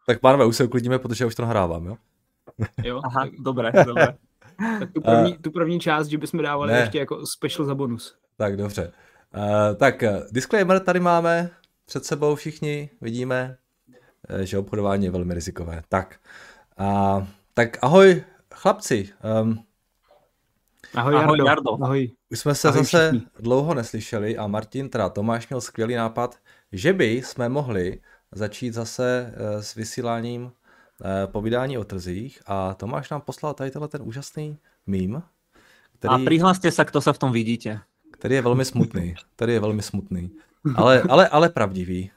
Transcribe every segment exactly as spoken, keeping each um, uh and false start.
Tak pánové, už se uklidníme, protože já už to nahrávám, jo? Jo, Aha, tak, dobré, dobré. tak tu, první, tu první část, že bychom dávali Ne. ještě jako special za bonus. Tak dobře. Uh, tak disclaimer tady máme před sebou všichni, vidíme, že obchodování je velmi rizikové. Tak, uh, tak ahoj chlapci. Um, Ahoj, ahoj Jardo. Jardo. Ahoj. Už jsme se Ahoj zase všichni. dlouho neslyšeli a Martin, teda Tomáš měl skvělý nápad, že by jsme mohli začít zase uh, s vysíláním uh, povídání o trzích a Tomáš nám poslal tady tenhle ten úžasný mím, který... A prihlaste sa, kto sa v tom vidíte. Který je velmi smutný. Který je velmi smutný. Ale, ale, ale pravdivý.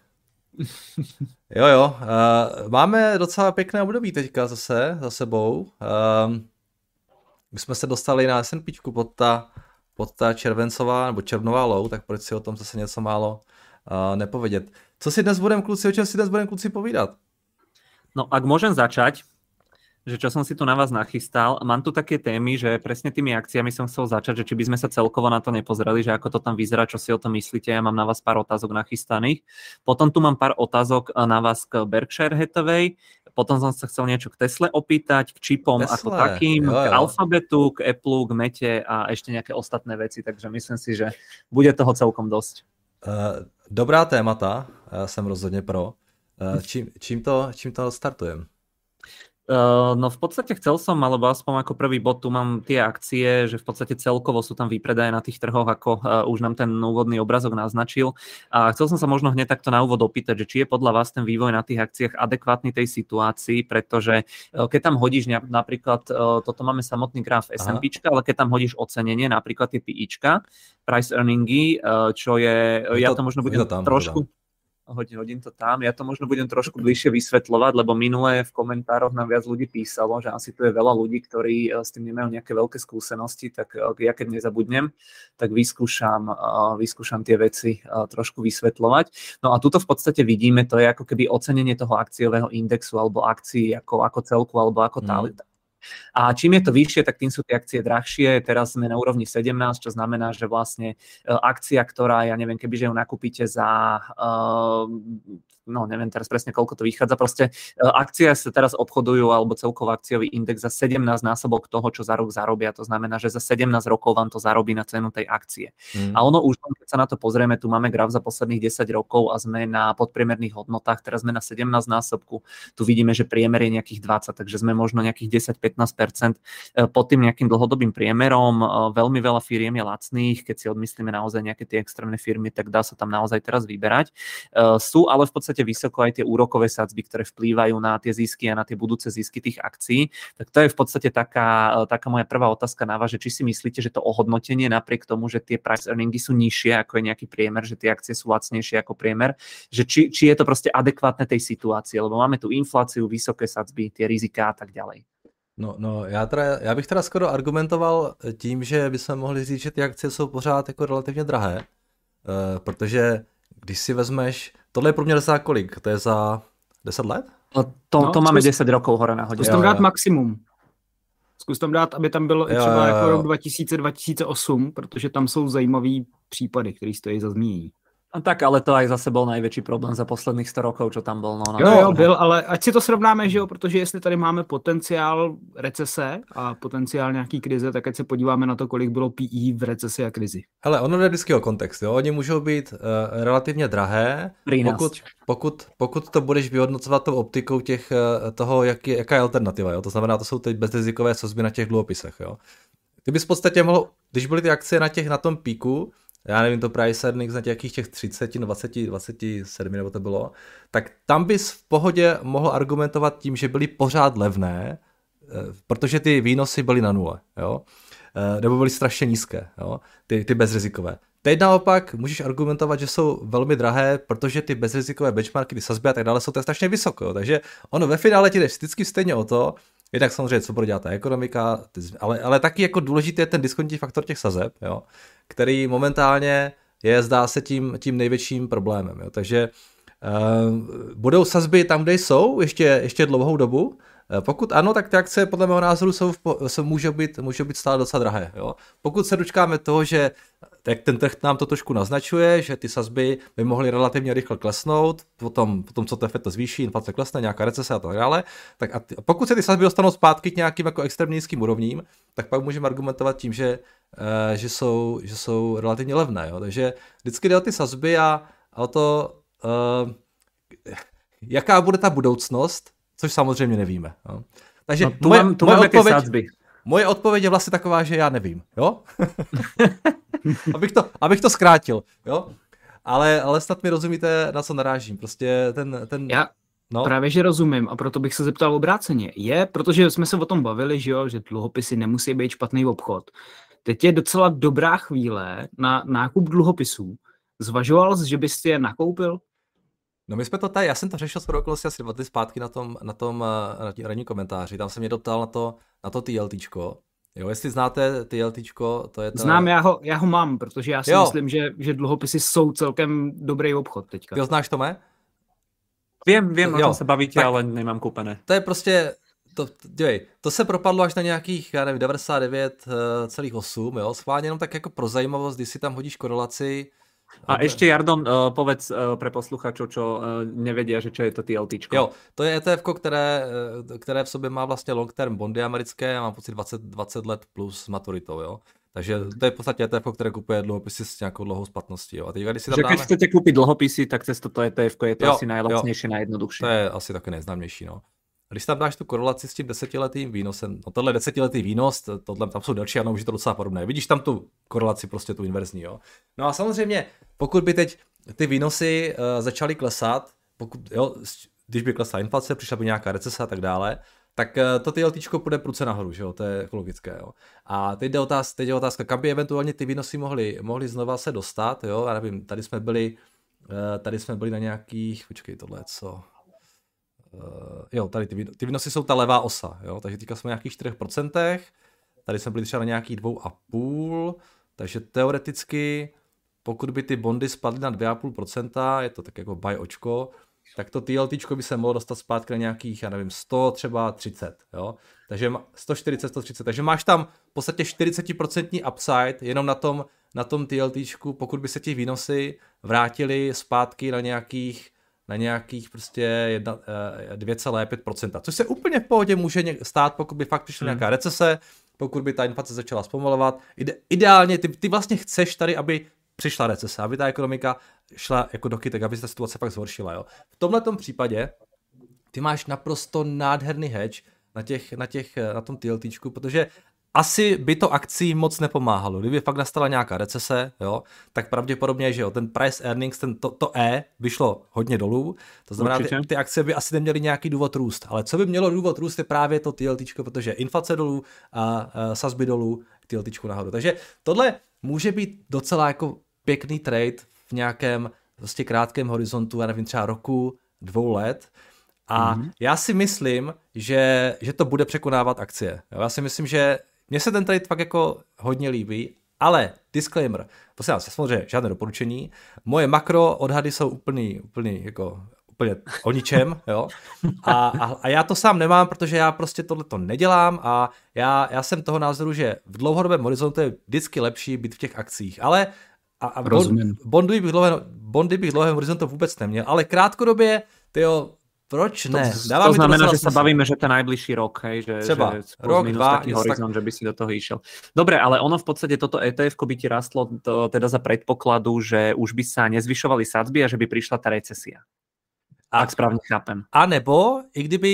Jo, jo. Uh, máme docela pěkné období teďka zase za sebou. Uh, my jsme se dostali na S and P pod ta, pod ta červencová nebo červnová low, tak proč si o tom zase něco málo uh, nepovědět. Co si dnes budeme, kluci, o čem si dnes budeme, kluci, povídat? No, ak môžem začať, že čo som si tu na vás nachystal. Mám tu také témy, že presne tými akciami som chcel začať, že či by sme sa celkovo na to nepozreli, že ako to tam vyzerá, čo si o tom myslíte. Ja mám na vás pár otázok nachystaných. Potom tu mám pár otázok na vás k Berkshire Hathaway. Potom som sa chcel niečo k Tesle opýtať, k čipom Tesla, ako takým, jo, jo. k Alphabetu, k Apple, k Mete a ešte nejaké ostatné veci. Takže myslím si, že bude toho celkom dosť. Uh, dobrá témata, já jsem rozhodně pro. Uh, čím, čím, to, čím to startujeme? Uh, no v podstate chcel som, alebo aspoň ako prvý bod, tu mám tie akcie, že v podstate celkovo sú tam výpredaje na tých trhoch, ako uh, už nám ten úvodný obrazok naznačil. A chcel som sa možno hneď takto na úvod opýtať, že či je podľa vás ten vývoj na tých akciách adekvátny tej situácii, pretože uh, keď tam hodíš ne, napríklad, uh, toto máme samotný graf S and P, ale keď tam hodíš ocenenie, napríklad tie PIčka, price earningy, uh, čo je, je ja to, to možno budem to tam, trošku... Hodím, hodím to tam. Ja to možno budem trošku bližšie vysvetľovať, lebo minulé v komentároch nám viac ľudí písalo, že asi tu je veľa ľudí, ktorí s tým nemajú nejaké veľké skúsenosti, tak ja keď nezabudnem, tak vyskúšam, vyskúšam tie veci trošku vysvetľovať. No a tuto v podstate vidíme, to je ako keby ocenenie toho akciového indexu alebo akcií ako, ako celku alebo ako tá. Mm. A čím je to vyššie, tak tým sú tie akcie drahšie. Teraz sme na úrovni sedemnásť, čo znamená, že vlastne akcia, ktorá, ja neviem, kebyže ju nakúpite za, no neviem teraz presne, koľko to vychádza, proste akcie sa teraz obchodujú, alebo celkový akciový index za sedemnásť násobok toho, čo za rok zarobia. To znamená, že za sedemnásť rokov vám to zarobí na cenu tej akcie. Mm. A ono už, keď sa na to pozrieme, tu máme graf za posledných desať rokov a sme na podpriemerných hodnotách, teraz sme na sedemnásť násobku. Tu vidíme, že priemer je nejakých dvadsať, takže sme možno nejakých desať až pätnásť percent pod tým nejakým dlhodobým priemerom. Veľmi veľa firiem je lacných, keď si odmyslíme naozaj nejaké tie extrémne firmy, tak dá sa tam naozaj teraz vyberať. Sú ale v podstate vysoko aj tie úrokové sadzby, ktoré vplývajú na tie zisky a na tie budúce zisky tých akcií. Tak to je v podstate taká, taká moja prvá otázka na vás, že či si myslíte, že to ohodnotenie napriek tomu, že tie price earningy sú nižšie ako je nejaký priemer, že tie akcie sú lacnejšie ako priemer, že či, či je to proste adekvátne tej situácii, lebo máme tu infláciu, vysoké sadzby, tie riziká a tak ďalej. No, no já, teda, já bych teda skoro argumentoval tím, že bychom mohli říct, že ty akcie jsou pořád jako relativně drahé, uh, protože když si vezmeš, tohle je průměr za kolik? To je za deset let? No, to, no, to máme zkus, desať rokov hore nahodě. Zkus tam dát maximum. Zkus tam dát, aby tam bylo jo, třeba jo, jo. jako rok dva tisíce, dva tisíce osm, protože tam jsou zajímavý případy, které stojí za zmínění. No tak, ale to aj zase bol najväčší problém za posledných sto rokov, čo tam bol. No, jo, jo, byl, ale ať si to srovnáme, že jo, protože jestli tady máme potenciál recese a potenciál nějaký krize, tak ať se podíváme na to, kolik bylo P E v recesi a krizi. Hele, ono jde vždycky o kontext, jo, oni můžou být uh, relativně drahé, pokud, pokud, pokud to budeš vyhodnocovat tou optikou těch, uh, toho, jak je, jaká je alternativa, jo, to znamená, to jsou teď bezrizikové sazby na těch dluhopisech, jo. Ty bys v podstatě mohl, když byly ty akcie na těch, na tom píku, já nevím, to price earnings na nějakých těch třicet, dvacet, dvacet sedm nebo to bylo, tak tam bys v pohodě mohl argumentovat tím, že byly pořád levné, protože ty výnosy byly na nule, jo? Nebo byly strašně nízké, jo? Ty, ty bezrizikové. Teď naopak můžeš argumentovat, že jsou velmi drahé, protože ty bezrizikové benchmarky, ty sazby a tak dále jsou to strašně vysoko, jo? Takže ono ve finále ti jde vždycky stejně o to, jednak samozřejmě, co bude dělat ta ekonomika, ale, ale taky jako důležitý je ten diskontní faktor těch sazeb, jo, který momentálně je, zdá se, tím, tím největším problémem. Jo. Takže uh, budou sazby tam, kde jsou, ještě, ještě dlouhou dobu, Pokud ano, tak ty akcie podle mého názoru jsou, jsou můžou, být, můžou být stále docela drahé. Jo? Pokud se dočkáme toho, že tak ten trh nám to trošku naznačuje, že ty sazby by mohly relativně rychle klesnout, potom, potom co T F to zvýší, inflace klesne, nějaká recese a tak dále, tak a, ty, a pokud se ty sazby dostanou zpátky k nějakým jako extrémně nízkým úrovním, tak pak můžeme argumentovat tím, že, uh, že, jsou, že jsou relativně levné. Jo? Takže vždycky jde o ty sazby a, a o to, uh, jaká bude ta budoucnost, což samozřejmě nevíme. Jo? Takže no, tu moje, mám, tu moje, odpověď, sazby. moje odpověď je vlastně taková, že já nevím. Jo? abych, to, abych to zkrátil. Jo? Ale, ale snad mi rozumíte, na co narážím. Prostě ten... ten já no. Právě, že rozumím a proto bych se zeptal obráceně. Je, protože jsme se o tom bavili, že, jo, že dluhopisy nemusí být špatný obchod. Teď je docela dobrá chvíle na nákup dluhopisů. Zvažoval jsi, že bys je nakoupil? No my jsme to tady, já jsem to řešil skoro okolo asi dva dny zpátky na tom, na tom na ranní komentáři, tam se mě doptal na to, na to TLTčko. Jo, jestli znáte TLTčko, to je to... Znám, já ho, já ho mám, protože já si jo. myslím, že, že dluhopisy jsou celkem dobrý obchod teďka. Ty ho znáš, Tome? Vím, vím, o čem se bavíte, tak, ale nemám koupené. To je prostě, to, dívej, to se propadlo až na nějakých, já nevím, devadesát devět celá osm, jo, schválně jenom tak jako pro zajímavost, když si tam hodíš korelaci. A okay. Ešte, Jardon, uh, povedz uh, pre posluchačov, čo uh, nevedia, že čo je to TLTčko. Jo, to je E T F, které, které v sobě má vlastně long term bondy americké, já mám pocit dvacet, dvacet let plus maturitou, jo. Takže to je v podstatě E T F, které kupuje dluhopisy s nějakou dlouhou splatností, jo. A teď, když si tam že dáme... keď chcete kúpiť dluhopisy, tak cez toto E T F je to jo, asi najlacnější, najjednodušší. To je asi taky nejznámější, no. Když tam dáš tu korelaci s tím desetiletým výnosem, no tohle desetiletý výnos, tohle tam jsou další, ano, už je to docela podobné. Vidíš tam tu korelaci, prostě tu inverzní, jo. No a samozřejmě, pokud by teď ty výnosy uh, začaly klesat, pokud, jo, když by klesla inflace, přišla by nějaká recese a tak dále, tak uh, to TLTčko půjde prudce nahoru, že jo, to je ekologické, jo. A teď jde otázka, teď je otázka, kam by eventuálně ty výnosy mohly, mohly znova se dostat, jo, já nevím, tady jsme byli, uh, tady jsme byli na nějakých, počkej, tohle co... Uh, jo, tady ty, ty výnosy jsou ta levá osa, jo, takže teďka jsme na nějakých čtyři procenta, tady jsme byli třeba na nějakých dva a půl, takže teoreticky, pokud by ty bondy spadly na dva a půl procenta, je to tak jako buy očko, tak to TLTčko by se mohlo dostat zpátky na nějakých, já nevím, sto, třeba třicet, jo, takže sto čtyřicet, sto třicet, takže máš tam v podstatě čtyřicet procent upside jenom na tom, na tom TLTčku, pokud by se ti výnosy vrátily zpátky na nějakých na nějakých prostě dva celá pět procenta, což se úplně v pohodě může stát, pokud by fakt přišla hmm. nějaká recese, pokud by ta inflace začala zpomalovat. Ide, ideálně ty, ty vlastně chceš tady, aby přišla recese, aby ta ekonomika šla jako do kytek, aby se ta situace fakt zhoršila. Jo. V tomhletom případě ty máš naprosto nádherný hedge na, těch, na, těch, na tom TLTčku, protože asi by to akcím moc nepomáhalo. Kdyby fakt nastala nějaká recese, jo, tak pravděpodobně, že jo, ten price earnings, ten, to, to E by šlo hodně dolů, to znamená, ty, ty akcie by asi neměly nějaký důvod růst, ale co by mělo důvod růst je právě to TLTčko, protože inflace dolů a, a sazby dolů, TLTčko nahoru. Takže tohle může být docela jako pěkný trade v nějakém prostě krátkém horizontu, já nevím, třeba roku, dvou let. A mm-hmm. já si myslím, že, že to bude překonávat akcie. Jo, já si myslím, že mně se ten trade fakt jako hodně líbí, ale disclaimer, prosím vás, samozřejmě žádné doporučení, moje makro odhady jsou úplný, úplný jako úplně o ničem, jo, a, a, a já to sám nemám, protože já prostě tohleto nedělám a já, já jsem toho názoru, že v dlouhodobém horizontu je vždycky lepší být v těch akcích, ale a, a bon, bondy, bych dlouhé, bondy bych dlouhém horizontu vůbec neměl, ale krátkodobě, tyjo, proč ne? To, to znamená, to že sa bavíme, že ten najbližší rok, hej, že, třeba že rok, dva, taký horizont, tak... že by si do toho išiel. Dobre, ale ono v podstate toto E T F-ko by ti rastlo to, teda za predpokladu, že už by sa nezvyšovali sadzby a že by prišla tá recesia. A, ak správne chápem. A nebo, i kdyby,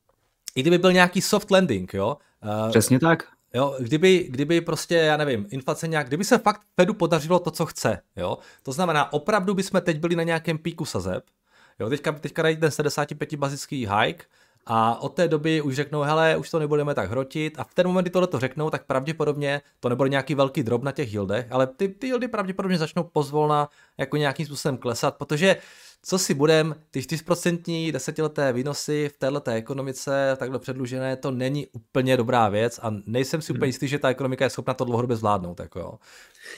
i kdyby byl nějaký soft landing, jo? Uh, Přesně tak. Jo, kdyby, kdyby prostě, já nevím, inflace nějak, kdyby se fakt Fedu podařilo to, co chce, jo? To znamená, opravdu bychom teď byli na nějakém píku sazeb. Jo, teďka, teďka dají ten sedmdesát pět bazický hike a od té doby už řeknou, hele, už to nebudeme tak hrotit a v ten moment, kdy tohle to řeknou, tak pravděpodobně to nebude nějaký velký drop na těch yieldech, ale ty, ty yieldy pravděpodobně začnou pozvolna jako nějakým způsobem klesat, protože co si budem, ty čtyři procenta desetileté výnosy v této ekonomice takhle předlužené, to není úplně dobrá věc a nejsem si úplně jistý, že ta ekonomika je schopna to dlouhodobě zvládnout. Jako jo.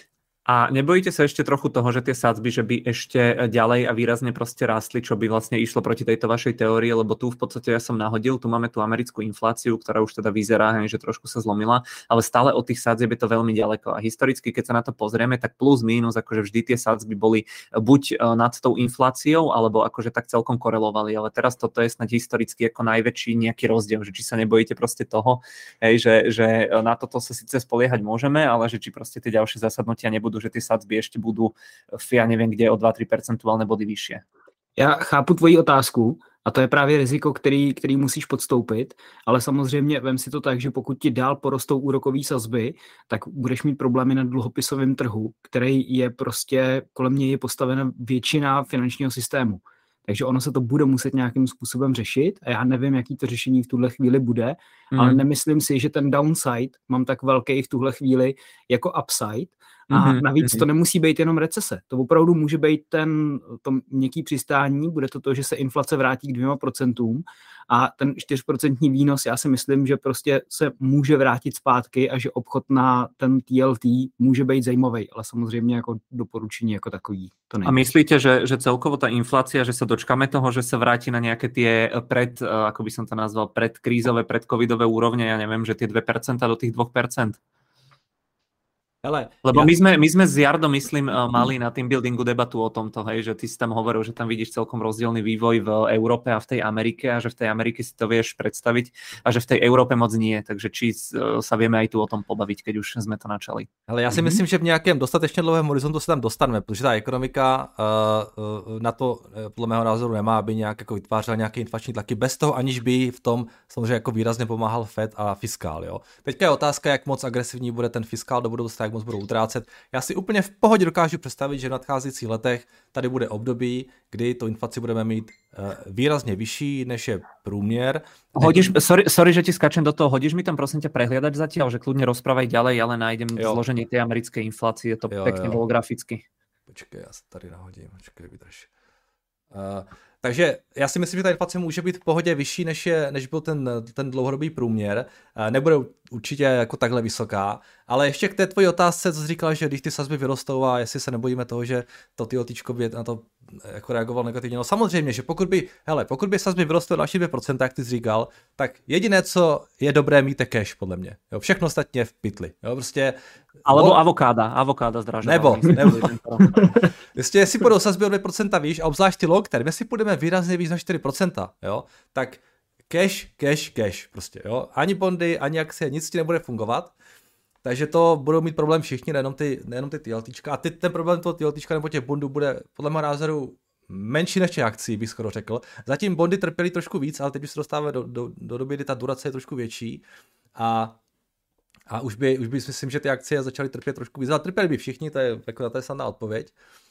A nebojíte sa ešte trochu toho, že tie sadzby, že by ešte ďalej a výrazne proste rástli, čo by vlastne išlo proti tejto vašej teórii, lebo tu v podstate ja som nahodil, tu máme tú americkú infláciu, ktorá už teda vyzerá, že trošku sa zlomila, ale stále od tých sadzieb je to veľmi ďaleko. A historicky, keď sa na to pozrieme, tak plus mínus, akože vždy tie sadzby boli buď nad tou infláciou, alebo akože tak celkom korelovali, ale teraz toto je snad historicky ako najväčší nejaký rozdiel, že či sa nebojíte proste toho, hej, že, že na toto sa síce spoliehať môžeme, ale že či proste tie ďalšie zasadnutia nebudú, že ty sadzby ještě budou, já nevím, kde o dva až tři percentuálne body vyšší. Já chápu tvoji otázku a to je právě riziko, který, který musíš podstoupit, ale samozřejmě vem si to tak, že pokud ti dál porostou úrokové sazby, tak budeš mít problémy na dluhopisovém trhu, který je prostě, kolem něj je postavena většina finančního systému. Takže ono se to bude muset nějakým způsobem řešit a já nevím, jaký to řešení v tuhle chvíli bude, mm. ale nemyslím si, že ten downside mám tak velký v tuhle chvíli jako upside a mm-hmm. navíc to nemusí být jenom recese. To opravdu může být ten to měkký přistání, bude to to, že se inflace vrátí k dvěma procentům a ten čtyřprocentní výnos, já si myslím, že prostě se může vrátit zpátky a že obchod na ten T L T může být zajímavý, ale samozřejmě jako doporučení jako takový to není. A myslíte, že, že celkovo ta inflácia, že sa dočkáme toho, že sa vráti na nejaké tie pred, ako by som to nazval, predkrízové, predcovidové úrovne, ja neviem, že tie dve percentá do tých dvoch percent? Hele, Lebo ja... my, sme, my sme s Jardom, myslím, mali na team buildingu debatu o tomto, hej, že ty si tam hovoril, že tam vidíš celkom rozdielny vývoj v Európe a v tej Amerike a že v tej Amerike si to vieš predstaviť a že v tej Európe moc nie. Takže či sa vieme aj tu o tom pobaviť, keď už sme to načali. Ale já si mm-hmm. myslím, že v nějakém dostatečně dlouhém horizontu se tam dostaneme, protože ta ekonomika uh, uh, na to podle mého názoru nemá, aby nějak jako vytvářela nějaké inflační tlaky bez toho, aniž by v tom samozřejmě jako výrazně pomáhal Fed a fiskál. Jo. Teďka je otázka, jak moc agresivní bude ten fiskál do budoucna, jak moc budou utrácet. Já si úplně v pohodě dokážu představit, že v nadcházejících letech tady bude období, kdy tu inflaci budeme mít uh, výrazně vyšší, než je průměr. Hodíš, sorry, sorry, že ti skačem do toho, hodíš mi tam prosím ťa prehliadať zatiaľ, že kľudne rozprávaj ďalej, ale nájdem jo. zloženie tej americkej inflácie, je to jo, pekne bolo graficky. Počkej, já se tady nahodím, počkej, vydrž. Uh, takže já si myslím, že ta inflace může být v pohodě vyšší, než, je, než byl ten, ten dlouhodobý průměr. Uh, nebude určitě jako takhle vysoká, ale ještě k té tvojí otázce, co jsi říkal, že když ty sazby vyrostou a jestli se nebojíme toho, že to TLTčko by na to jako reagoval negativně. No samozřejmě, že pokud by, hele, pokud by sazby vyrostly další dvě procenta, jak ty jsi říkal, tak jediné, co je dobré, mít je cash, podle mě. Jo, všechno ostatně v pytli. Jo, prostě... Alebo bo... avokáda, avokáda zdražová. Nebo, nebo. Jestli, jestli budou sazby o dvě procenta výš a obzvlášť ty long term, jestli půjdeme výrazně víc na čtyři procenta, jo, tak cash, cash, cash prostě, jo. Ani bondy, ani akcie, nic ti nebude fungovat. Takže to budou mít problém všichni, nejenom ty, nejenom ty TLTčka. A ty, ten problém toho TLTčka nebo těch bondů bude podle mého názoru menší než těch akcí, bych skoro řekl. Zatím bondy trpěly trošku víc, ale teď už se dostáváme do, do, do doby, kdy ta durace je trošku větší. A, a už by, už by myslím, že ty akcie začaly trpět trošku víc. Ale trpěli by všichni, to je, jako, to je snadná odpověď.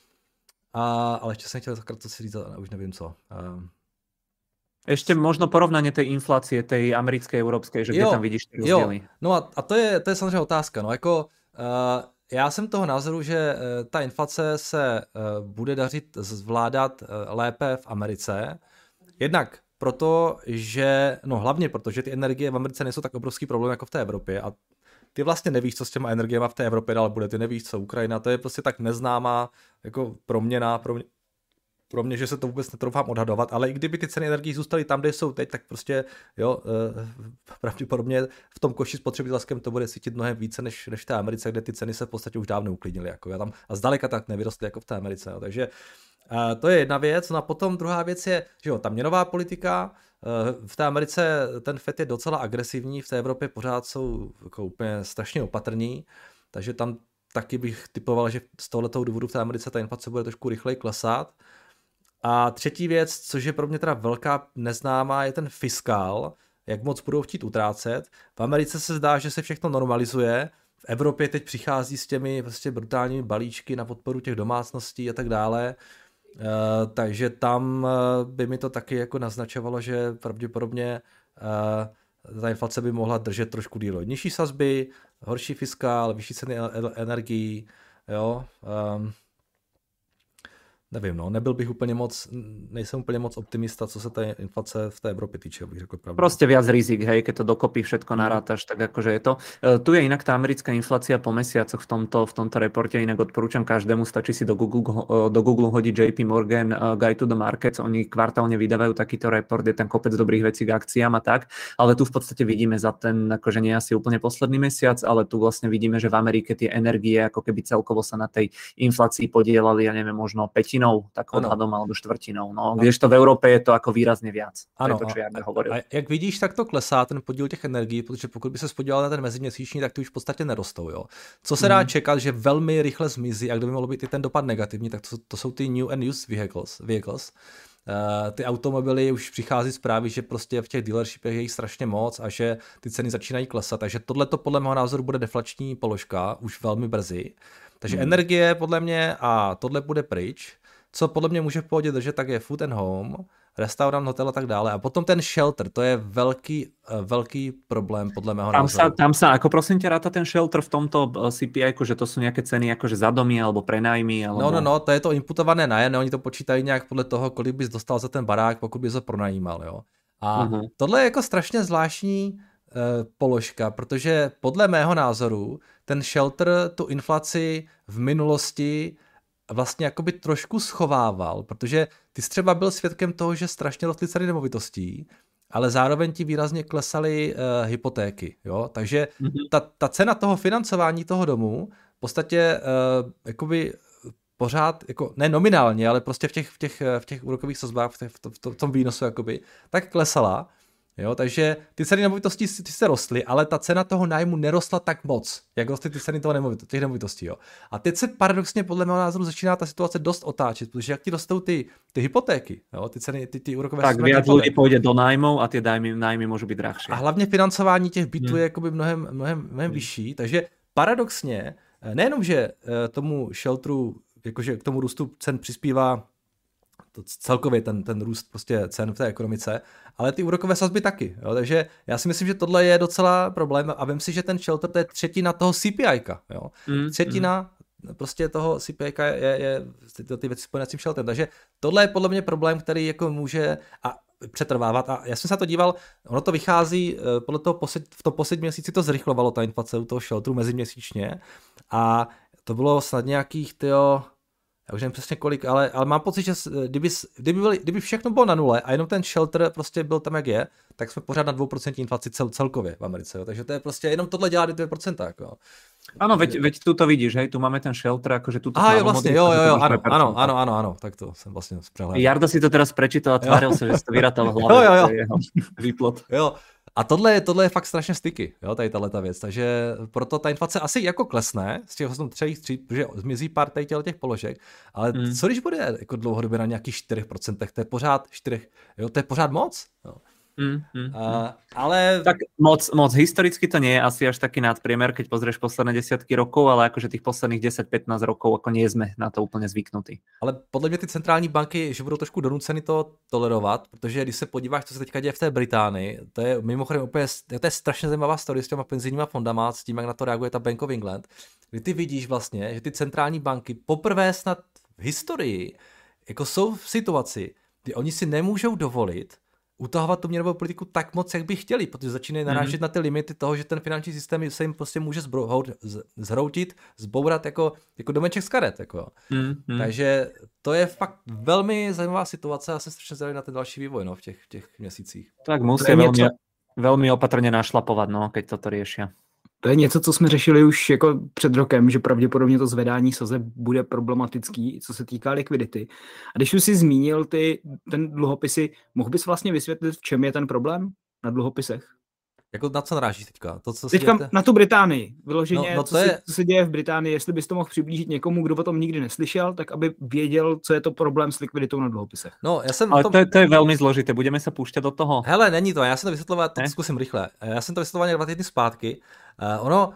A, ale ještě jsem chtěl takrát co si říct, už nevím co. A, Ešte možno porovnanie tej inflácie, tej americkej, európskej, že kde jo, tam vidíš ty rozdiely. No a, a to, je, to je samozřejmě otázka. No jako, uh, já jsem toho názoru, že uh, ta inflace se uh, bude dařit zvládat uh, lépe v Americe. Jednak proto, že, no hlavně proto, že ty energie v Americe nejsou tak obrovský problém jako v té Evropě a ty vlastně nevíš, co s těma energiema v té Evropě dál bude, ty nevíš, co Ukrajina, to je prostě tak neznámá jako proměna, pro mě, pro mě, že se to vůbec netroufám odhadovat, ale i kdyby ty ceny energií zůstaly tam, kde jsou teď, tak prostě jo, eh, pravděpodobně v tom koši spotřebitelském to bude cítit mnohem více než, než v té Americe, kde ty ceny se v podstatě už dávno uklidnily. Jako, já tam, a zdaleka tak nevyrostly jako v té Americe. Jo, takže eh, to je jedna věc. No a potom druhá věc je, že jo, ta měnová politika, eh, v té Americe ten Fed je docela agresivní, v té Evropě pořád jsou jako úplně strašně opatrní, takže tam taky bych typoval, že z tohoto důvodu v té Americe ta inflace bude trošku rychleji klesat. A třetí věc, což je pro mě teda velká neznámá, je ten fiskál, jak moc budou chtít utrácet. V Americe se zdá, že se všechno normalizuje, v Evropě teď přichází s těmi vlastně brutálními balíčky na podporu těch domácností a tak dále, e, takže tam by mi to taky jako naznačovalo, že pravděpodobně e, ta inflace by mohla držet trošku díl. Nižší sazby, horší fiskál, vyšší ceny energií, jo, e, Nevím, no, nebyl bych úplně moc, nejsem úplně moc optimista, co se té inflace v té Evropě týče, bych řekl pravdu. Proste viac rizik, hej, keď to dokopy všetko narátaš, tak akože je to. Uh, tu je inak tá americká inflácia po mesiacoch v tomto, v tomto reporte, inak odporúčam každému, stačí si do Google, uh, do Google hodiť J P Morgan uh, Guide to the Markets, oni kvartálne vydávajú takýto report, je tam kopec dobrých vecí k akciám a tak, ale tu v podstate vidíme za ten, akože nie asi úplne posledný mesiac, ale tu vlastne vidíme, že v Amerike tie energie ako keby celkovo sa na tej inflácii podielali, ja neviem, možno pätinou, tak odhadom alebo štvrtinou. No, kdežto v Európe je to ako výrazne viac. Ano, to, čo ja hovoril. A jak vidíš, tak to klesá ten podíl těch energií, protože pokud by se podíval na ten meziměsíční, tak ty už v podstatě nerostou. Jo. Co se dá mm. čekat, že velmi rychle zmizí, a kdyby mohlo být i ten dopad negativní, tak to, to jsou ty new and used vehicles. vehicles. Uh, ty automobily už přichází zprávy, že prostě v těch dealershipech je jich strašně moc a že ty ceny začínají klesat, takže tohle to podle mého názoru bude deflační položka už velmi brzy. Takže mm. energie podle mě a tohle bude pryč. Co podle mě může v pohodě držet, tak je food and home, restaurant, hotel a tak dále. A potom ten shelter, to je velký, velký problém podle mého tam názoru. Sa, tam sa, ako prosím ťa, ráta ten shelter v tomto C P I, že to sú nejaké ceny akože za domy alebo prenájmy? Alebo... No, no, no, to je to imputované nájemné, oni to počítají nějak podle toho, kolik bys dostal za ten barák, pokud bys ho pronajímal, jo. A uh-huh. tohle je jako strašně zvláštní uh, položka, protože podle mého názoru ten shelter tu inflaci v minulosti vlastně jakoby trošku schovával, protože ty jsi třeba byl svědkem toho, že strašně rostly ceny nemovitostí, ale zároveň ti výrazně klesaly uh, hypotéky, jo, takže mm-hmm. ta, ta cena toho financování toho domu v podstatě uh, jakoby pořád, jako ne nominálně, ale prostě v těch, v těch, v těch úrokových sazbách, v, těch, v, to, v tom výnosu jakoby, tak klesala. Jo, takže ty ceny nemovitostí ty se rostly, ale ta cena toho nájmu nerostla tak moc, jak rostly ty ceny toho nemovitosti, těch nemovitostí. Jo. A teď se paradoxně podle mého názoru začíná ta situace dost otáčet, protože jak ti rostou ty, ty hypotéky, jo, ty ceny, ty, ty úrokové tak viac ľudí pôjde do nájmov a tie nájmy, nájmy môžu byť drahšie. A hlavně financování těch bytů hmm. je jakoby mnohem, mnohem, mnohem hmm. vyšší, takže paradoxně, nejenom, že tomu shelteru, jakože k tomu růstu cen přispívá to celkově ten, ten růst prostě cen v té ekonomice, ale ty úrokové sazby taky. Jo? Takže já si myslím, že tohle je docela problém a vím si, že ten shelter to je třetina toho C P I ka. Jo? Mm, třetina mm. prostě toho C P I ka je, je, je ty, ty věci spojené s tím shelterem. Takže tohle je podle mě problém, který jako může a přetrvávat. A já jsem se na to díval, ono to vychází, podle toho posled, v tom posledním měsíci to zrychlovalo, ta inflace u toho shelteru meziměsíčně a to bylo snad nějakých, tyjo, já už nevím přesně kolik, ale, ale mám pocit, že kdyby, kdyby, byli, kdyby všechno bylo na nule a jenom ten shelter prostě byl tam, jak je, tak jsme pořád na dvě procenta inflaci cel, celkově v Americe. Jo. Takže to je prostě, jenom tohle dělá dvě procenta. Jako. Áno, veď, veď tu to vidíš, hej, tu máme ten shelter, akože tu to Aha, jo, vlastne, jo, jo, jo, áno, áno, áno, áno, áno, tak to som vlastne sprehľadal. Jarda si to teraz prečítal a tváril sa, že si to vyrátal v hlave. Jo, jo, jo. Jeho výplot. Jo, a tohle je, tohle je fakt strašně styky, jo, tady tato věc, takže proto ta inflace asi jako klesne z těch třech tří, protože zmizí pár tady těch položek, ale hmm. co když bude jako dlouhodobě na nějakých čtyři procenta, to je pořád čtyři, jo, to je pořád moc, jo. Mm, mm, uh, ale... Tak moc, moc historicky to nie je asi až taký nadpriemer, keď pozrieš posledné desiatky rokov, ale akože tých posledných desať pätnásť rokov ako nie sme na to úplně zvyknutí. Ale podle mě ty centrální banky, že budou trošku donuceny to tolerovat, protože když se podíváš, co se teďka děje v té Británii, to je mimochodem úplně, to je strašně zajímavá story s těma penzijníma fondama, s tím, jak na to reaguje ta Bank of England, kdy ty vidíš vlastně, že ty centrální banky poprvé snad v historii jako jsou v situaci, kdy oni si nemůžou dovolit utahovat tu měnovou politiku tak moc, jak by chtěli, protože začínají narážet mm. na ty limity toho, že ten finanční systém se jim prostě může zhroutit, zbourat jako, jako domeček z karet. Jako. Mm, mm. Takže to je fakt velmi zajímavá situace a jsem strašně zvědavý na ten další vývoj no, v, těch, v těch měsících. Tak musí velmi, velmi opatrně našlapovat, no, keď toto riešia. To je něco, co jsme řešili už jako před rokem, že pravděpodobně to zvedání sazeb bude problematický, co se týká likvidity. A když už si zmínil ty, ten dluhopisy, mohl bys vlastně vysvětlit, v čem je ten problém na dluhopisech? Jako na co narážíš teďka? To, co teďka dějete? Na tu Británii. Vyloženě, no, no co, je... se, co se děje v Británii, jestli bys to mohl přiblížit někomu, kdo o tom nikdy neslyšel, tak aby věděl, co je to problém s likviditou na dluhopisech. No, já jsem Ale tom... to, je, to je velmi zložité, budeme se pouštět do toho. Hele, není to, já jsem to vysvětloval, to zkusím rychle. Já jsem to vysvětloval dva týdny zpátky. Uh, ono,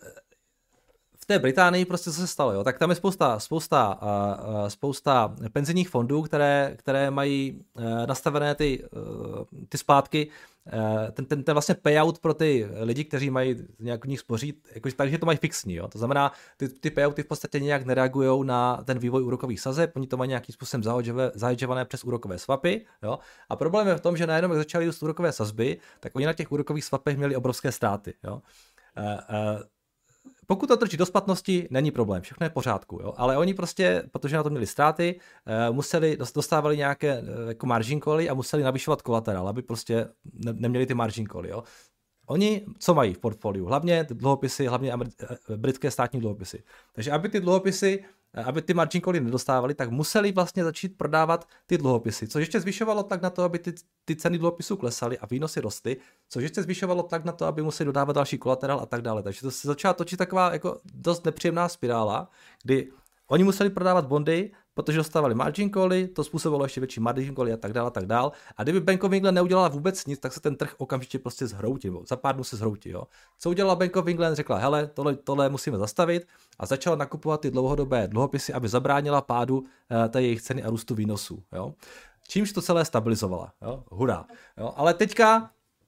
v té Británii prostě co se stalo, jo? Tak tam je spousta, spousta, uh, spousta penzijních fondů, které, které mají uh, nastavené ty, uh, ty splátky ten, ten, ten vlastně payout pro ty lidi, kteří mají nějak v nich spořit, jako, takže to mají fixní. Jo? To znamená, ty, ty payouty v podstatě nějak nereagují na ten vývoj úrokových sazeb, oni to mají nějakým způsobem zahedžované přes úrokové swapy. Jo? A problém je v tom, že najednou, jak začaly růst úrokové sazby, tak oni na těch úrokových swapech měli obrovské ztráty. Jo? Uh, uh, Pokud to trčí do splatnosti, není problém, všechno je v pořádku, jo? Ale oni prostě, protože na to měli ztráty, museli, dostávali nějaké jako margin cally a museli navyšovat kolaterál, aby prostě ne, neměli ty margin cally, jo? Oni co mají v portfoliu? Hlavně dluhopisy, hlavně britské státní dluhopisy. Takže aby ty dluhopisy, aby ty margin cally nedostávali, tak museli vlastně začít prodávat ty dluhopisy, což ještě zvyšovalo tlak na to, aby ty, ty ceny dluhopisů klesaly a výnosy rostly, což ještě zvyšovalo tlak na to, aby museli dodávat další kolaterál a tak dále. Takže to se začala točit taková jako dost nepříjemná spirála, kdy oni museli prodávat bondy, protože dostávali margin cally, to způsobilo ještě větší margin cally a tak dále a tak dále. A kdyby Bank of England neudělala vůbec nic, tak se ten trh okamžitě prostě zhroutí, za pár dnů se zhroutí. Jo. Co udělala Bank of England? Řekla, hele, tohle, tohle musíme zastavit a začala nakupovat ty dlouhodobé dluhopisy, aby zabránila pádu uh, té jejich ceny a růstu výnosů. Jo. Čímž to celé stabilizovala. Jo. Hurá. Jo. Ale teďka,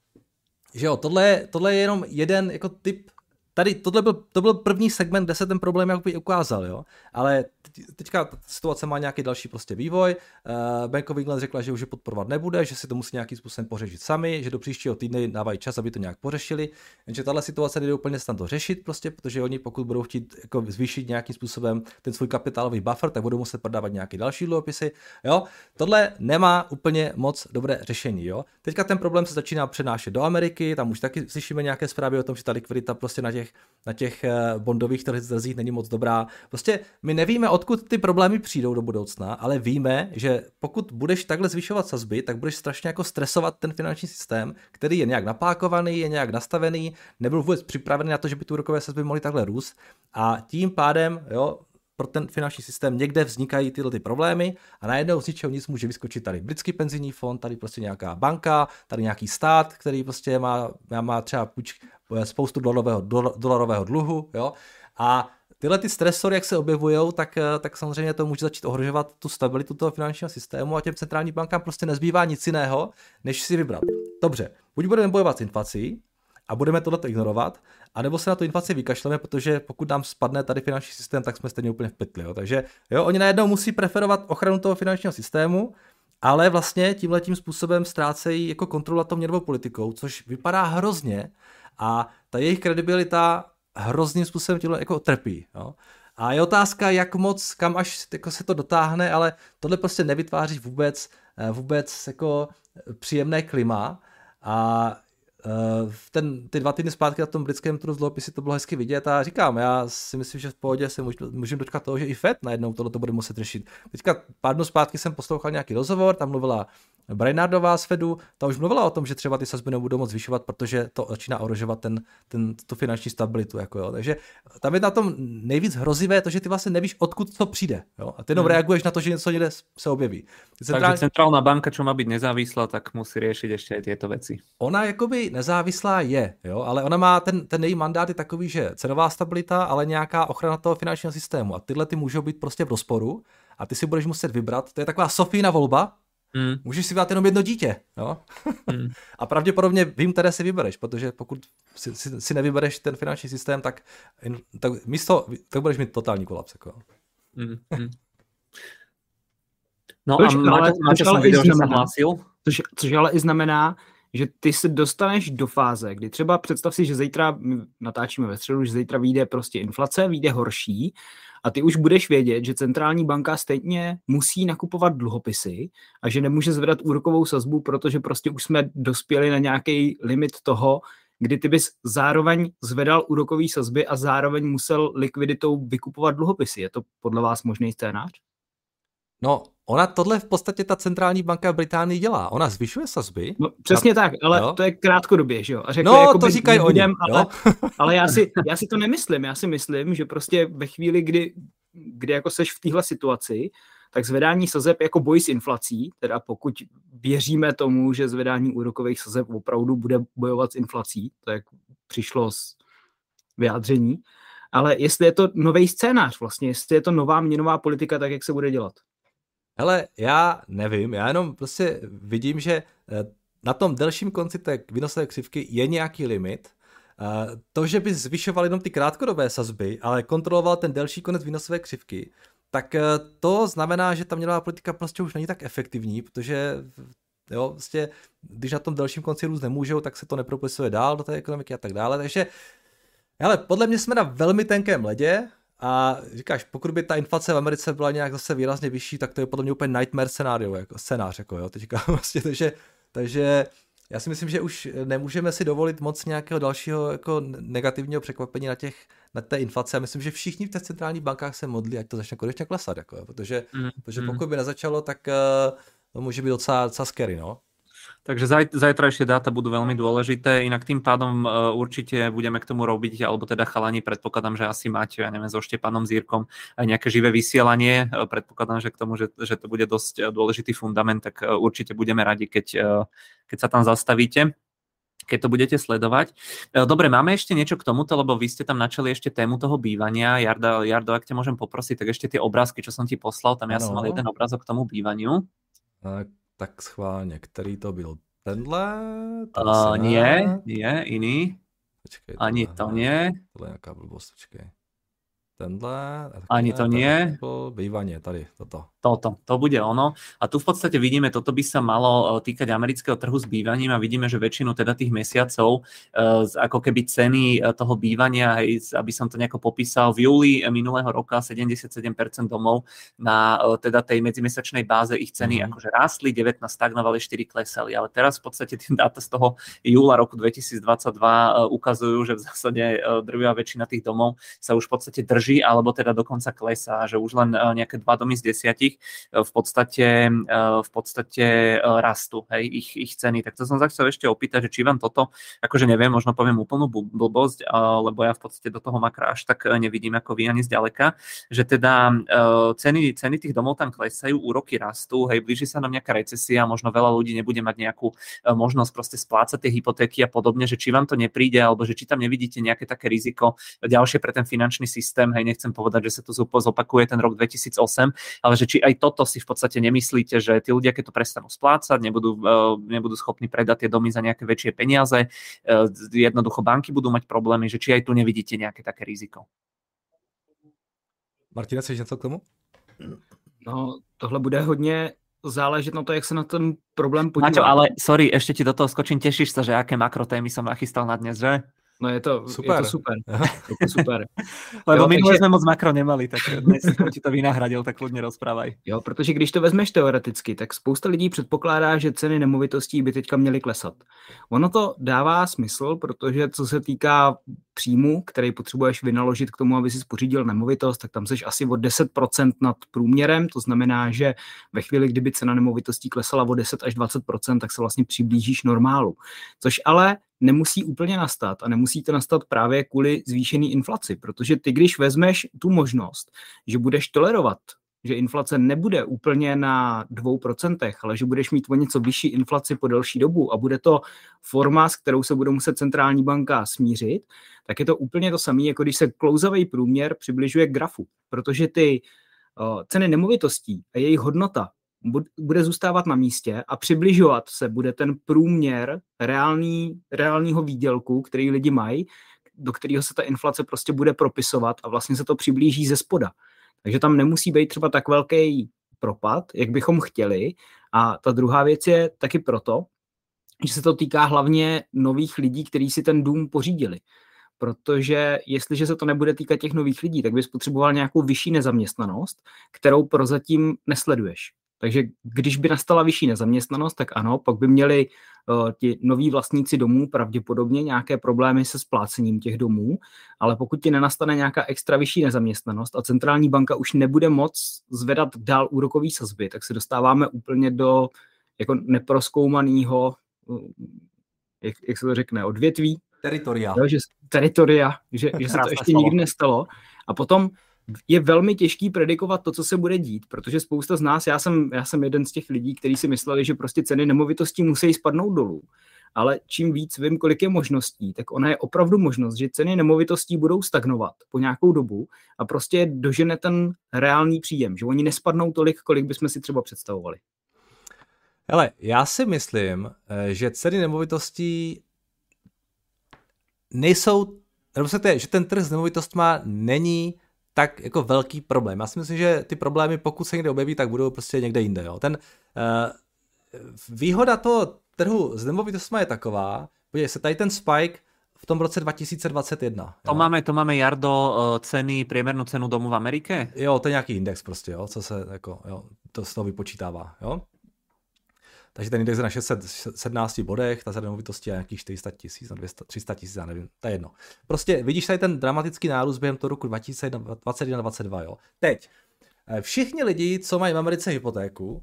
že jo, tohle, tohle je jenom jeden jako typ. Tady tohle byl, to byl první segment, kde se ten problém jakoby ukázal, jo. Ale teďka ta situace má nějaký další prostě vývoj. Uh, Bank of England řekla, že už je podporovat nebude, že si to musí nějakým způsobem pořešit sami, že do příštího týdne dávají čas, aby to nějak pořešili. Jenže tahle situace nejde úplně snad to řešit prostě, protože oni pokud budou chtít jako zvýšit nějakým způsobem ten svůj kapitálový buffer, tak budou muset prodávat nějaké další dluhopisy, jo. Tohle nemá úplně moc dobré řešení, jo. Teďka ten problém se začíná přenášet do Ameriky, tam už taky slyšíme nějaké zprávy o tom, že ta likvidita prostě na těch na těch bondových trzích není moc dobrá. Prostě my nevíme, odkud ty problémy přijdou do budoucna, ale víme, že pokud budeš takhle zvyšovat sazby, tak budeš strašně jako stresovat ten finanční systém, který je nějak napákovaný, je nějak nastavený, nebyl vůbec připravený na to, že by tu úrokové sazby mohly takhle růst a tím pádem, jo, pro ten finanční systém někde vznikají tyhle ty problémy a najednou z ničeho nic může vyskočit tady britský penzijní fond, tady prostě nějaká banka, tady nějaký stát, který prostě má, má třeba půjč, spoustu dolarového, dolarového dluhu, jo, a tyhle ty stresory, jak se objevujou, tak, tak samozřejmě to může začít ohrožovat tu stabilitu toho finančního systému a těm centrálním bankám prostě nezbývá nic jiného, než si vybrat. Dobře, buď budeme bojovat s inflací a budeme tohleto ignorovat, anebo se na tu inflaci vykašleme, protože pokud nám spadne tady finanční systém, tak jsme stejně úplně v pytli. Jo. Takže jo, oni najednou musí preferovat ochranu toho finančního systému, ale vlastně tímhletím způsobem ztrácejí jako kontrolu nad tou měnovou politikou, což vypadá hrozně a ta jejich kredibilita hrozným způsobem tímhle jako trpí. Jo. A je otázka, jak moc, kam až jako se to dotáhne, ale tohle prostě nevytváří vůbec, vůbec jako příjemné klima a v ten, ty dva týdny zpátky na tom britském trhu z dluhopisy to bylo hezky vidět a říkám, já si myslím, že v pohodě se můžeme dočkat toho, že i Fed najednou tohle to bude muset řešit. Teďka pár dnů zpátky jsem poslouchal nějaký rozhovor, tam mluvila Brainardová z Fedu, ta už mluvila o tom, že třeba ty sazby nebudou moc zvyšovat, protože to začíná ohrožovat ten, ten, tu finanční stabilitu. Jako jo. Takže tam je na tom nejvíc hrozivé to, že ty vlastně nevíš, odkud to přijde. Jo. A ty jenom hmm. reaguješ na to, že něco někde se objeví. Centrální... Takže centrálna banka, čo má být nezávislá, tak musí řešit ještě i tyto věci. Ona jakoby nezávislá je, jo, ale ona má ten, ten její mandát je takový, že cenová stabilita, ale nějaká ochrana toho finančního systému. A tyhle ty můžou být prostě v rozporu a ty si budeš muset vybrat. To je taková Sofína volba. Mm. Můžeš si vybrat jenom jedno dítě. Jo? Mm. A pravděpodobně vím, které si vybereš, protože pokud si, si, si nevybereš ten finanční systém, tak, tak místo, tak budeš mít totální kolaps. Jako. Mm. Mm. No což, a máte, máte jsem viděl, že jsem hlásil. Což, což ale i znamená, že ty se dostaneš do fáze, kdy třeba představ si, že zítra, natáčíme ve středu, že zítra vyjde prostě inflace, vyjde horší a ty už budeš vědět, že centrální banka stejně musí nakupovat dluhopisy a že nemůže zvedat úrokovou sazbu, protože prostě už jsme dospěli na nějaký limit toho, kdy ty bys zároveň zvedal úrokový sazby a zároveň musel likviditou vykupovat dluhopisy. Je to podle vás možný scénář? No, ona tohle v podstatě ta centrální banka v Británii dělá. Ona zvyšuje sazby. No, přesně a... tak, ale jo? To je krátkodobě, že jo? A řekne, no, jako to říkají oni. Ale, ale já, si, já si to nemyslím. Já si myslím, že prostě ve chvíli, kdy, kdy jako seš v téhle situaci, tak zvedání sazeb jako boj s inflací, teda pokud věříme tomu, že zvedání úrokových sazeb opravdu bude bojovat s inflací, to jak přišlo z vyjádření, ale jestli je to nový scénář vlastně, jestli je to nová měnová politika, tak jak se bude dělat. Hele, já nevím, já jenom prostě vidím, že na tom delším konci té výnosové křivky je nějaký limit. To, že by zvyšoval jenom ty krátkodobé sazby, ale kontroloval ten delší konec výnosové křivky, tak to znamená, že ta měnová politika prostě už není tak efektivní, protože jo, prostě, když na tom delším konci růst nemůžou, tak se to nepropisuje dál do té ekonomiky a tak dále. Takže ale podle mě jsme na velmi tenkém ledě a říkáš, pokud by ta inflace v Americe byla nějak zase výrazně vyšší, tak to je podle mě úplně nightmare scénário, jako scénář, jako jo, teďka vlastně, takže, takže já si myslím, že už nemůžeme si dovolit moc nějakého dalšího jako negativního překvapení na těch, na té inflaci. A myslím, že všichni v těch centrálních bankách se modlí, ať to začne konečně klesat, jako, protože, mm. protože pokud by nezačalo, tak uh, to může být docela, docela scary, no. Takže zaj, zajtrajšie dáta budú veľmi dôležité, inak tým pádom uh, určite budeme k tomu robiť, alebo teda chalani, predpokladám, že asi máte, ja neviem, so Štepanom Zírkom aj nejaké živé vysielanie, uh, predpokladám, že k tomu, že, že to bude dosť uh, dôležitý fundament, tak uh, určite budeme radi, keď, uh, keď sa tam zastavíte, keď to budete sledovať. Dobre, máme ešte niečo k tomuto, lebo vy ste tam načali ešte tému toho bývania. Jarda, Jardo, ak ťa môžem poprosiť, tak ešte tie obrázky, čo som ti poslal, tam ja ano. som mal jeden obrázok k tomu bývaniu. Tak. Tak schválně, který to byl? Tenhle? Uh, nie, nie, iný. Počkej, ani tohle, to nie. Tohle je nějaká blbost, počkej. Tenhle? Ani to nie. Bývanie, tady, toto. Toto, to bude ono. A tu v podstate vidíme, toto by sa malo týkať amerického trhu s bývaním a vidíme, že väčšinu teda tých mesiacov, ako keby ceny toho bývania, aby som to nejako popísal, v júli minulého roka sedemdesiatsedem percent domov na teda tej medzimesačnej báze ich ceny mm. akože rástli, devätnásť stagnovali, štyri klesali. Ale teraz v podstate tie dáta z toho júla roku dvetisícdvadsaťdva ukazujú, že v zásade drvivá väčšina tých domov sa už v podstate drží, alebo teda dokonca klesá, že už len nejaké dva domy z desiatich v podstate, v podstate rastú, hej, ich, ich ceny. Tak to som sa chcel ešte opýtať, že či vám toto, akože neviem, možno poviem úplnú blbosť, lebo ja v podstate do toho makra až tak nevidím ako vy ani zďaleka, že teda ceny, ceny tých domov tam klesajú, úroky rastú, hej, blíži sa nám nejaká recesia, možno veľa ľudí nebude mať nejakú možnosť proste splácať tie hypotéky a podobne, že či vám to nepríde, alebo že či tam nevidíte nejaké také riziko ďalšie pre ten finančný systém, hej, nechcem povedať, že sa to zopakuje ten rok dvetisícosem, ale že či aj toto si v podstate nemyslíte, že tí ľudia, keď to prestanú splácať, nebudú, nebudú schopní predať tie domy za nejaké väčšie peniaze, jednoducho banky budú mať problémy, že či aj tu nevidíte nejaké také riziko. Martina, chceš něco k tomu? No, tohle bude hodně záležet na to, jak se na ten problém podívat. Maťo, ale sorry, ešte ti do toho skočím, tešíš sa, že aké makrotémy som nachystal na dnes, že? No je to super. Je to super. Je to super. Lebo jo, minule takže... jsme moc makro nemali, tak dnes jsem ti to vynahradil, tak kludně rozprávaj. Jo, protože když to vezmeš teoreticky, tak spousta lidí předpokládá, že ceny nemovitostí by teďka měly klesat. Ono to dává smysl, protože co se týká příjmu, který potřebuješ vynaložit k tomu, aby si pořídil nemovitost, tak tam seš asi o deset procent nad průměrem, to znamená, že ve chvíli, kdyby cena nemovitostí klesala o deset až dvacet procent, tak se vlastně přiblížíš normálu. Což ale nemusí úplně nastat a nemusí to nastat právě kvůli zvýšené inflaci, protože ty, když vezmeš tu možnost, že budeš tolerovat, že inflace nebude úplně na dvou procentech, ale že budeš mít o něco vyšší inflaci po delší dobu a bude to forma, s kterou se bude muset centrální banka smířit, tak je to úplně to samé, jako když se klouzavý průměr přibližuje k grafu, protože ty uh, ceny nemovitostí a jejich hodnota bude zůstávat na místě a přibližovat se bude ten průměr reální, reálního výdělku, který lidi mají, do kterého se ta inflace prostě bude propisovat a vlastně se to přiblíží ze spoda. Takže tam nemusí být třeba tak velký propad, jak bychom chtěli. A ta druhá věc je taky proto, že se to týká hlavně nových lidí, kteří si ten dům pořídili. Protože jestliže se to nebude týkat těch nových lidí, tak bys potřeboval nějakou vyšší nezaměstnanost, kterou prozatím nesleduješ. Takže když by nastala vyšší nezaměstnanost, tak ano, pak by měli uh, ti noví vlastníci domů pravděpodobně nějaké problémy se splácením těch domů, ale pokud ti nenastane nějaká extra vyšší nezaměstnanost a centrální banka už nebude moc zvedat dál úrokový sazby, tak se dostáváme úplně do jako neprozkoumaného, uh, jak, jak se to řekne, odvětví. Teritoria. Jo, že, teritoria, že, že se to ještě slovo. Nikdy nestalo. A potom je velmi těžký predikovat to, co se bude dít, protože spousta z nás, já jsem, já jsem jeden z těch lidí, kteří si mysleli, že prostě ceny nemovitostí musí spadnout dolů. Ale čím víc vím, kolik je možností, tak ona je opravdu možnost, že ceny nemovitostí budou stagnovat po nějakou dobu a prostě dožene ten reálný příjem, že oni nespadnou tolik, kolik bychom si třeba představovali. Hele, já si myslím, že ceny nemovitostí nejsou, nebo se to je, že ten trh s nemovitostma není tak jako velký problém. Já si myslím, že ty problémy, pokud se někde objeví, tak budou prostě někde jinde. Jo. Ten uh, výhoda toho trhu s nemovitostma je taková, podívej se, tady ten spike v tom roce dva tisíce dvacet jedna. To máme, to máme, Jardo, ceny, priemernou cenu domu v Amerike? Jo, to je nějaký index prostě, jo, co se jako, jo, to z toho vypočítává, jo. Takže ten index je na šest set sedmnácti bodech, ta nemovitosti je nějakých čtyři sta tisíc, na tři sta tisíc, já nevím, to je jedno. Prostě vidíš tady ten dramatický nárůst během toho roku dva tisíce dvacet jedna dvacet dva, jo. Teď, všichni lidi, co mají v Americe hypotéku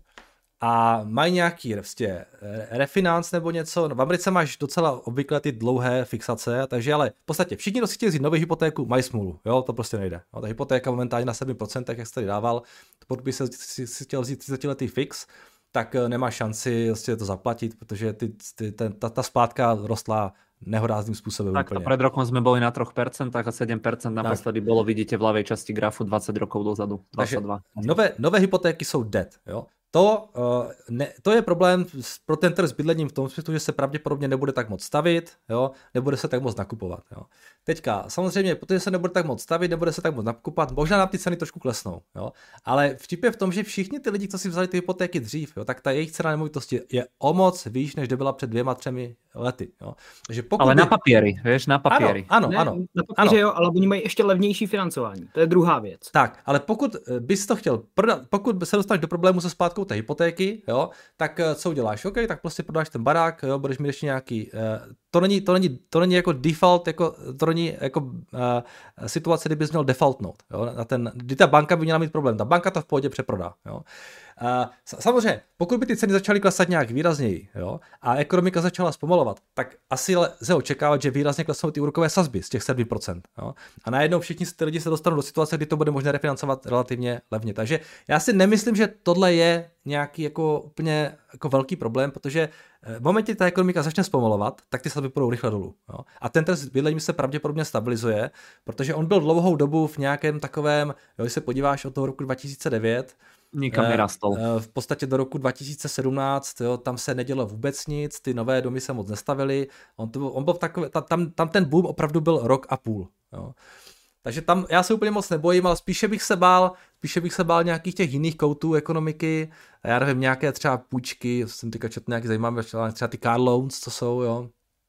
a mají nějaký prostě refinance nebo něco, no v Americe máš docela obvykle ty dlouhé fixace, takže ale v podstatě všichni, kdo si chtějí vzít novou hypotéku, mají smůlu, jo, to prostě nejde. No, ta hypotéka momentálně na sedm procent, jak jsi tady dával, pokud by si, si, si chtěl vzít třicetiletý fix, tak nemá šanci vlastně to zaplatit, protože ty, ty, ten, ta, ta splátka rostla nehorázným způsobem. Tak úplně. Pred rokom sme boli na tri percentá a sedem percent naposledy bolo, vidíte v ľavej časti grafu dvacet rokov dozadu. dvadsaťdva. Nové, nové hypotéky jsou dead. Jo? To, uh, ne, to je problém pro ten trh s bydlením v tom smyslu, že se pravděpodobně nebude tak moc stavit, jo? Nebude se tak moc nakupovat. Jo? Teďka, samozřejmě, protože se nebude tak moc stavit, nebude se tak moc nakupovat, možná nám ty ceny trošku klesnou. Jo? Ale vtip je v tom, že všichni ty lidi, co si vzali ty hypotéky dřív, jo? Tak ta jejich cena nemovitosti je o moc výš, než byla před dvěma, třemi lety. Jo? Takže pokud ale by... na papíry, vieš, na papíry. Ano, ano, ne, ano. Na papíře jo, ale oni mají ještě levnější financování. To je druhá věc. Tak, ale pokud bys to chtěl prodat, pokud se dostaneš do problému se splátkou té hypotéky, jo, tak co uděláš? OK, tak prostě prodáš ten barák, jo, budeš mít ještě nějaký, uh, to není, to není, to není jako default, jako, to není jako uh, situace, kdy bys měl defaultnout, jo, na ten, kdy ta banka by měla mít problém, ta banka to v pohodě přeprodá, jo. Uh, samozřejmě, pokud by ty ceny začaly klesat nějak výrazněji, jo, a ekonomika začala zpomalovat, tak asi lze očekávat, že výrazně klesnou ty úrokové sazby z těch sedm procent. Jo. A najednou všichni ty lidi se dostanou do situace, kdy to bude možné refinancovat relativně levně. Takže já si nemyslím, že tohle je nějaký jako úplně jako velký problém, protože v momentě, kdy ta ekonomika začne zpomalovat, tak ty sazby půjdou rychle dolů. Jo. A ten trh s bydlením se pravděpodobně stabilizuje, protože on byl dlouhou dobu v nějakém takovém, jo, když se podíváš od toho roku dva tisíce devět, nikam nerastol. V podstatě do roku dva tisíce sedmnáct, jo, tam se nedělo vůbec nic, ty nové domy se moc nestavily, on, to, on byl takový, tam, tam ten boom opravdu byl rok a půl. Jo. Takže tam já se úplně moc nebojím, ale spíše bych se bál, spíše bych se bál nějakých těch jiných koutů ekonomiky, já nevím, nějaké třeba půjčky, jsem teďka četl nějaký zajímavý, třeba ty car loans, co jsou, jo,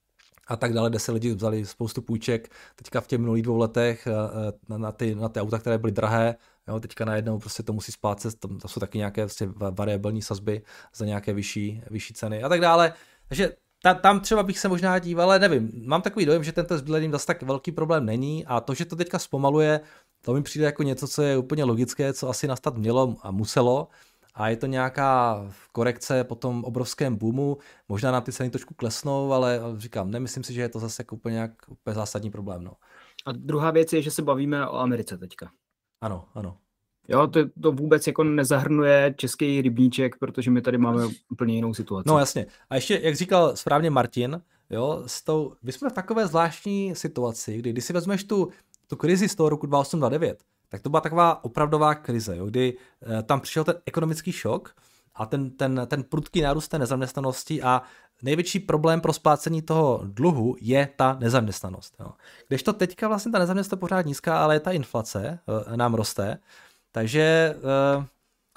a tak dále, kde se lidi vzali spoustu půjček, teďka v těch minulých dvou letech na, na, ty, na ty auta, které byly drahé, jo, teďka najednou prostě to musí splácet, tam, tam jsou taky nějaké prostě variabilní sazby za nějaké vyšší, vyšší ceny a tak dále, takže ta, tam třeba bych se možná díval, ale nevím, mám takový dojem, že tento s bydlením zase tak velký problém není a to, že to teďka zpomaluje, to mi přijde jako něco, co je úplně logické, co asi nastat mělo a muselo, a je to nějaká korekce po tom obrovském boomu, možná nám ty ceny trošku klesnou, ale říkám, nemyslím si, že je to zase jako úplně, nějak, úplně zásadní problém. No. A druhá věc je, že se bavíme o Americe teďka. Ano, ano. Jo, to, to vůbec jako nezahrnuje český rybníček, protože my tady máme úplně jinou situaci. No jasně. A ještě, jak říkal správně Martin, jo, s tou, my jsme v takové zvláštní situaci, kdy když si vezmeš tu, tu krizi z toho roku dva tisíce osm dva tisíce devět, tak to byla taková opravdová krize, jo, kdy eh, tam přišel ten ekonomický šok a ten, ten, ten prudký nárůst té nezaměstnanosti a největší problém pro splácení toho dluhu je ta nezaměstnanost. Jo. Kdežto teďka vlastně ta nezaměstnanost je pořád nízká, ale ta inflace eh, nám roste, takže eh,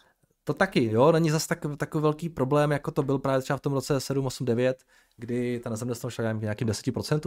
to taky, jo, není zase tak, takový velký problém, jako to byl právě třeba v tom roce sedm, osm, devět, kdy ta nezaměstnanost šla nějakým deset procent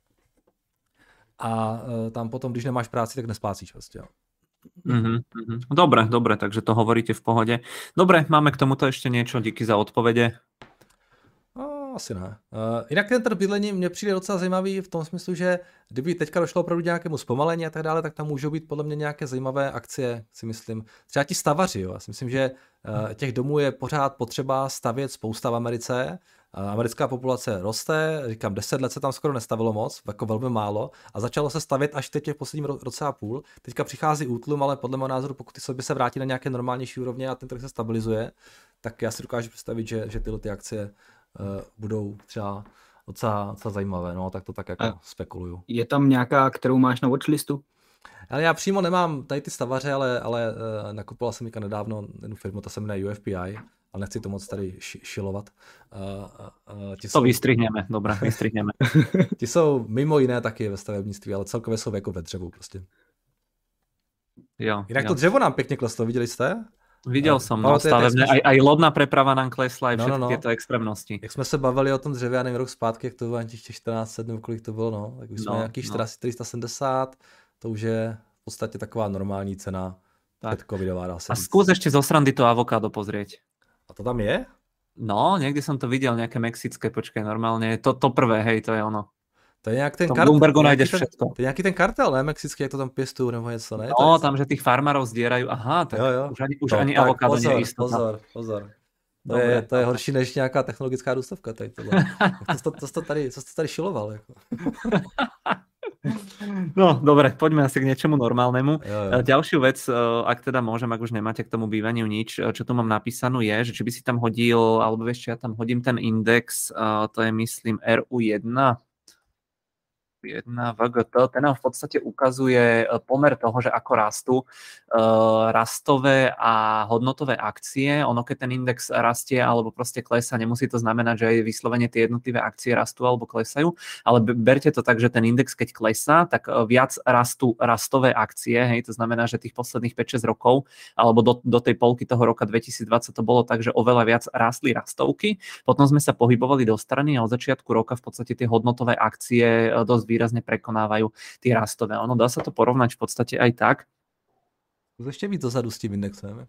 a eh, tam potom, když nemáš práci, tak nesplácíš vlastně, jo. Mm-hmm, mm-hmm. Dobre, dobre, takže to hovoríte v pohode. Dobre, máme k tomuto ešte niečo, díky za odpovede. No, asi ne. Uh, jinak ten trh bydlení mně přijde docela zajímavý v tom smyslu, že kdyby teďka došlo opravdu nějakému zpomalení a tak dále, tak tam můžou být podle mě nějaké zajímavé akcie, si myslím. Třeba ti stavaři, jo. Já si myslím, že uh, těch domů je pořád potřeba stavět spousta v Americe. Americká populace roste, říkám, deset let se tam skoro nestavilo moc, jako velmi málo, a začalo se stavět až teď v posledním roce a půl. Teďka přichází útlum, ale podle mého názoru, pokud ty sobě se vrátí na nějaké normálnější úrovně a ten trh se stabilizuje, tak já si dokážu představit, že, že tyhle ty akcie uh, budou třeba docela, docela zajímavé, no, tak to tak jako a spekuluju. Je tam nějaká, kterou máš na watchlistu? Ale já přímo nemám tady ty stavaře, ale, ale uh, nakupoval jsem teďka nedávno jednu firmu, ta se jmenuje U F P I, ale nechci to moc tady šilovat. Uh, uh, to jsou... vystrihneme, dobré, vystrihneme. Ti jsou mimo jiné taky ve stavebnictví, ale celkově jsou jako ve dřevu prostě. Jo, Jinak jo. to dřevo nám pěkně kleslo, viděli jste? Videl uh, som, no, stavebné, aj, aj lodná preprava nám klesla, aj všetky no, no, no. tieto extrémnosti. Jak jsme se bavili o tom dřevě, já nevím, rok zpátky, jak to bylo těch čtrnáct set, nebo kolik to bylo, no, tak už jsme no, nějaký no. čtyři sta sedmdesát, to už je v podstatě taková normální cena předcovidová, dá se A skús ešte zo srandy to avokádo pozrieť. A to tam je? No, někdy jsem to viděl, nějaké mexické, počkej, normálně, to, to prvé, hej, to je ono. To je nějak ten kartel. V Bloombergu najdeš všetko. To je nějaký ten kartel, ne? Mexický, jak to tam pěstují nebo něco, ne? No, tak... tam, že tých farmárov zdierajú. Aha, tak jo, jo. už ani, už no, ani avokádo nie je istota. Pozor, pozor. To je, to je horší než nějaká technologická důstavka tady tohle. to, to, to, tady, co jsi tady šiloval? Jako? No, dobre, poďme asi k niečomu normálnemu. Jo, jo. Ďalšiu vec, ak teda môžem, ak už nemáte k tomu bývaniu nič, čo tu mám napísanú je, že či by si tam hodil, alebo vieš, ja tam hodím ten index, to je myslím er u jedna, jedna vé gé té, ten nám v podstate ukazuje pomer toho, že ako rastú uh, rastové a hodnotové akcie. Ono, keď ten index rastie alebo proste klesá, nemusí to znamenať, že aj vyslovene tie jednotlivé akcie rastú alebo klesajú, ale berte to tak, že ten index, keď klesá, tak viac rastú rastové akcie, hej, to znamená, že tých posledných päť šesť rokov alebo do, do tej polky toho roka dvetisícdvadsať to bolo tak, že oveľa viac rastli rastovky, potom sme sa pohybovali do strany a od začiatku roka v podstate tie hodnotové akcie dosť výrazne prekonávajú tie rastové. Ono dá sa to porovnať v podstate aj tak. Ešte víc dozadu s tým indexem.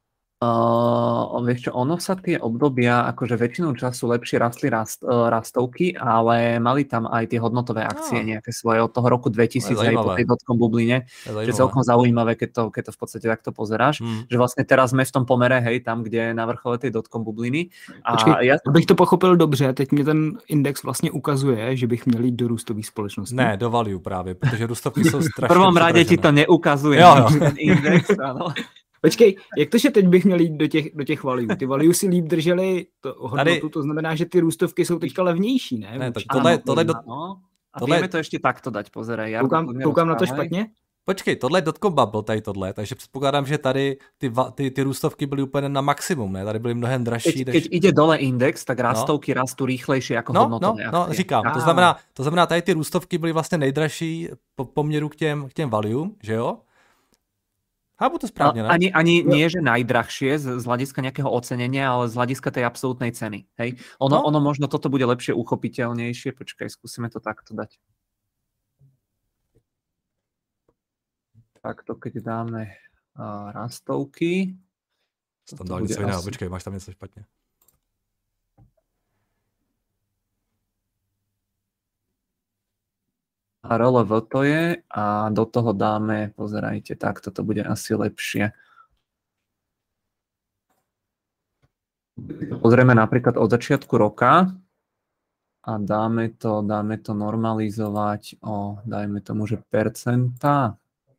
Uh, vieš čo, ono sa tie obdobia, akože väčšinu času lepšie rastli rast, uh, rastovky, ale mali tam aj tie hodnotové akcie no. nejaké svoje od toho roku dvetisíc aj po tej dotcom bubline, že celkom zaujímavé, keď to, keď to v podstate takto pozeráš, hmm. že vlastne teraz sme v tom pomere, hej, tam, kde je na vrchole tej dotcom bubliny. A Počkej, ja... abych to pochopil dobře, teď mě ten index vlastně ukazuje, že bych měl jít do růstových společností. Ne, do value právě, protože růstovky jsou strašně v prvom rade ti to neukazuje, jo, jo. ten index, áno. Počkej, jak to, že teď bych měl jít do těch, do těch value? Ty value si líp drželi to hodnotu, Tady... to znamená, že ty růstovky jsou teďka levnější, ne? ne tak tohle, tohle, do... no. A tohle... vieme to ještě takto dať, pozeraj. Ja koukám, koukám na to špatně? Počkej, tohle je dotcom bubble, tady tohle, takže předpokládám, že tady ty, ty, ty růstovky byly úplně na maximum, ne? Tady byly mnohem dražší. Keď, než... keď ide dole index, tak rastovky no. rastú rýchlejšie jako no, hodnotové no, akcie. No, říkám, to znamená, to znamená, tady ty růstovky byly vlastně nejdražší po poměru k těm, k těm value, že jo? Chápu to správne, no, ani, ani nie, že najdrahšie z, z hľadiska nejakého ocenenia, ale z hľadiska tej absolútnej ceny. Hej? Ono, no. ono možno toto bude lepšie uchopiteľnejšie. Počkaj, skúsime to takto dať. Takto, keď dáme uh, rastovky. Tam dal něco jiného, počkej, máš tam něco špatně. A er el vé to je a do toho dáme, pozerajte, tak toto bude asi lepšie. Pozrieme napríklad od začiatku roka a dáme to, dáme to normalizovať o, dajme tomu, že percentá.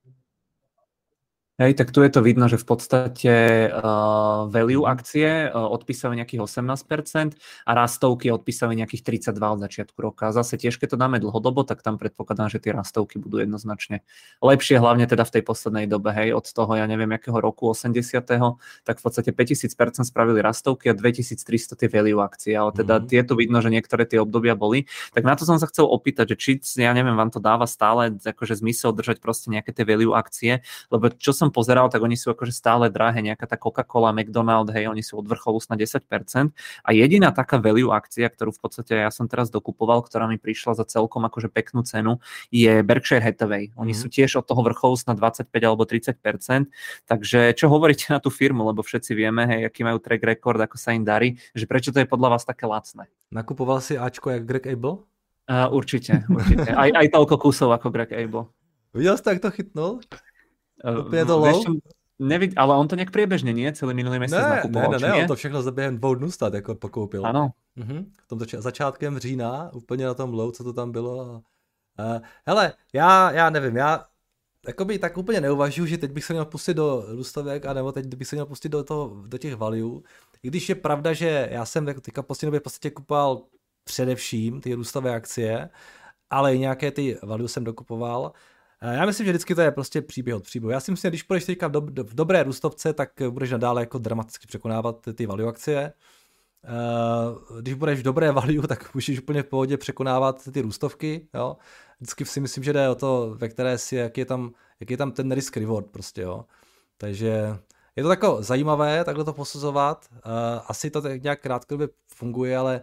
Hej, tak tu je to vidno, že v podstate uh, value akcie uh, odpísajú nejakých osemnásť percent a rastovky odpísajú nejakých tridsaťdva od začiatku roka. Zase tiež, keď to dáme dlhodobo, tak tam predpokladám, že tie rastovky budú jednoznačne lepšie, hlavne teda v tej poslednej dobe, hej, od toho, ja neviem, jakého roku, osemdesiateho tak v podstate päťtisíc percent spravili rastovky a dvetisíctristo tie value akcie, ale teda mm-hmm. tieto vidno, že niektoré tie obdobia boli. Tak na to som sa chcel opýtať, že či, ja neviem, vám to dáva stále akože zmysel držať proste nejaké tie value akcie, lebo čo som pozeral, tak oni sú akože stále drahé, nejaká tá Coca-Cola, McDonald's, hej, oni sú od vrcholu na desať percent a jediná taká value akcia, ktorú v podstate ja som teraz dokupoval, ktorá mi prišla za celkom akože peknú cenu, je Berkshire Hathaway. Oni mm. sú tiež od toho vrcholu na dvadsaťpäť alebo tridsať percent, takže čo hovoríte na tú firmu, lebo všetci vieme, hej, aký majú track record, ako sa im darí, že prečo to je podľa vás také lacné? Nakupoval si Ačko jak Greg Abel? Uh, určite, určite. Aj, aj toľko kusov ako Greg Abel. Videl si, jak to chytnul? Úplně to low? Nevid, ale on to nějak průběžně, nie? Celý minulý měsíc nakupoval, ne, ne, ne, on to všechno za během dvou dnů stát jako pokoupil. Ano. Mhm. V tom zač- začátkem října, úplně na tom low, co to tam bylo. Uh, hele, já, já nevím, já jakoby tak úplně neuvažuji, že teď bych se měl pustit do růstovek, anebo teď bych se měl pustit do, toho, do těch value. I když je pravda, že já jsem teďka poslední době v podstatě kupoval především ty růstové akcie, ale i nějaké ty value jsem dokupoval. Já myslím, že vždycky to je prostě příběh od příběhu. Já si myslím, že když půjdeš teďka v, do, v dobré růstovce, tak budeš nadále jako dramaticky překonávat ty value akcie. Když budeš v dobré value, tak můžeš úplně v pohodě překonávat ty růstovky. Jo? Vždycky si myslím, že jde o to, ve které si, jak je tam, jak je tam ten risk reward prostě. Jo? Takže je to takové zajímavé takhle to posuzovat. Asi to tak nějak krátkodobě funguje, ale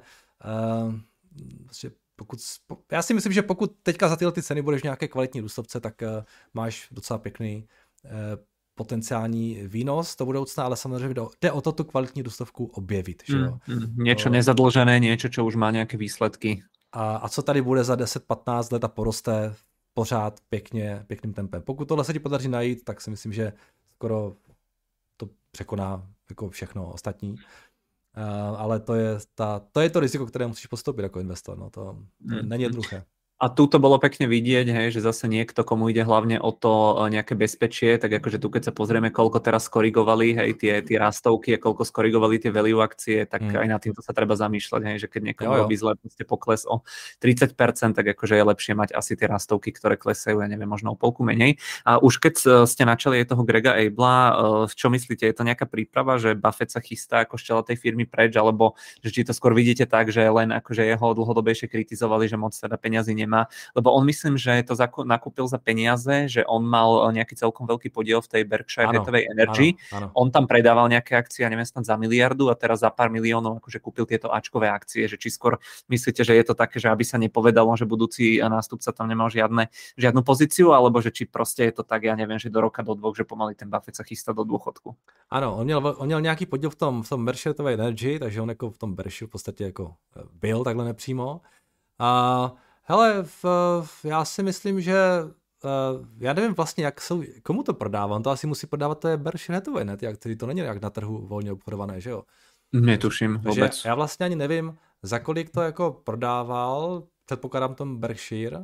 prostě pokud, já si myslím, že pokud teďka za tyhle ty ceny budeš v nějaké kvalitní růstovce, tak uh, máš docela pěkný uh, potenciální výnos do budoucna, ale samozřejmě jde o to tu kvalitní růstovku objevit. Že jo? Mm, mm, niečo nezadlžené, niečo, čo už má nějaké výsledky. A, a co tady bude za deset patnáct let a poroste pořád pěkně, pěkným tempem. Pokud tohle se ti podaří najít, tak si myslím, že skoro to překoná jako všechno ostatní. Uh, ale to je, ta, to je to riziko, které musíš postoupit jako investor. No, to, to mm. není jednoduché. A tu to bolo pekne vidieť, hej, že zase niekto, komu ide hlavne o to nejaké bezpečie, tak akože tu keď sa pozrieme, koľko teraz skorigovali, hej, tie, tie rastovky a koľko skorigovali tie value akcie, tak mm. aj na týmto sa treba zamýšľať, hej, že keď niekomu robí zle proste pokles o tridsať percent, tak akože je lepšie mať asi tie rastovky, ktoré klesajú, ja neviem, možno o polku menej. A už keď ste načali aj toho Grega Abela, čo myslíte, je to nejaká príprava, že Buffett sa chystá ako z čela tej firmy preč, alebo že či to skôr vidíte tak, že len akože jeho dlhodobejšie kritizovali, že moc teda peňazí nemá, lebo on myslím, že to nakúpil za peniaze, že on mal nejaký celkom veľký podiel v tej Berkshire Hathaway Energy. Áno, áno. On tam predával nejaké akcie, ja neviem, snad za miliardu a teraz za pár miliónov akože kúpil tieto áčkové akcie, že či skôr myslíte, že je to také, že aby sa nepovedalo, že budúci nástupca tam nemal žiadne, žiadnu pozíciu, alebo že či proste je to tak, ja neviem, že do roka, do dvoch, že pomaly ten Buffett sa chystá do dôchodku. Ano, on měl, on měl nějaký podíl v tom, v tom Berkshire Hathaway Energy, takže on jako v tom Berkshire v podstatě jako byl takhle nepřímo. A hele, v, v, já si myslím, že uh, já nevím vlastně, jak jsou, komu to prodává, on to asi musí prodávat, to je Berkshire Hathaway, ne? Jak, to není jak na trhu volně obchodované, že jo? Netuším vůbec. Já vlastně ani nevím, za kolik to jako prodával, předpokládám tom Berkshire,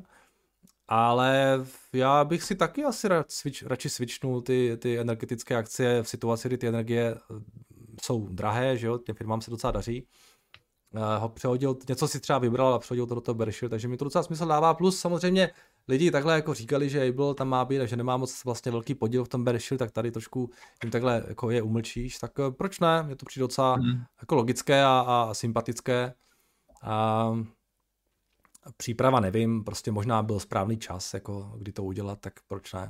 ale já bych si taky asi switch, radši switchnul ty, ty energetické akcie v situaci, kdy ty energie jsou drahé, že jo, těm firmám se docela daří. Ho přehodil, něco si třeba vybral a přehodil to do toho Berkshire, takže mi to docela smysl dává, plus samozřejmě lidi takhle jako říkali, že Abel tam má být a že nemá moc vlastně velký podíl v tom Berkshire, tak tady trošku jim takhle jako je umlčíš, tak proč ne, mě to přijde docela mm. jako logické a, a sympatické. A příprava nevím, prostě možná byl správný čas, jako kdy to udělat, tak proč ne.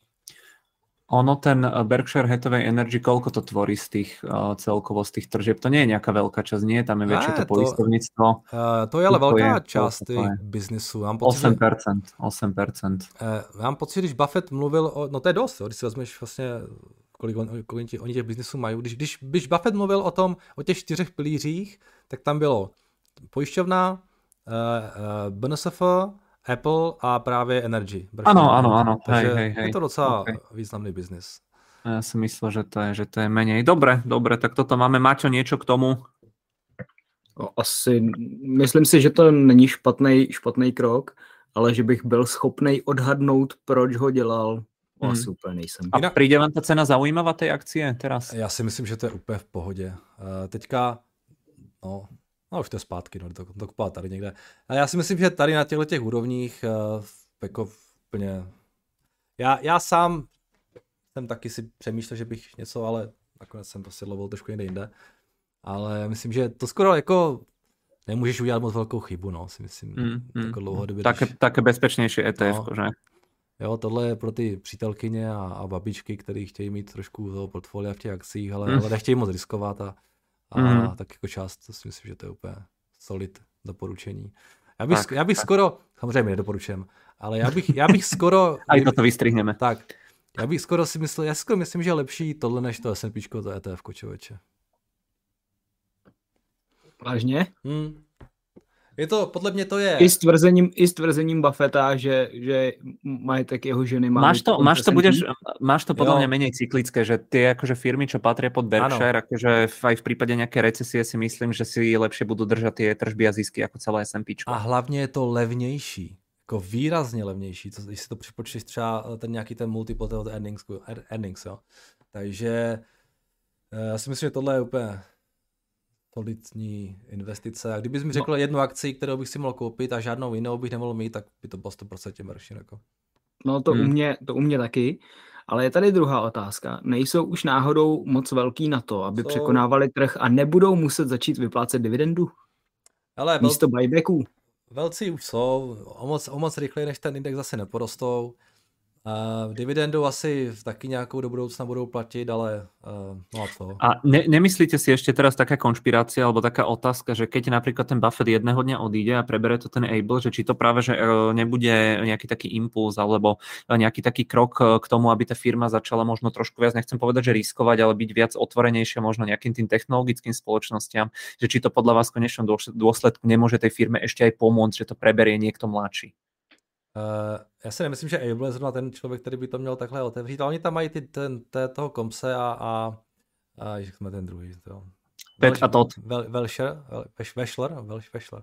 Ono, ten Berkshire Hathaway Energy, koľko to tvorí z tých uh, celkovo z tých tržieb? To nie je nejaká veľká časť, nie? Tam je väčšie to poistovníctvo. Uh, to je ale velká je, část těch biznesu. osm percent. osm percent. Uh, mám pocit, když Buffett mluvil o... No to je dost, jo, když si vezmeš vlastně, kolik, on, kolik oni těch biznesů mají. Když, když, když Buffett mluvil o tom, o těch čtyřech pilířích, tak tam bylo pojišťovna, uh, uh, B N S F, Apple a právě Energy. Ano, ano, ano. Takže hej, hej, hej. je to docela okay. významný biznis. Ja si myslel, že to je, že to je menej. Dobre, dobre, tak toto máme. Maťo, niečo k tomu? Asi, myslím si, že to není špatný, špatný krok, ale že bych byl schopnej odhadnout, proč ho dělal. Hmm. Asi úplně nejsem. A príde vám ta cena zaujímavá tej akcie teraz? Já si myslím, že to je úplně v pohodě. Uh, teďka, no... No už to je zpátky, no, to, to kupovat tady někde. A já si myslím, že tady na těchto těch úrovních uh, jako úplně... Já, já sám jsem taky si přemýšlel, že bych něco, ale nakonec jsem prostě lovil trošku někde jinde. Ale myslím, že to skoro jako nemůžeš udělat moc velkou chybu, no, si myslím. Mm, mm, jako dlouhodobě. Také, když... také bezpečnější E T F, no, že? Jo, tohle je pro ty přítelkyně a, a babičky, kteří chtějí mít trošku toho portfolia v těch akcích, ale, mm. ale nechtějí moc riskovat a A mm. tak jako část, to si myslím, že to je úplně solid doporučení. Já bych, tak, já bych tak. skoro, samozřejmě nedoporučujem, ale já bych, já bych skoro... A i to vystrihneme. Tak, já bych skoro si myslel, já skoro myslím, že je lepší tohle než to S and P, to E T F, člověče. Vážně? Hmm. Je to, podle mě to je... I s tvrzením, i s tvrzením Buffetta, že, že majetek jeho ženy má... Máš to, máš to, budeš, máš to podľa mňa menej cyklické, že tie akože firmy, čo patria pod Berkshire, akože aj v prípade nejaké recesie si myslím, že si lepšie budú držať tie tržby a zisky ako celé S and P. A hlavně je to levnější, jako výrazně levnější, to, když si to připočteš třeba ten nějaký ten multiple toho earnings, earnings, jo. Takže já si myslím, že tohle je úplně... solidní investice. A kdybys mi řekl no. jednu akci, kterou bych si mohl koupit a žádnou jinou bych nemohl mít, tak by to bylo sto procent Berkshire. Jako. No to, Hmm. u mě, to u mě taky. Ale je tady druhá otázka. Nejsou už náhodou moc velký na to, aby Jsou... překonávali trh a nebudou muset začít vyplácet dividendu? Ale místo vel... buybacků? Velcí už jsou, o moc, o moc rychleji, než ten index zase neporostou. Uh, dividendu asi taky nějakou do budoucna budou platit, ale uh, no a co? A ne, nemyslíte si ešte teraz taká konšpirácia alebo taká otázka, že keď napríklad ten Buffett jedného dňa odíde a prebere to ten Abel, že či to práve že nebude nejaký taký impuls alebo nejaký taký krok k tomu, aby tá firma začala možno trošku viac, nechcem povedať, že riskovať, ale byť viac otvorenejšia možno nejakým tým technologickým spoločnostiam, že či to podľa vás v konečnom dôsledku nemôže tej firme ešte aj pomôcť, že to preberie niekto mladší? Uh, já si nemyslím, že Abel je zrovna ten člověk, který by to měl takhle otevřít, ale oni tam mají ty, ten, té, toho Komse a, a, a jak jsme ten druhý. To. Pet a Todd. Velšer, Vešler, Vešler.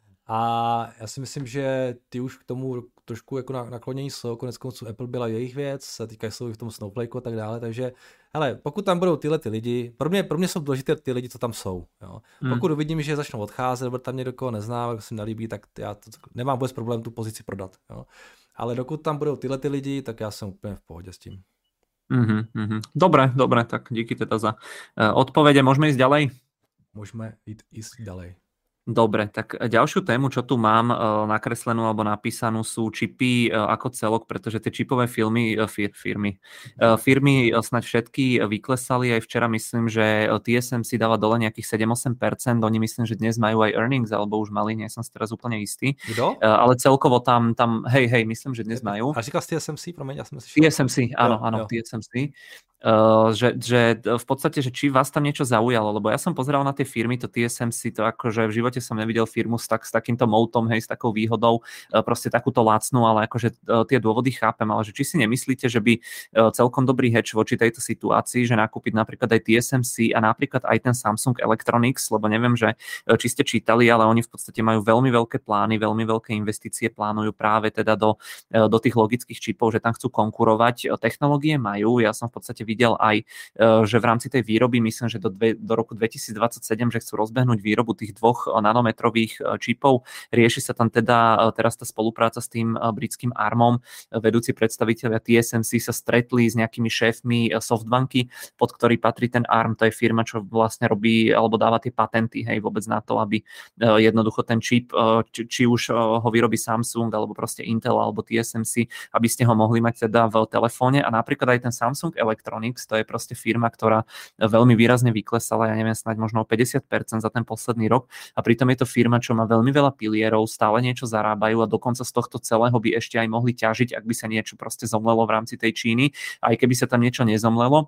A já si myslím, že ty už k tomu trošku jako naklonění jsou, konec konců Apple byla jejich věc, teďka jsou i v tom Snowflakeu a tak dále, takže hele, pokud tam budou tyhle ty lidi, pro mě, pro mě jsou důležité ty lidi, co tam jsou. Jo. Hmm. Pokud uvidím, že začnou odcházet, nebo tam někdo, koho neznám, jako se mi nelíbí, tak já to, nemám vůbec problém tu pozici prodat. Jo. Ale dokud tam budou tyhle ty lidi, tak já jsem úplně v pohodě s tím. Mm-hmm, mm-hmm. Dobre, dobre, tak díky teda za uh, odpovede. Môžeme ísť ďalej? Môžeme ísť, ísť ďalej. Dobre, tak ďalšiu tému, čo tu mám uh, nakreslenú alebo napísanú, sú čipy uh, ako celok, pretože tie čipové filmy, uh, fir, firmy, uh, firmy uh, snáď všetky vyklesali. Aj včera myslím, že T S M C dáva dole nejakých sedem až osem percent. Oni myslím, že dnes majú aj earnings, alebo už mali, nie som si teraz úplne istý. Kto? Uh, ale celkovo tam, tam, hej, hej, myslím, že dnes majú. A říkal z T S M C, promiň, ja som si T S M C, áno, jo, áno, jo. T S M C. Uh, že, že v podstate, že či vás tam niečo zaujalo, lebo ja som pozeral na tie firmy, to T S M C, to akože v živote som nevidel firmu s, tak, s takýmto moutom, hej, s takou výhodou, uh, proste takúto lacnú, ale akože uh, tie dôvody chápem, ale že či si nemyslíte, že by uh, celkom dobrý hedge voči tejto situácii, že nakúpiť napríklad aj T S M C a napríklad aj ten Samsung Electronics, lebo neviem, že uh, či ste čítali, ale oni v podstate majú veľmi veľké plány, veľmi veľké investície plánujú práve teda do, uh, do tých logických čipov, že tam chcú konkurovať. Uh, technológie majú, ja som v podstate videl aj, že v rámci tej výroby, myslím, že do, dve, do roku dvetisícdvadsaťsedem, že chcú rozbehnúť výrobu tých dvoch nanometrových čipov. Rieši sa tam teda teraz tá spolupráca s tým britským ARMom. Vedúci predstavitelia T S M C sa stretli s nejakými šéfmi Softbanky, pod ktorý patrí ten ARM. To je firma, čo vlastne robí alebo dáva tie patenty, hej, vôbec na to, aby jednoducho ten čip, či, či už ho vyrobí Samsung, alebo proste Intel, alebo T S M C, aby ste ho mohli mať teda v telefóne. A napríklad aj ten Samsung Electronics, to je proste firma, ktorá veľmi výrazne vyklesala, ja neviem, snáď možno o päťdesiat percent za ten posledný rok a pritom je to firma, čo má veľmi veľa pilierov, stále niečo zarábajú a dokonca z tohto celého by ešte aj mohli ťažiť, ak by sa niečo proste zomlelo v rámci tej Číny. Aj keby sa tam niečo nezomlelo,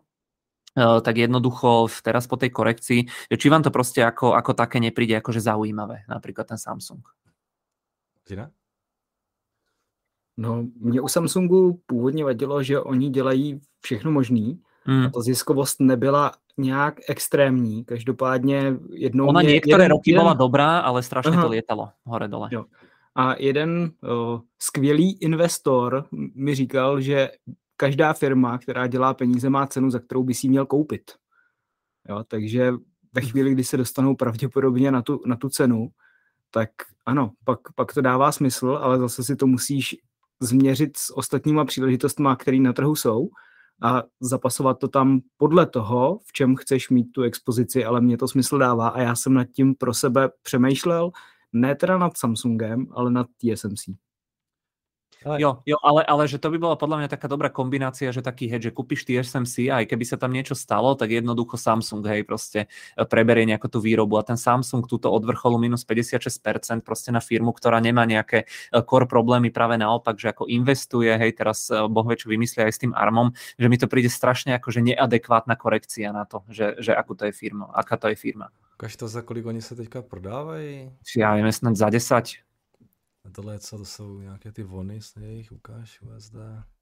tak jednoducho teraz po tej korekcii, či vám to proste ako, ako také nepríde akože zaujímavé, napríklad ten Samsung? Zina? No, mě u Samsungu původně vadilo, že oni dělají všechno možný, Hmm. a ta ziskovost nebyla nějak extrémní. Každopádně jednou... Ona mě, niektoré jeden, roky jeden... bola dobrá, ale strašne Aha. to lietalo hore-dole. Jo. A jeden o, skvělý investor mi říkal, že každá firma, která dělá peníze, má cenu, za kterou by si měl koupit. Jo, takže ve chvíli, kdy se dostanou pravděpodobně na tu, na tu cenu, tak ano, pak, pak to dává smysl, ale zase si to musíš změřit s ostatníma příležitostmi, které na trhu jsou, a zapasovat to tam podle toho, v čem chceš mít tu expozici, ale mně to smysl dává a já jsem nad tím pro sebe přemýšlel, ne teda nad Samsungem, ale nad T S M C. Ale... Jo, jo ale, ale že to by bola podľa mňa taká dobrá kombinácia, že taký hedge, že kúpiš T S M C a aj keby sa tam niečo stalo, tak jednoducho Samsung, hej, proste preberie nejakú tú výrobu a ten Samsung túto od vrcholu minus päťdesiatšesť percent proste na firmu, ktorá nemá nejaké core problémy, práve naopak, že ako investuje, hej, teraz Boh vie, čo vymyslia aj s tým ARMom, že mi to príde strašne akože neadekvátna korekcia na to, že, že akú to je firma, aká to je firma. Ukaž to, za kolik oni sa teďka prodávají? Ja viem, snad za desať. A tohle co, to jsou nějaké ty vony, snad jich ukáž U S D.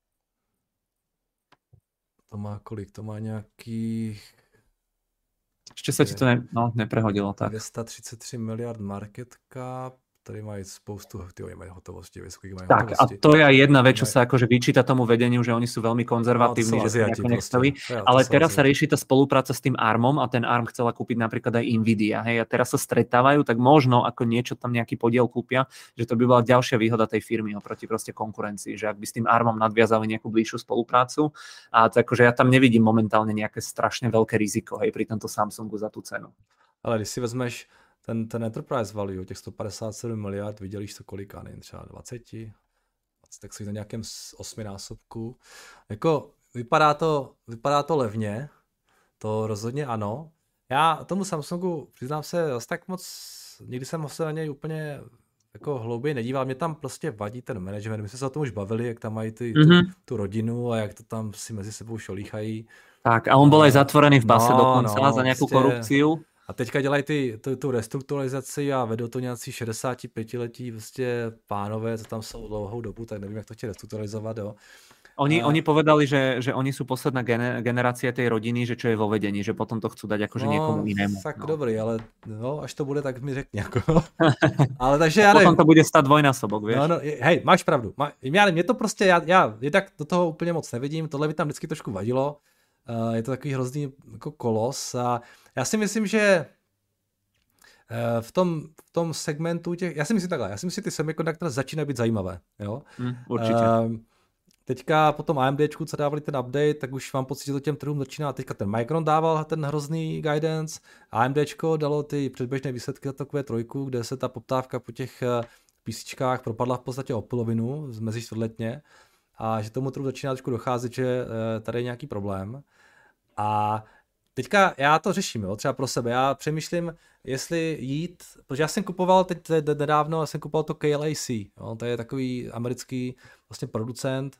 To má kolik? To má nějakých... Ešte sa ti to ne, no, neprehodilo, tak. dvě stě třicet tři miliard market cap, tady mají spoustu, ty mají hotovosti, vysokých mají tak, hotovosti. Tak a to je jedna vec, čo sa akože vyčíta tomu vedeniu, že oni sú veľmi konzervatívni, no, že sa nejako nechceli, ja, ale teraz sa rieši tá spolupráca s tým ARMom a ten ARM chcela kúpiť napríklad aj Nvidia, hej, a teraz sa stretávajú, tak možno ako niečo tam nejaký podiel kúpia, že to by bola ďalšia výhoda tej firmy oproti proste konkurencii, že ak by s tým ARMom nadviazali nejakú bližšiu spoluprácu, a to akože ja tam nevidím momentálne nejaké strašne veľké riziko, hej, pri tomto Samsungu za tú cenu. Ale když si vezmeš ten, ten enterprise value, těch sto padesát sedm miliard, vydělíš to kolika, nevím, třeba dvacet, tak si na nějakém osminásobku. Jako vypadá to, vypadá to levně, to rozhodně ano. Já tomu Samsungu, přiznám se, zase tak moc, nikdy jsem se na něj úplně jako hlouběji nedíval, mě tam prostě vadí ten management, my jsme se o tom už bavili, jak tam mají ty, mm-hmm. tu, tu rodinu a jak to tam si mezi sebou šolíchají. Tak a on byl aj zatvorený v base no, dokonce no, za nějakou prostě korupciu. A teďka dělají ty, tu, tu restrukturalizaci a vedou to nějací šedesátipětiletí prostě pánové, co tam jsou dlouhou dobu, tak nevím, jak to chtějí restrukturalizovat, jo. Oni, a... oni povedali, že, že oni sú posledná generácia tej rodiny, že čo je vo vedení, že potom to chcú dať akože no, niekomu inému. Tak no. dobrý, ale no, až to bude, tak mi řekni. Jako. Ale takže já nevím. Potom to bude stát dvojnásobok, vieš. No, no, hej, máš pravdu. Má, já nevím, mě to prostě, já, já jednak do toho úplně moc nevidím, tohle by tam vždycky trošku vadilo. Uh, je to takový hrozný jako kolos a já si myslím, že uh, v tom, v tom segmentu těch, já si myslím takhle, já si myslím, že ty semiconductor začínají být zajímavé. Jo? Mm, určitě. Uh, Teďka po tom AMDčku, co dávali ten update, tak už mám pocit, že to těm trhům začíná. Teďka ten Micron dával ten hrozný guidance, AMDčko dalo ty předběžné výsledky za takové trojku, kde se ta poptávka po těch PCčkách propadla v podstatě o polovinu, mezi čtvrtletně, a že tomu trhu začíná trošku docházet, že tady je nějaký problém. A teďka já to řeším, jo, třeba pro sebe. Já přemýšlím, jestli jít, protože já jsem kupoval teď nedávno, já jsem kupoval to K L A C, jo, to je takový americký vlastně producent,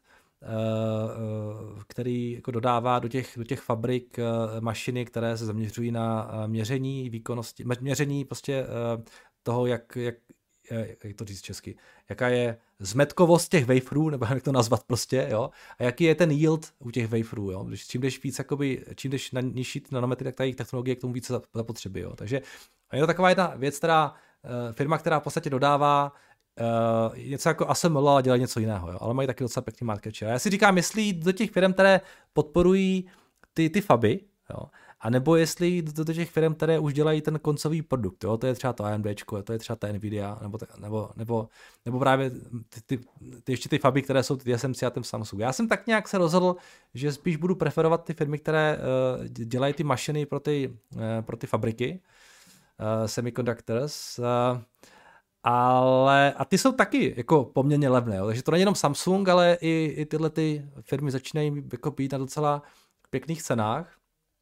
který jako dodává do těch, do těch fabrik mašiny, které se zaměřují na měření výkonnosti, měření prostě toho, jak, jak, jak to říct česky, jaká je zmetkovost těch waferů, nebo jak to nazvat prostě, jo, a jaký je ten yield u těch waferů, jo, když čím jdeš víc, jakoby, čím jdeš na nižší nanometry, tak ta jejich technologie k tomu více zapotřebí, jo, takže je to taková jedna věc, která, firma, která v podstatě dodává Uh, něco jako A S M L, ale dělají něco jiného, jo? Ale mají taky docela pěkný market share. Já si říkám, jestli jít do těch firm, které podporují ty, ty faby, jo? A nebo jestli jít do, do těch firm, které už dělají ten koncový produkt, jo? To je třeba to AMDčko, to je třeba ta Nvidia, nebo, nebo, nebo, nebo právě ty, ty, ty, ještě ty faby, které jsou ty T S M C a ten Samsung. Já jsem tak nějak se rozhodl, že spíš budu preferovat ty firmy, které uh, dělají ty mašiny pro ty, uh, pro ty fabriky, uh, semiconductors, uh, ale a ty jsou taky jako poměrně levné, jo? Takže to není jenom Samsung, ale i, i tyhle ty firmy začínají jako být na docela pěkných cenách.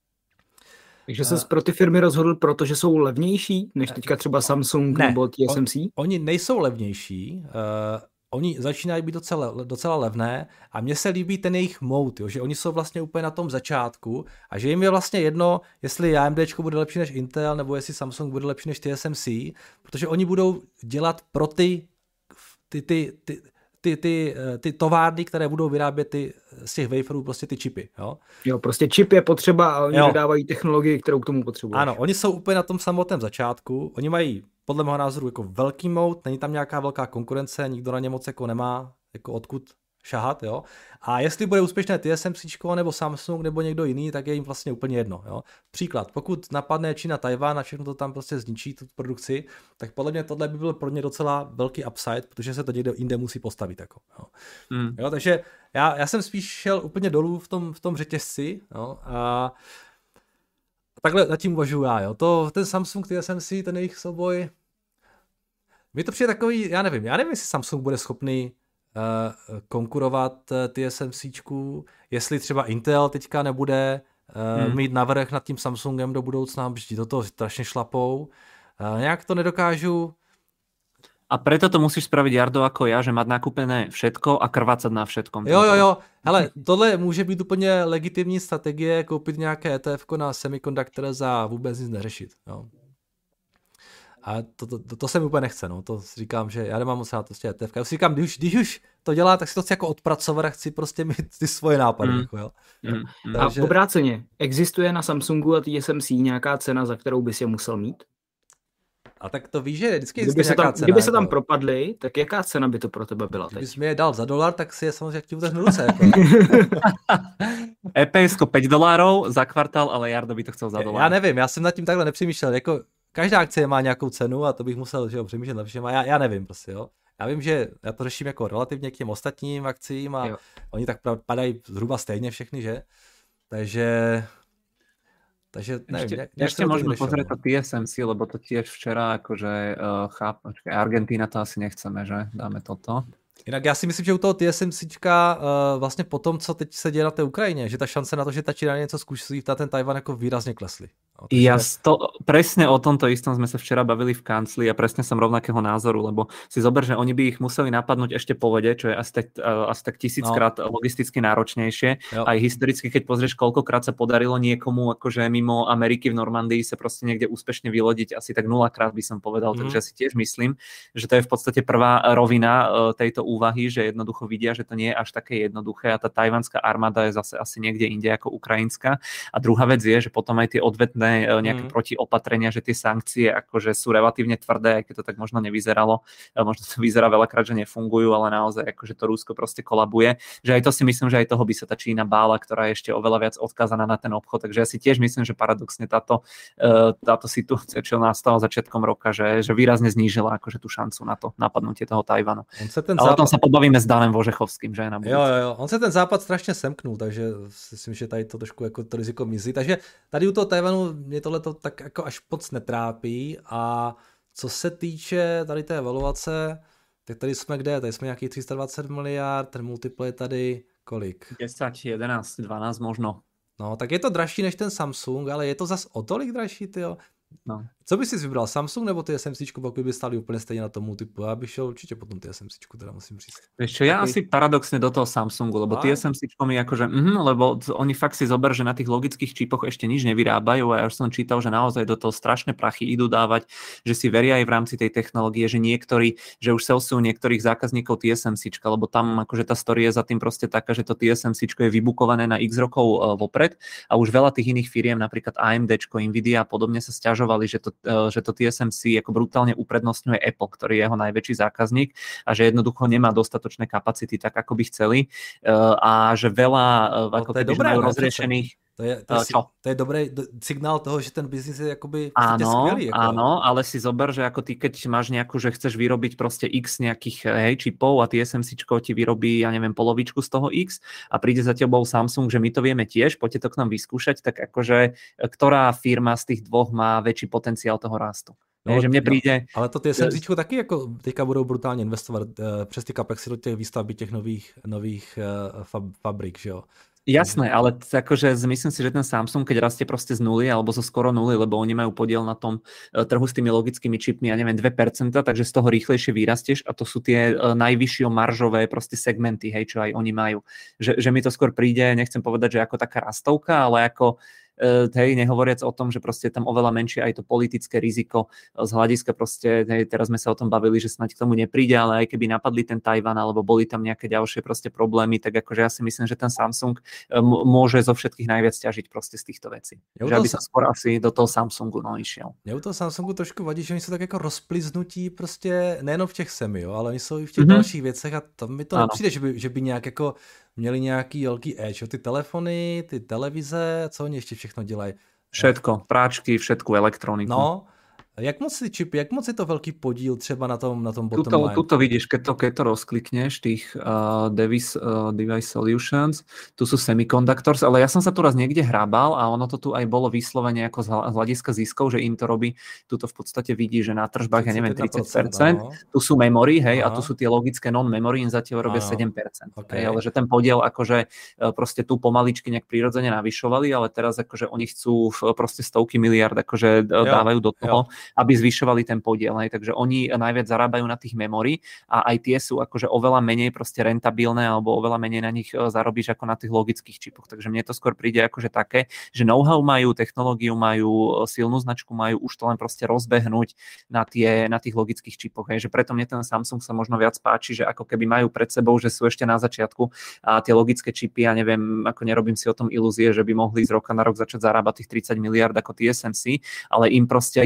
Takže ses pro ty firmy rozhodl, protože jsou levnější než teďka třeba Samsung ne, nebo T S M C? On, oni nejsou levnější, uh, oni začínají být docela, docela levné a mně se líbí ten jejich mode, jo, že oni jsou vlastně úplně na tom začátku a že jim je vlastně jedno, jestli AMDčko bude lepší než Intel nebo jestli Samsung bude lepší než T S M C, protože oni budou dělat pro ty, ty, ty, ty, ty, ty, ty továrny, které budou vyrábět ty, z těch waferů prostě ty čipy. Jo, jo prostě čip je potřeba a oni jo. dodávají technologii, kterou k tomu potřebují. Ano, oni jsou úplně na tom samotném začátku, oni mají podle mého názoru jako velký moat, není tam nějaká velká konkurence, nikdo na ně moc jako nemá jako odkud šahat, jo. A jestli bude úspěšné T S M C nebo Samsung nebo někdo jiný, tak je jim vlastně úplně jedno, jo. Příklad, pokud napadne Čína Tajvan a všechno to tam prostě zničí tu produkci, tak podle mě tohle by byl pro ně docela velký upside, protože se to někde jinde musí postavit, jako, jo. Mm. Jo, takže já, já jsem spíš šel úplně dolů v tom, v tom řetězci, jo, a takhle nad tím uvažuju já, jo. To, ten Samsung, T S M C, ten jejich souboj, mi to přijde takový, já nevím, já nevím, jestli Samsung bude schopný uh, konkurovat uh, TSMCčku, jestli třeba Intel teďka nebude uh, hmm. mít navrch nad tím Samsungem do budoucna, protože do toho strašně šlapou. Uh, nějak to nedokážu. A preto to musíš spraviť, Jardo, ako ja, že mať nakúpené všetko a krvácať na všetkom. Jo, jo, jo. Hele, tohle může být úplně legitimní strategie, koupit nějaké E T F na semiconductor za vůbec nic neřešit. Jo. A to, to, to, to se mi úplně nechce, no. To si říkám, že já nemám moc rád prostě E T F. Já si říkám, když, když už to dělá, tak si to chci jako odpracovat a chci prostě mít ty svoje nápady. Mm. Jako, jo. Mm. Takže... A obráceně, existuje na Samsungu a T S M C nějaká cena, za kterou bys je musel mít? A tak to víš, že vždycky kdyby se, tam, cena, kdyby se tam jako... propadly, tak jaká cena by to pro tebe byla teď? Kdybys mi je dal za dolar, tak si je samozřejmě jak ti utrhnu ruce. Jako. é pé esko päť dolárov za kvartál, ale Jardo by to chcel za dolár. Já nevím, já jsem nad tím takhle nepřemýšlel. Jako, každá akcie má nějakou cenu a to bych musel že jo, přemýšlet na všem. A já, já nevím prostě, jo. Já vím, že já to řeším jako relativně k těm ostatním akcím a jo. Oni tak padají zhruba stejně všechny, že? Takže... Takže neviem, ešte, nejak ešte možno pozrieť to té es em cé, lebo to tiež včera akože uh, cháp, Argentína to asi nechceme, že? Dáme toto. Jinak já si myslím, že u toho TSMCčka uh, vlastně po tom, co teď se děje na té Ukrajině, že ta šance na to, že ta Čína něco zkusí, na ten Tajvan jako výrazně klesly. No, takže... Ja to, presne o tomto istom sme sa včera bavili v kancli a presne som rovnakého názoru, lebo si zober, že oni by ich museli napadnúť ešte po vode, čo je asi tak, uh, asi tak tisíckrát no. logisticky náročnejšie. Jo. Aj historicky, keď pozrieš, koľkokrát sa podarilo niekomu akože mimo Ameriky v Normandii sa proste niekde úspešne vylodiť, asi tak nulakrát by som povedal, mm. takže si tiež myslím, že to je v podstate prvá rovina uh, tejto úvahy, že jednoducho vidia, že to nie je až také jednoduché a tá tajvanská armáda je zase asi niekde inde ako ukrajinská. A druhá vec je, že potom aj tie odvetné nejaké mm. protiopatrenia, že tie sankcie akože sú relatívne tvrdé, aj keď to tak možno nevyzeralo. Možno to vyzerá veľakrát, že nefungujú, ale naozaj akože to Rusko proste kolabuje. Že aj to si myslím, že aj toho by sa tá Čína bála, ktorá je ešte oveľa viac odkázaná na ten obchod. Takže ja si tiež myslím, že paradoxne táto, táto situácia, čo nastala začiatkom roka, že, že výrazne znížila akože tú šancu na to napadnutie toho Tajvanu. Ale západ... o tom sa pobavíme s Danem Vožechovským, že na budúci. Jo, jo, jo. On sa ten západ strašne semknul, takže si myslím, že tady to trošku jako to riziko mizí. Takže tady u toho Tajvanu mě tohleto tak jako až moc netrápí a co se týče tady té evaluace, tak tady jsme kde? Tady jsme nějakých tři sta dvacet miliard, ten multiple je tady kolik? desať, jedenásť, dvanásť možno. No, tak je to dražší než ten Samsung, ale je to zas o tolik dražší, tyjo. No. Co bys si vybral, Samsung nebo TSMCčku, pokud by stáli úplně stejně na tom multiplu? Já bych šel určitě potom TSMCčku, teda musím říct. Vieš čo, ja Taký... asi paradoxne do toho Samsungu, lebo TSMCčko mi akože, mm, lebo oni fakt si zober, že na tých logických čipoch ešte nič nevyrábajú a ja už som čítal, že naozaj do toho strašné prachy idú dávať, že si veria aj v rámci tej technológie, že niektorí, že už selsujú niektorých zákazníkov TSMCčka, lebo tam akože tá story je za tým proste taká, že to TSMCčko je vybukované na x rokov uh, vopred a už veľa tých iných firiem, napríklad AMDčko, Nvidia a podobne sa sťažovali, že to že to T S M C ako brutálne uprednostňuje Apple, ktorý je jeho najväčší zákazník a že jednoducho nemá dostatočné kapacity tak, ako by chceli a že veľa ako keby majú rozriešených. To je, to, je, to je dobrý signál toho, že ten biznis je akoby áno, skvelý. Ako... Áno, ale si zober, že ako ty, keď máš nejakú, že chceš vyrobiť proste x nejakých hej, čipov a TSMCčko ti vyrobí, ja neviem, polovičku z toho x a príde za tebou Samsung, že my to vieme tiež, poďte to k nám vyskúšať, tak akože ktorá firma z tých dvoch má väčší potenciál toho rastu? No, je, že mne príde... No, ale to TSMCčko taky jako teďka budou brutálně investovat uh, přes ty kapexy do těch výstavby těch nových, nových uh, fab, fabrik, že jo? Jasné, ale akože myslím si, že ten Samsung, keď rastie proste z nuly alebo zo skoro nuly, lebo oni majú podiel na tom trhu s tými logickými čipmi, ja neviem, dve percentá, takže z toho rýchlejšie vyrastieš a to sú tie najvyššie maržové proste segmenty, hej, čo aj oni majú. Že, že mi to skôr príde, nechcem povedať, že ako taká rastovka, ale ako hej, nehovoriac o tom, že proste je tam oveľa menšie aj to politické riziko z hľadiska proste, hej, teraz sme sa o tom bavili, že snáď k tomu nepríde, ale aj keby napadli ten Tajvan alebo boli tam nejaké ďalšie proste problémy, tak akože ja si myslím, že ten Samsung m- môže zo všetkých najviac ťažiť proste z týchto vecí. Ja že aby sa skôr asi do toho Samsungu no išiel. Mně u toho Samsungu trošku vadí, že oni jsou tak jako rozpliznutí prostě nejenom v těch semi, jo, ale oni jsou i v těch mm-hmm. dalších věcech a to mi to ano. nepřijde, že by, že by nějak jako měli nějaký velký edge, ty telefony, ty televize, co oni ještě všechno dělají? Všetko, práčky, všetku elektroniku. No, jak moc si čipy, jak moc je to velký podíl třeba na tom, na tom bottom tuto, line? Tuto vidíš, keď to, keď to rozklikneš, tých uh, device, uh, device solutions, tu sú semiconductors, ale ja som sa tu raz niekde hrábal a ono to tu aj bolo vyslovene ako z hľadiska ziskov, že im to robí, tuto v podstate vidí, že na tržbách, ja neviem, tridsať percent, no. Tu sú memory, hej, Aha. a tu sú tie logické non-memory, im zatiaľ robia Aha. sedem percent. Okay. Hej, ale že ten podiel akože proste tu pomaličky nejak prirodzene navyšovali, ale teraz akože oni chcú proste stovky miliard akože jo, dávajú do toho, jo. aby zvyšovali ten podiel. Hej. Takže oni najviac zarábajú na tých memory a aj tie sú akože oveľa menej proste rentabilné alebo oveľa menej na nich zarobíš ako na tých logických čipoch. Takže mne to skôr príde akože také, že know-how majú, technológiu majú, silnú značku majú, už to len proste rozbehnúť na, tie, na tých logických čipoch. Hej. Že preto mne ten Samsung sa možno viac páči, že ako keby majú pred sebou, že sú ešte na začiatku a tie logické čipy, ja neviem, ako nerobím si o tom ilúzie, že by mohli z roka na rok začať zarábať tých tridsať miliárd ako T S M C, ale im proste aj keby, ja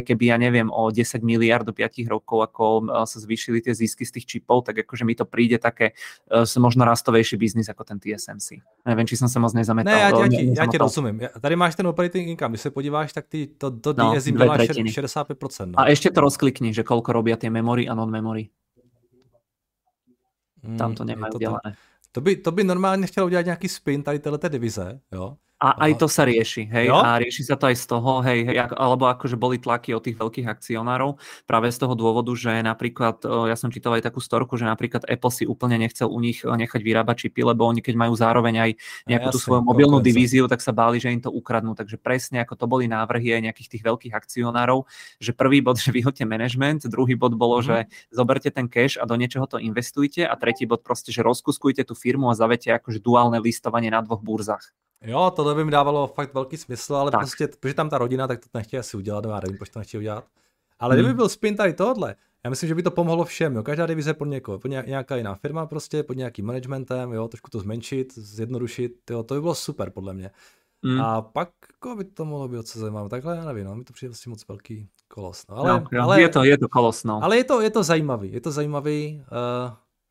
neviem, o desať miliárd do päť rokov, ako sa zvýšili tie zisky z tých čipov, tak akože mi to príde také uh, možno rastovejší biznis ako ten T S M C. Neviem, či som sa moc nezametal. Ne, já ti, já ti, já ti rozumím. Tady máš ten operating income, když se podíváš, tak ty, to, to no, D S I dělá šedesát pět procent. No. A ešte to rozklikni, že koľko robia tie memory a non-memory. Hmm, Tam to nemajú to dělané. To by, to by normálně chtělo udělat nějaký spin tady téhleté divize, jo? A aj to sa rieši, hej, jo? A rieši sa to aj z toho, hej, hej, alebo akože boli tlaky od tých veľkých akcionárov práve z toho dôvodu, že napríklad, ja som čítal aj takú storku, že napríklad Apple si úplne nechcel u nich nechať vyrábať čipy, lebo oni keď majú zároveň aj nejakú tú svoju mobilnú divíziu, tak sa báli, že im to ukradnú, takže presne ako to boli návrhy aj nejakých tých veľkých akcionárov, že prvý bod, že vyhoďte management, druhý bod bolo, mm. že zoberte ten cash a do niečoho to investujte a tretí bod proste, že rozkuskujte tú firmu a zavete akože duálne listovanie na dvoch burzách. Jo, to by mi dávalo fakt velký smysl, ale tak. Prostě, protože tam ta rodina, tak to nechtějí asi udělat, já nevím, proč to nechtějí udělat. Ale hmm. kdyby byl spin tady tohle, já myslím, že by to pomohlo všem, jo. Každá divize pod někoho, pod nějaká jiná firma prostě, pod nějakým managementem, jo, trošku to zmenšit, zjednodušit, jo, to by bylo super podle mě. Hmm. A pak jako by to mohlo být co zajímavé, takhle já nevím, no, mi to přijde vlastně moc velký kolos. No, ale, no, ale, je to, je to kolos, no. Ale je to, je to zajímavý, je to zajímavý, uh,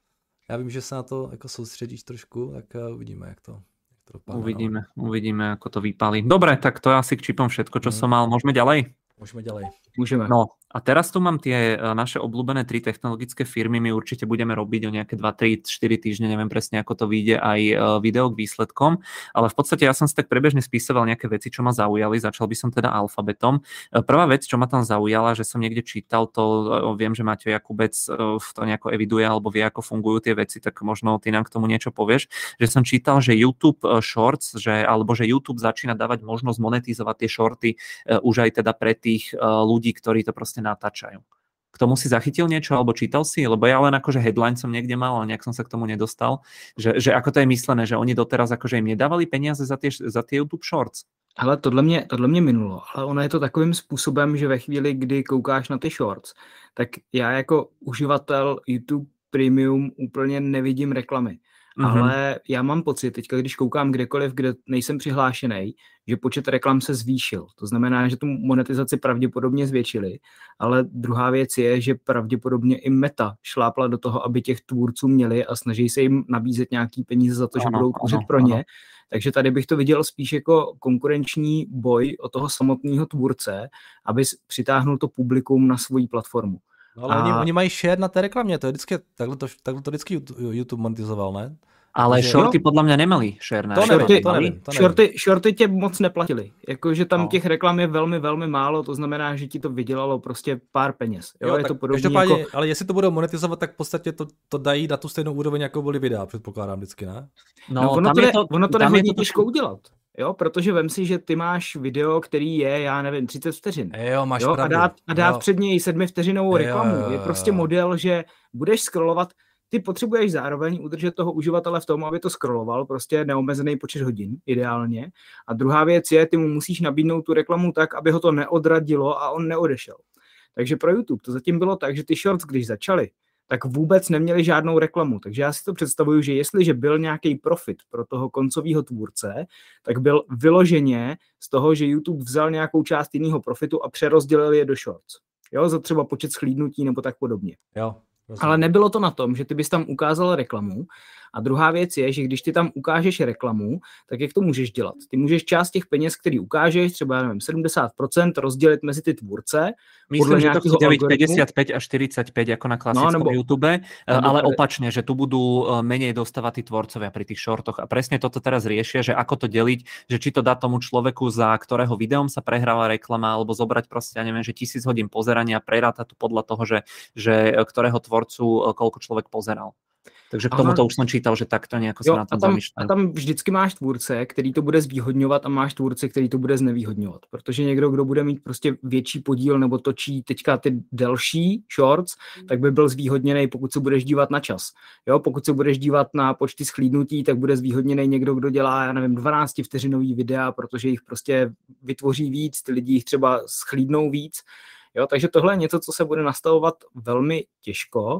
já vím, že se na to jako soustředíš trošku, tak uh, uvidíme, jak to Dopadne, uvidíme, no. uvidíme, ako to vypálí. Dobre, tak to je asi k čipom všetko, čo mm. som mal. Môžeme ďalej? Môžeme ďalej. Môžeme. No a teraz tu mám tie naše obľúbené tri technologické firmy. My určite budeme robiť o nejaké dva, tri, štyri týždne, neviem presne, ako to vyjde, aj video k výsledkom. Ale v podstate ja som si tak prebežne spisoval nejaké veci, čo ma zaujali. Začal by som teda alfabetom. Prvá vec, čo ma tam zaujala, že som niekde čítal, to viem, že Maťo Jakubec to nejako eviduje alebo vie, ako fungujú tie veci, tak možno ty nám k tomu niečo povieš. Že som čítal, že YouTube Shorts, že, alebo že YouTube začína dávať možnosť monetizovať tie shorty už aj teda pre tých ľudí, ktorí to proste natáčajú. K tomu si zachytil niečo, alebo čítal si? Lebo ja len akože headline som niekde mal, ale nejak som sa k tomu nedostal. Že, že ako to je myslené, že oni doteraz akože im nedávali peniaze za tie, za tie YouTube Shorts? Hele, tohle mě, tohle mě minulo, ale ono je to takovým způsobem, že ve chvíli, kdy koukáš na ty Shorts, tak já jako uživatel YouTube Premium úplně nevidím reklamy. Mm-hmm. Ale já mám pocit, teďka když koukám kdekoliv, kde nejsem přihlášený, že počet reklam se zvýšil. To znamená, že tu monetizaci pravděpodobně zvětšili, ale druhá věc je, že pravděpodobně i Meta šlápla do toho, aby těch tvůrců měli a snaží se jim nabízet nějaký peníze za to, že ano, budou tvořit pro ně. Ano. Takže tady bych to viděl spíš jako konkurenční boj o toho samotného tvůrce, aby přitáhnul to publikum na svoji platformu. No ale a... oni, oni mají share na té reklamě, to je vždycky, takhle to, takhle to vždycky YouTube monetizoval, ne? Ale že, shorty jo? podle mě neměli share na to shorty. Nevím, to nevím, to nevím. Shorty, shorty tě moc neplatili, jakože tam no. těch reklam je velmi, velmi málo, to znamená, že ti to vydělalo prostě pár peněz. Jo, jo je to podobně jako... Ale jestli to budou monetizovat, tak v podstatě to, to dají na tu stejnou úroveň, jako byly videa, předpokládám vždycky, ne? No, no ono, to je, to, ono to jde hodně těžko udělat. Jo, protože vem si, že ty máš video, který je, já nevím, třicet vteřin. Jo, máš jo, pravdu. A dát, a dát jo. před něj sedmivteřinovou reklamu. Jo, jo, jo. Je prostě model, že budeš scrollovat, ty potřebuješ zároveň udržet toho uživatele v tom, aby to scrolloval, prostě neomezený počet hodin, ideálně. A druhá věc je, ty mu musíš nabídnout tu reklamu tak, aby ho to neodradilo a on neodešel. Takže pro YouTube to zatím bylo tak, že ty shorts, když začaly, tak vůbec neměli žádnou reklamu. Takže já si to představuju, že jestliže byl nějaký profit pro toho koncového tvůrce, tak byl vyloženě z toho, že YouTube vzal nějakou část jiného profitu a přerozdělil je do shorts. Jo, za třeba počet shlídnutí nebo tak podobně. Jo. Ale nebylo to na tom, že ty bys tam ukázal reklamu. A druhá věc je, že když ty tam ukážeš reklamu, tak jak to můžeš dělat? Ty můžeš část těch peněz, který ukážeš, třeba nevím, sedmdesát procent rozdělit mezi ty tvůrce. Myslím, že to chci dělit päťdesiat päť až štyridsať päť ako na klasickom no, nebo, YouTube, nebo, ale opačne, že tu budú menej dostávať tí tvorcovia pri tých shortoch. A presne toto teraz riešia, že ako to deliť, že či to dá tomu človeku, za ktorého videom sa prehráva reklama, alebo zobrať proste, ja neviem, že tisíc hodín pozerania, preráta to podľa toho, že, že ktorého tvorcu koľko človek pozeral. Takže k tomu to už jsem čítal, že takto nějak se na tom zamýšlel. A tam vždycky máš tvůrce, který to bude zvýhodňovat a máš tvůrce, který to bude znevýhodňovat. Protože někdo, kdo bude mít prostě větší podíl nebo točí teďka ty delší shorts, tak by byl zvýhodněný, pokud se budeš dívat na čas. Jo, pokud se budeš dívat na počty shlídnutí, tak bude zvýhodněný někdo, kdo dělá, já nevím, dvanáctivteřinový videa, protože jich prostě vytvoří víc, ty lidi jich třeba schlídnou víc. Jo, takže tohle je něco, co se bude nastavovat velmi těžko.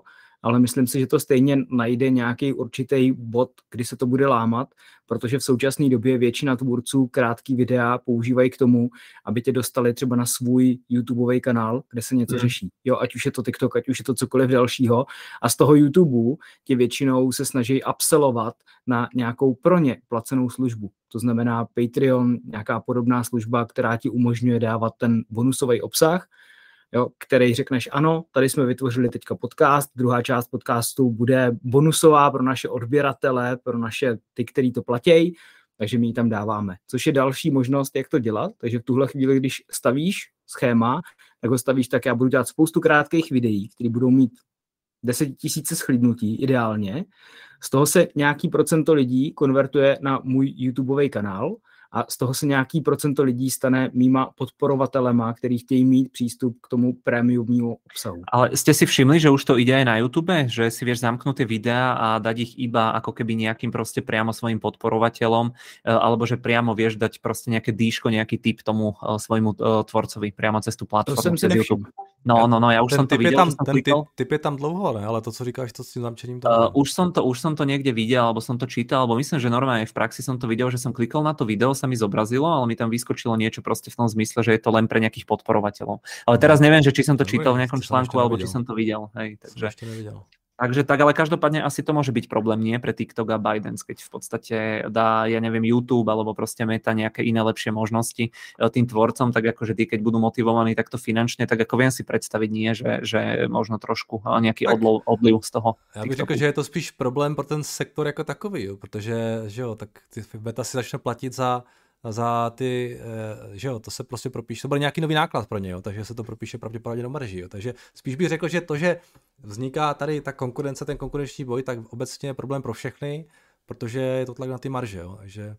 ale myslím si, že to stejně najde nějaký určitý bod, kdy se to bude lámat, protože v současné době většina tvůrců krátký videa používají k tomu, aby tě dostali třeba na svůj YouTubeový kanál, kde se něco mm. řeší. Jo, ať už je to TikTok, ať už je to cokoliv dalšího. A z toho YouTube tě většinou se snaží upsellovat na nějakou pro ně placenou službu. To znamená Patreon, nějaká podobná služba, která ti umožňuje dávat ten bonusový obsah, jo, který řekneš, ano, tady jsme vytvořili teďka podcast, druhá část podcastu bude bonusová pro naše odběratele, pro naše ty, který to platí, takže my ji tam dáváme. Což je další možnost, jak to dělat. Takže v tuhle chvíli, když stavíš schéma, tak ho stavíš tak, já budu dělat spoustu krátkých videí, které budou mít deset tisíc shlídnutí ideálně. Z toho se nějaký procento lidí konvertuje na můj YouTubeový kanál a z toho se nějaký procento lidí stane mýma podporovatelema, který chtějí mít přístup k tomu prémiovnímu obsahu. Ale ste si všimli, že už to ide aj na YouTube? Že si vieš zamknúť tie videá a dať ich iba ako keby nejakým proste priamo svojim podporovateľom, alebo že priamo vieš dať proste nejaké dýško, nejaký tip tomu svojmu tvorcovi priamo cez tú platformu. To som si nevšiml. No, no, no, ja už ten som to videl. Tam, ten typ, typ je tam dlouho, ne? Ale to, co říkáš, to s tým zamčením tam... Uh, už, som to, už som to niekde videl, alebo som to čítal, alebo myslím, že normálne v praxi som to videl, že som klikol na to video, sa mi zobrazilo, ale mi tam vyskočilo niečo proste v tom zmysle, že je to len pre nejakých podporovateľov. Ale teraz neviem, že či som to čítal v nejakom článku, alebo či som to videl. Hej, takže... Som ešte nevidel. Takže tak, ale každopádne asi to môže byť problém, nie pre TikTok a ByteDance, keď v podstate dá, ja neviem, YouTube alebo proste Meta nejaké iné lepšie možnosti tým tvorcom, tak akože tí, keď budú motivovaní takto finančne, tak ako viem si predstaviť, nie, že, že možno trošku nejaký odliv, odliv z toho. Já bych řekl, že je to spíš problém pro ten sektor jako takový, jo, protože, že jo, tak ty Meta si začne platit za za ty, že jo, to se prostě propíše, to byl nějaký nový náklad pro ně, jo, takže se to propíše pravděpodobně do marži, jo, takže spíš bych řekl, že to, že vzniká tady ta konkurence, ten konkurenční boj, tak obecně je problém pro všechny, protože je to tlak na ty marže, jo, takže...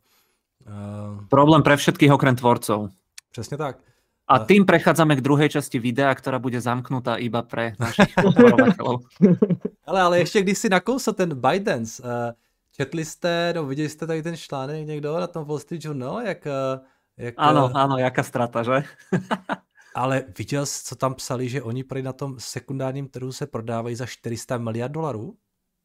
Uh... Problém pre všetkých okrem tvorcov. Přesně tak. A tým prechádzame k druhej časti videa, ktorá bude zamknutá iba pre našich podporovateľov. Ale, ale ještě když si nakousl ten ByteDance, uh, četli jste, no viděli jste tady ten článek někdo na tom Wall Street Journal, jak... jak áno, áno, jaká strata, že? Ale viděl jsi, co tam psali, že oni prý na tom sekundárním trhu se prodávají za štyri sta miliard dolarů?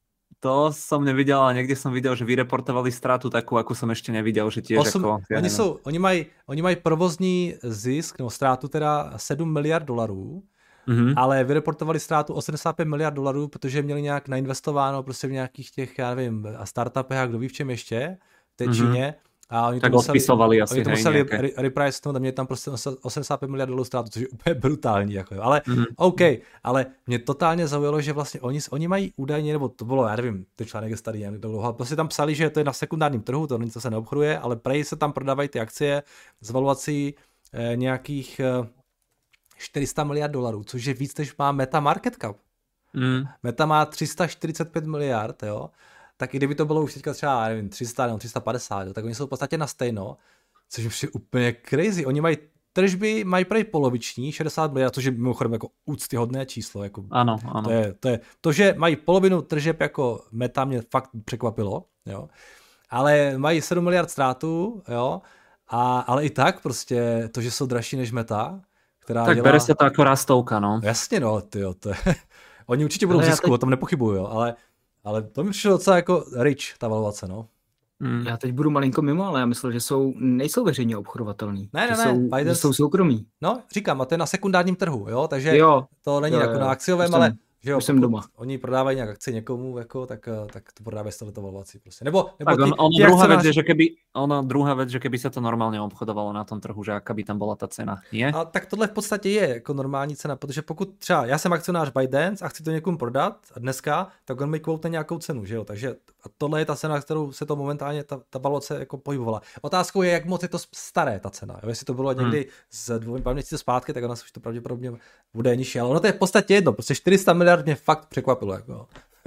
To som nevidel, ale niekde som videl, že vyreportovali stratu takú, akú som ešte nevidel, že tiež Osm, ako... Ja oni, jsou, oni, mají, oni mají provozní zisk, nebo ztrátu teda sedm miliard dolarů, mm-hmm. ale vyreportovali ztrátu osmdesát pět miliard dolarů, protože měli nějak nainvestováno prostě v nějakých těch, já nevím, startupech a kdo ví v čem ještě, v té mm-hmm. Číně. A oni tak to museli, odpisovali asi, oni to hej, museli nejaké. reprice a měli tam prostě osmdesát pět miliard dolarů ztrátu, což je úplně brutální. Jako, ale mm-hmm. OK, ale mě totálně zaujalo, že vlastně oni, oni mají údajně, nebo to bylo, já nevím, ten článek je starý, jak dlouho, prostě tam psali, že to je na sekundárním trhu, to nic se neobchoduje, ale prej se tam prodávají ty akcie s valuací eh, nějakých eh, čtyři sta miliard dolarů, což je víc, než má Meta market cap. Mm. Meta má tři sta čtyřicet pět miliard, jo. Tak i kdyby to bylo už teďka třeba, nevím, tři sta nebo tři sta padesát, jo, tak oni jsou v podstatě na stejno, což je úplně crazy. Oni mají tržby, mají prej poloviční, šedesát miliard, což je mimochodem jako úctyhodné číslo. Jako, ano, ano. To, je, to, je, to, že mají polovinu tržeb jako Meta, mě fakt překvapilo, jo. Ale mají sedm miliard ztrátu, jo. A, ale i tak prostě to, že jsou dražší než Meta, která tak dělá... bere se to jako rastovka, no. Jasně, no, tyjo, to je... Oni určitě budou v zisku, teď... o tom nepochybuju, jo, ale, ale to mi přišlo docela jako rich, ta valuace, no. Hmm. Já teď budu malinko mimo, ale já myslím, že jsou, nejsou veřejně obchodovatelný. Ne, ne, že ne. Jsou, Biden... že jsou soukromí. No, říkám, a to je na sekundárním trhu, jo, takže jo. to není jo, jako jo. na akciovém, už ale... Jsem... Že jo, Už jsem doma. Oni prodávají nějak akci někomu, jako, tak, tak to prodávají s touto valuací. Prostě. Nebo, nebo tak ty, on, ono ty druhá vec náš... je, že keby, ono druhá vec, že keby sa to normálne obchodovalo na tom trhu, že aká by tam bola tá cena, nie? A tak tohle v podstatě je jako normální cena, protože pokud třeba já jsem akcionář ByteDance a chci to někomu prodat a dneska, tak on mi quote nějakou cenu, že jo, takže a tohle je ta cena, kterou se to momentálně ta, ta valuace jako pohybovala. Otázkou je, jak moc je to staré ta cena, jo? Jestli to bylo někdy hmm. z dvou měsíců zpátky, tak ona už to pravděpodobně bude nižší, ale ono to je v podstatě jedno, prostě čtyři sta miliard mě fakt překvapilo, jako.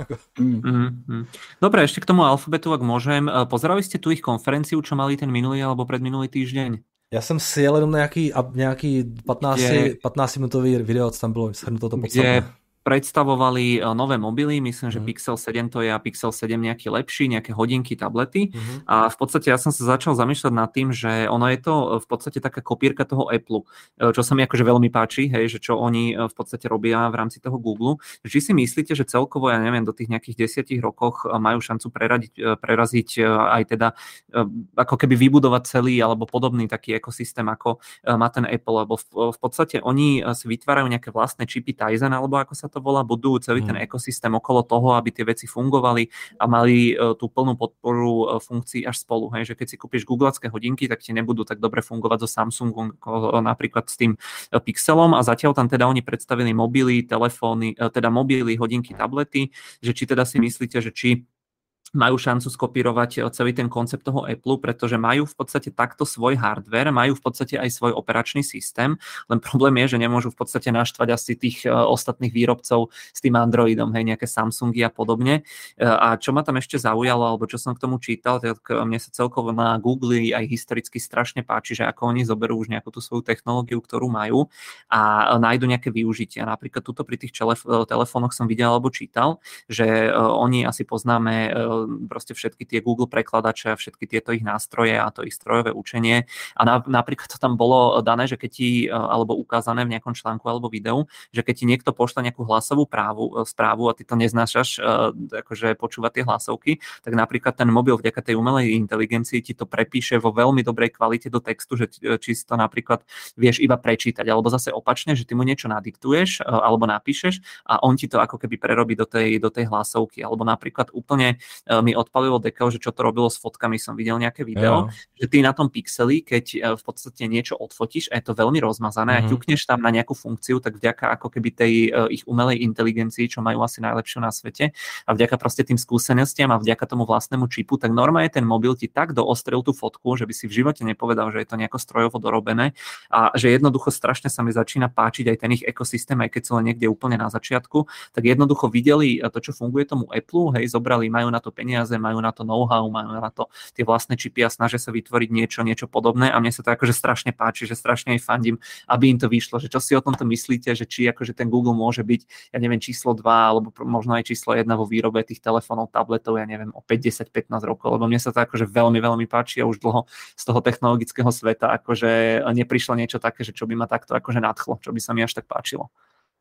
Mm-hmm. Dobre, ešte k tomu Alphabetu, ak môžem. Pozerali ste tu ich konferenciu, čo mali ten minulý alebo predminulý týždeň? Já jsem si jel jenom nějaký, nějaký patnáct, patnáct minutový video, co tam bylo shrnuto to podstatné. Kde predstavovali nové mobily, myslím, že Mhm. Pixel sedem to je a Pixel sedem nejaký lepší, nejaké hodinky, tablety. Mhm. A v podstate ja som sa začal zamýšľať nad tým, že ono je to v podstate taká kopírka toho Apple, čo sa mi akože veľmi páči, hej, že čo oni v podstate robia v rámci toho Google. Či si myslíte, že celkovo, ja neviem, do tých nejakých desiatich rokoch majú šancu preradiť, preraziť aj teda ako keby vybudovať celý alebo podobný taký ekosystém, ako má ten Apple, lebo v, v podstate oni si vytvárajú nejaké vlastné čipy Tizen, alebo ako sa to volá, budujú celý ten ekosystém okolo toho, aby tie veci fungovali a mali uh, tú plnú podporu uh, funkcií až spolu. Hej? Že keď si kúpiš googlacké hodinky, tak ti nebudú tak dobre fungovať so Samsungom, ako napríklad s tým uh, Pixelom, a zatiaľ tam teda oni predstavili mobily, telefóny, uh, teda mobily, hodinky, tablety, že či teda si myslíte, že či majú šancu skopírovať celý ten koncept toho Apple, pretože majú v podstate takto svoj hardware, majú v podstate aj svoj operačný systém, len problém je, že nemôžu v podstate naštvať asi tých ostatných výrobcov s tým Androidom, hej, nejaké Samsungy a podobne. A čo ma tam ešte zaujalo, alebo čo som k tomu čítal, tak mne sa celkovo na Google aj historicky strašne páči, že ako oni zoberú už nejakú tú svoju technológiu, ktorú majú a nájdu nejaké využitia. Napríklad tuto pri tých telefónoch som videl alebo čítal, že oni asi poznáme proste všetky tie Google prekladače a všetky tieto ich nástroje a to ich strojové učenie. A na, napríklad to tam bolo dané, že keď ti, alebo ukázané v nejakom článku alebo videu, že keď ti niekto pošle nejakú hlasovú právu, správu a ty to neznášaš, akože počúvať tie hlasovky, tak napríklad ten mobil vďaka tej umelej inteligencii ti to prepíše vo veľmi dobrej kvalite do textu, že či si to napríklad vieš iba prečítať, alebo zase opačne, že ty mu niečo nadiktuješ alebo napíšeš a on ti to ako keby prerobí do tej, do tej hlasovky. Alebo napríklad úplne mi odpalilo dekel, že čo to robilo s fotkami, som videl nejaké video, jo. Že ty na tom Pixeli, keď v podstate niečo odfotíš a je to veľmi rozmazané mm-hmm. a ťukneš tam na nejakú funkciu, tak vďaka ako keby tej ich umelej inteligencii, čo majú asi najlepšiu na svete a vďaka proste tým skúsenostiam a vďaka tomu vlastnému čipu, tak normálne ten mobil ti tak doostrel tú fotku, že by si v živote nepovedal, že je to nejako strojovo dorobené a že jednoducho strašne sa mi začína páčiť aj ten ich ekosystém, aj keď sú len niekde úplne na začiatku, tak jednoducho videli to, čo funguje tomu Apple, hej, zobrali, majú na to peniaze, majú na to know-how, majú na to tie vlastné čipy a snažia sa vytvoriť niečo, niečo podobné a mne sa to akože strašne páči, že strašne aj fandím, aby im to vyšlo, že čo si o tomto myslíte, že či akože ten Google môže byť, ja neviem, číslo dva alebo možno aj číslo jedna vo výrobe tých telefónov, tabletov, ja neviem, o päť, desať, pätnásť rokov, lebo mne sa to akože veľmi, veľmi páči a už dlho z toho technologického sveta akože neprišlo niečo také, že čo by ma takto akože nadchlo, čo by sa mi až tak páčilo.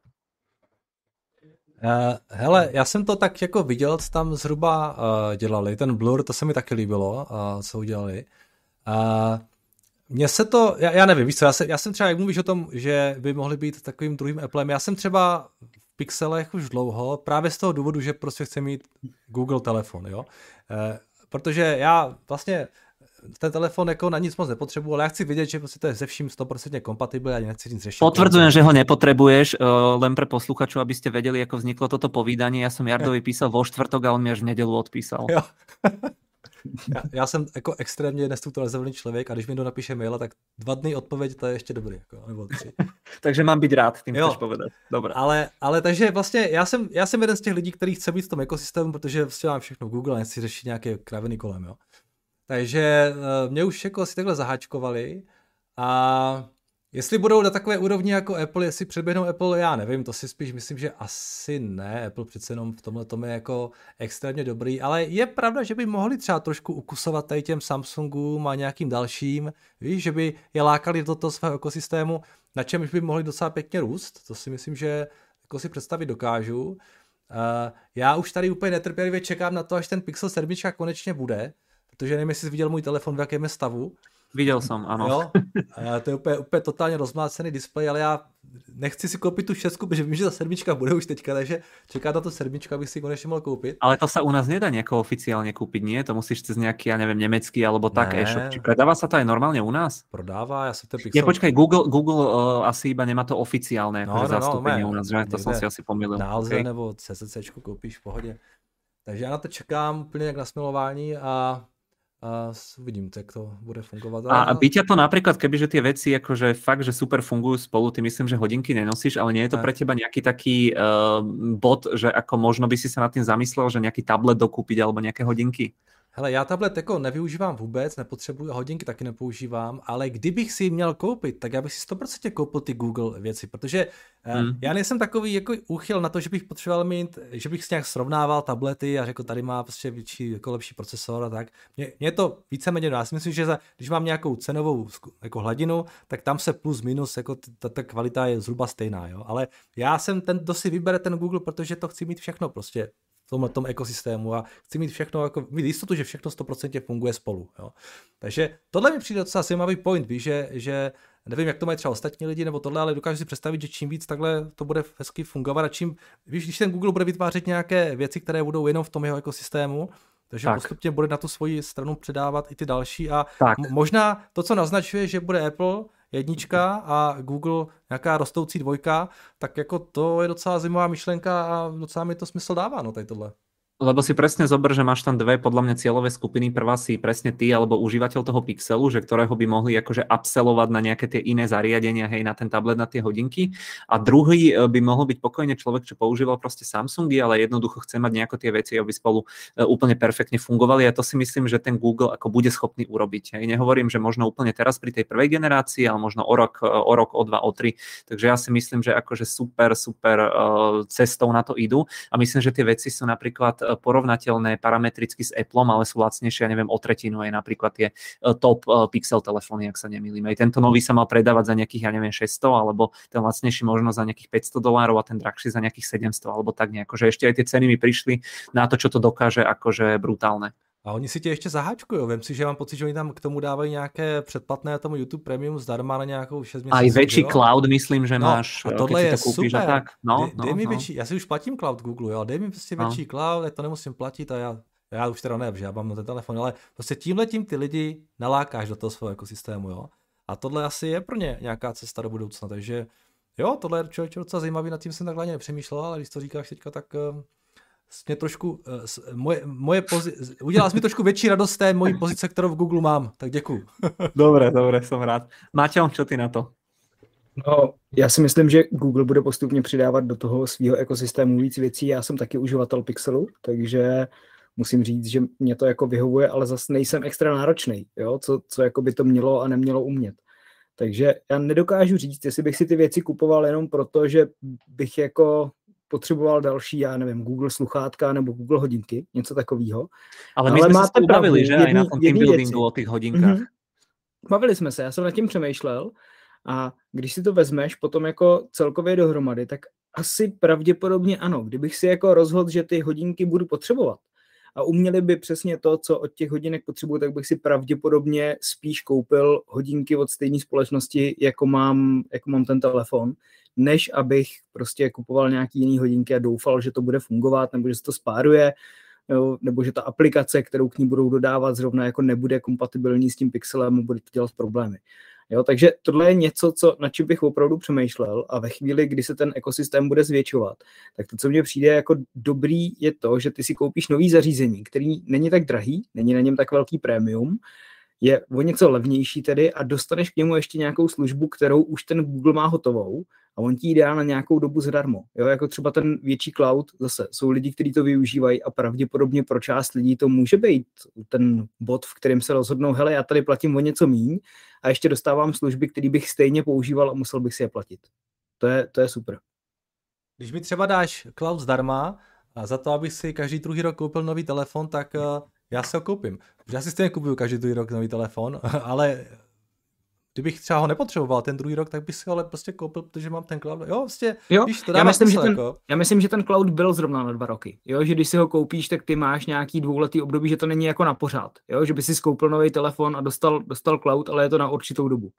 Uh, hele, já jsem to tak jako viděl, co tam zhruba uh, dělali, ten Blur, to se mi taky líbilo, uh, co udělali. Uh, mně se to, já, já nevím, víš co, já, se, já jsem třeba, jak mluvíš o tom, že by mohli být takovým druhým Applem, já jsem třeba v Pixelech už dlouho, právě z toho důvodu, že prostě chci mít Google telefon, jo. Uh, protože já vlastně ten telefon jako na nic moc nepotřebuji, ale já chci vědět, že prostě to je ze vším sto procent kompatibilní a nechci nic řešit. Potvrdzujem, že ho nepotrebuješ, len pre posluchačov, aby ste vedeli, ako vzniklo toto povídanie. Ja som Jardovi písal vo štvrtok a on mi až v nedeľu odpísal. Jo. já, já jsem jako extrémně nestrukturalizovaný člověk a když mi to napíše maila, tak dva dny odpověď, to je ještě dobrý. Jako, nebo tři. Takže mám být rád, tím chceš povedat. Dobré. Ale, ale takže vlastně já jsem, já jsem jeden z těch lidí, který chce být v tom ekosystému, protože vlastně mám všechno v Google a nechci řešit nějaké kraviny kolem, jo. Takže mě už jako si takhle zaháčkovali a jestli budou na takové úrovni jako Apple, jestli předběhnou Apple, já nevím, to si spíš myslím, že asi ne. Apple přece jenom v tomhle tom je jako extrémně dobrý, ale je pravda, že by mohli třeba trošku ukusovat tady těm Samsungům a nějakým dalším, víš, že by je lákali do toho svého ekosystému, na čemž by mohli docela pěkně růst, to si myslím, že jako si představit dokážu. Uh, já už tady úplně netrpělivě čekám na to, až ten Pixel sedm konečně bude, protože nevím, jestli jsi viděl můj telefon, v jakém je stavu. Viděl jsem, ano. Jo? A to je úplně, úplně totálně rozmlácený displej, ale já nechci si koupit tu šestku, protože vím, že ta sedmička bude už teďka, takže čeká na tu sedmičku, abych si ji konečně mohl koupit. Ale to sa u nás nedá nejako oficiálně koupit, nie? To musíš cez nějaký, já nevím, německý alebo tak ne. E-shop. Či predává sa to aj normálně u nás? Prodává, já jsem ten Pixel... Nie, počkaj, Google, Google uh, asi iba nemá to oficiálne no, no, zastúpenie no, u nás, že? To som si asi pomýlil. Na Alze okay. Nebo C C C koupíš v pohodě. Takže já na to čekám úplně jak na smilování a a uvidím, jak to bude fungovat. A, a by ťa to napríklad, kebyže tie veci akože fakt, že super fungujú spolu, ty myslím, že hodinky nenosíš, ale nie je to ne. Pre teba nejaký taký uh, bod, že ako možno by si sa nad tým zamyslel, že nejaký tablet dokúpiť alebo nejaké hodinky? Hele, já tablet jako nevyužívám vůbec, nepotřebuji, hodinky taky nepoužívám, ale kdybych si měl koupit, tak já bych si sto procent koupil ty Google věci, protože hmm. já nejsem takový jako úchyl na to, že bych potřeboval mít, že bych si nějak srovnával tablety a řekl, tady má prostě větší, jako lepší procesor a tak. Mně, mně to víceméně, já si myslím, že za, když mám nějakou cenovou jako hladinu, tak tam se plus minus, jako ta, ta kvalita je zhruba stejná, jo, ale já jsem ten, kdo si vybere ten Google, protože to chci mít všechno prostě v tomhle tom ekosystému a chci mít všechno, jako mít jistotu, že všechno sto procent funguje spolu. Jo. Takže tohle mi přijde docela zajímavý point, víš, že, že nevím, jak to mají třeba ostatní lidi nebo tohle, ale dokážu si představit, že čím víc takhle to bude hezky fungovat a čím, víš, když ten Google bude vytvářet nějaké věci, které budou jenom v tom jeho ekosystému, takže tak. postupně bude na tu svoji stranu předávat i ty další a tak. možná to, co naznačuje, že bude Apple jednička a Google nějaká rostoucí dvojka, tak jako to je docela zajímavá myšlenka a docela mi to smysl dává, no tady tohle. Lebo si presne zober, že máš tam dve podľa mňa cieľové skupiny. Prvá si presne ty alebo užívateľ toho Pixelu, že ktorého by mohli akože upsellovať na nejaké tie iné zariadenia, hej, na ten tablet, na tie hodinky. A druhý by mohol byť pokojne človek, čo používal proste Samsungy, ale jednoducho chce mať nejako tie veci, aby spolu úplne perfektne fungovali. A to si myslím, že ten Google ako bude schopný urobiť. Hej. Nehovorím, že možno úplne teraz pri tej prvej generácii, ale možno o rok, o rok, o dva, o tri. Takže ja si myslím, že akože super, super cestou na to idú. A myslím, že tie veci sú napríklad porovnateľné parametricky s Appleom, ale sú lacnejšie, ja neviem, o tretinu je napríklad tie top Pixel telefóny, ak sa nemýlim. Aj tento nový sa mal predávať za nejakých, ja neviem, šesťsto, alebo ten lacnejší možno za nejakých päťsto dolárov a ten drahší za nejakých sedemsto, alebo tak nejako, že ešte aj tie ceny mi prišli na to, čo to dokáže, akože brutálne. A oni si tě ještě zaháčkují. Vem si, že mám pocit, že oni tam k tomu dávají nějaké předplatné tomu YouTube Premium zdarma na nějakou šest měsíců. A i větší cloud, myslím, že no, máš. A tohle je to koupíš, super. Tak. No, dej, no, dej mi no. větší, já si už platím cloud Google, jo. Dej mi prostě no. větší cloud, já to nemusím platit a já, já už teda ne, že já mám na ten telefon, ale prostě tímhletím ty lidi nalákáš do toho svého ekosystému, jo. A tohle asi je pro ně nějaká cesta do budoucna, takže jo, tohle je člověk docela zajímavý, nad tím jsem takhle nepřemýšlel, ale když to říkáš teďka, tak mě trošku, moje, moje pozi- udělal jsi mi trošku větší radost té mojí pozice, kterou v Google mám, tak děkuju. Dobre, dobre, som rád. Máťo, čo ty na to? No, já si myslím, že Google bude postupně přidávat do toho svého ekosystému víc věcí. Já jsem taky uživatel Pixelu, takže musím říct, že mě to jako vyhovuje, ale zase nejsem extra náročný, jo? Co, co jako by to mělo a nemělo umět. Takže já nedokážu říct, jestli bych si ty věci kupoval jenom proto, že bych jako potřeboval další, já nevím, Google sluchátka nebo Google hodinky, něco takového. Ale my Ale jsme se bavili, že? Aj na tom team buildingu o těch hodinkách. Mm-hmm. Bavili jsme se, já jsem nad tím přemýšlel a když si to vezmeš potom jako celkově dohromady, tak asi pravděpodobně ano. Kdybych si jako rozhodl, že ty hodinky budu potřebovat a uměli by přesně to, co od těch hodinek potřebuji, tak bych si pravděpodobně spíš koupil hodinky od stejné společnosti, jako mám, jako mám ten telefon, než abych prostě kupoval nějaký jiný hodinky a doufal, že to bude fungovat, nebo že se to spáruje, nebo že ta aplikace, kterou k ní budou dodávat, zrovna jako nebude kompatibilní s tím Pixelem a bude to dělat problémy. Jo, takže tohle je něco, co, na čem bych opravdu přemýšlel a ve chvíli, kdy se ten ekosystém bude zvětšovat, tak to, co mně přijde jako dobrý, je to, že ty si koupíš nový zařízení, který není tak drahý, není na něm tak velký prémium, je o něco levnější tedy a dostaneš k němu ještě nějakou službu, kterou už ten Google má hotovou a on ti ji dá na nějakou dobu zadarmo. Jo, jako třeba ten větší cloud, zase jsou lidi, kteří to využívají a pravděpodobně pro část lidí to může být ten bod, v kterém se rozhodnou, hele, já tady platím o něco míň a ještě dostávám služby, které bych stejně používal a musel bych si je platit. To je, to je super. Když mi třeba dáš cloud zdarma a za to, abych si každý druhý rok koupil nový telefon, tak já se ho koupím. Protože já si stejně kupuju každý druhý rok nový telefon, ale kdybych třeba ho nepotřeboval ten druhý rok, tak bych si ho ale prostě koupil, protože mám ten cloud. Jo, prostě, jo, víš, to já myslím, smysl, že ten, jako. já myslím, že ten cloud byl zrovna na dva roky. Jo, že když si ho koupíš, tak ty máš nějaký dvouletý období, že to není jako na pořád. Jo, že by si koupil nový telefon a dostal, dostal cloud, ale je to na určitou dobu.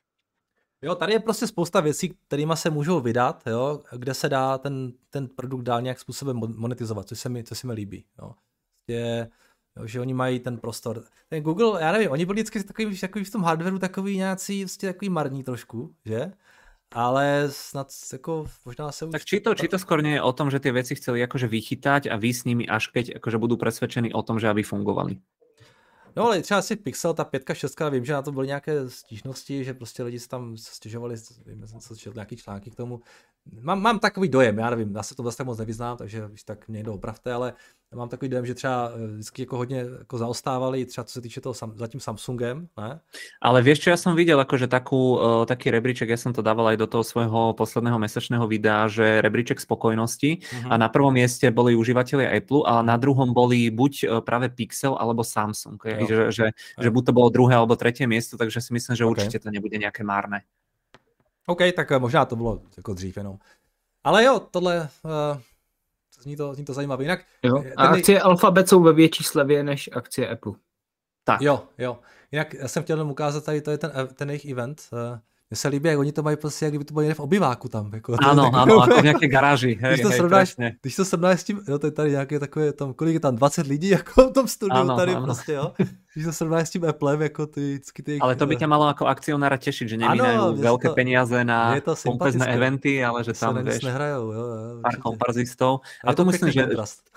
Jo, tady je prostě spousta věcí, kterýma se můžou vydat, jo, kde se dá ten, ten produkt dál nějak způsobem monetizovat, což se mi, co se mi líbí. Jo. Je, jo, že oni mají ten prostor. Ten Google, já nevím, oni byli vždycky takový, takový v tom hardwareu takový nějací, vlastně takový marní trošku, že? Ale snad jako možná se už... Tak či to, či to skôr nie je o tom, že tie veci chceli akože vychytať a vy s nimi až keď akože budú presvedčení o tom, že aby fungovali. No ale třeba si Pixel, ta pětka, šestka, vím, že na to byly nějaké stížnosti, že prostě lidi se tam stěžovali, vím, jsem se četl nějaký články k tomu. Mám, mám takový dojem, já nevím, já se to vlastně moc nevyznám, takže tak mě někdo opravte, ale mám takový dojem, že třeba vždycky jako hodně jako zaostávali, třeba co se týče toho za tím Samsungem, ne? Ale vieš čo, ja som videl akože takú, uh, taký rebríček, ja som to dával aj do toho svojho posledného mesačného videa, že rebríček spokojnosti uh-huh. a na prvom mieste boli užívateľi Apple a na druhom boli buď uh, práve Pixel alebo Samsung, že, že, že buď to bolo druhé alebo tretie miesto, takže si myslím, že okay. určite to nebude nejaké márne. OK, tak možná to bylo jako dřív jenom. Ale jo, tohle... Uh... Zní to, zní to zajímavé. Jinak, jo. A ten... akcie Alphabet jsou ve větší slevě než akcie Apple. Tak. Jo, jo. Jinak já jsem chtěl jenom ukázat tady, to je ten, ten jejich event. Mně se líbí, jak oni to mají prostě, jak kdyby to bylo v obyváku tam. Jako, ano, to, ano, jako v nějaké garáži. Hej, když, to hej, srovnáš, když to srovnáš s tím, jo, to je tady nějaké takové, tam, kolik je tam, dvacet lidí jako v tom studiu ano, tady ano. prostě, jo. Když to srovnáš s tím Applem, jako ty, ty... Ale to by ťa malo ako akcionára tešiť, že nemínajú veľké to, peniaze na pompezné eventy, ale že tam, vieš, nehrajou, jo, jo, pár komparzistov. A, a to myslím, že...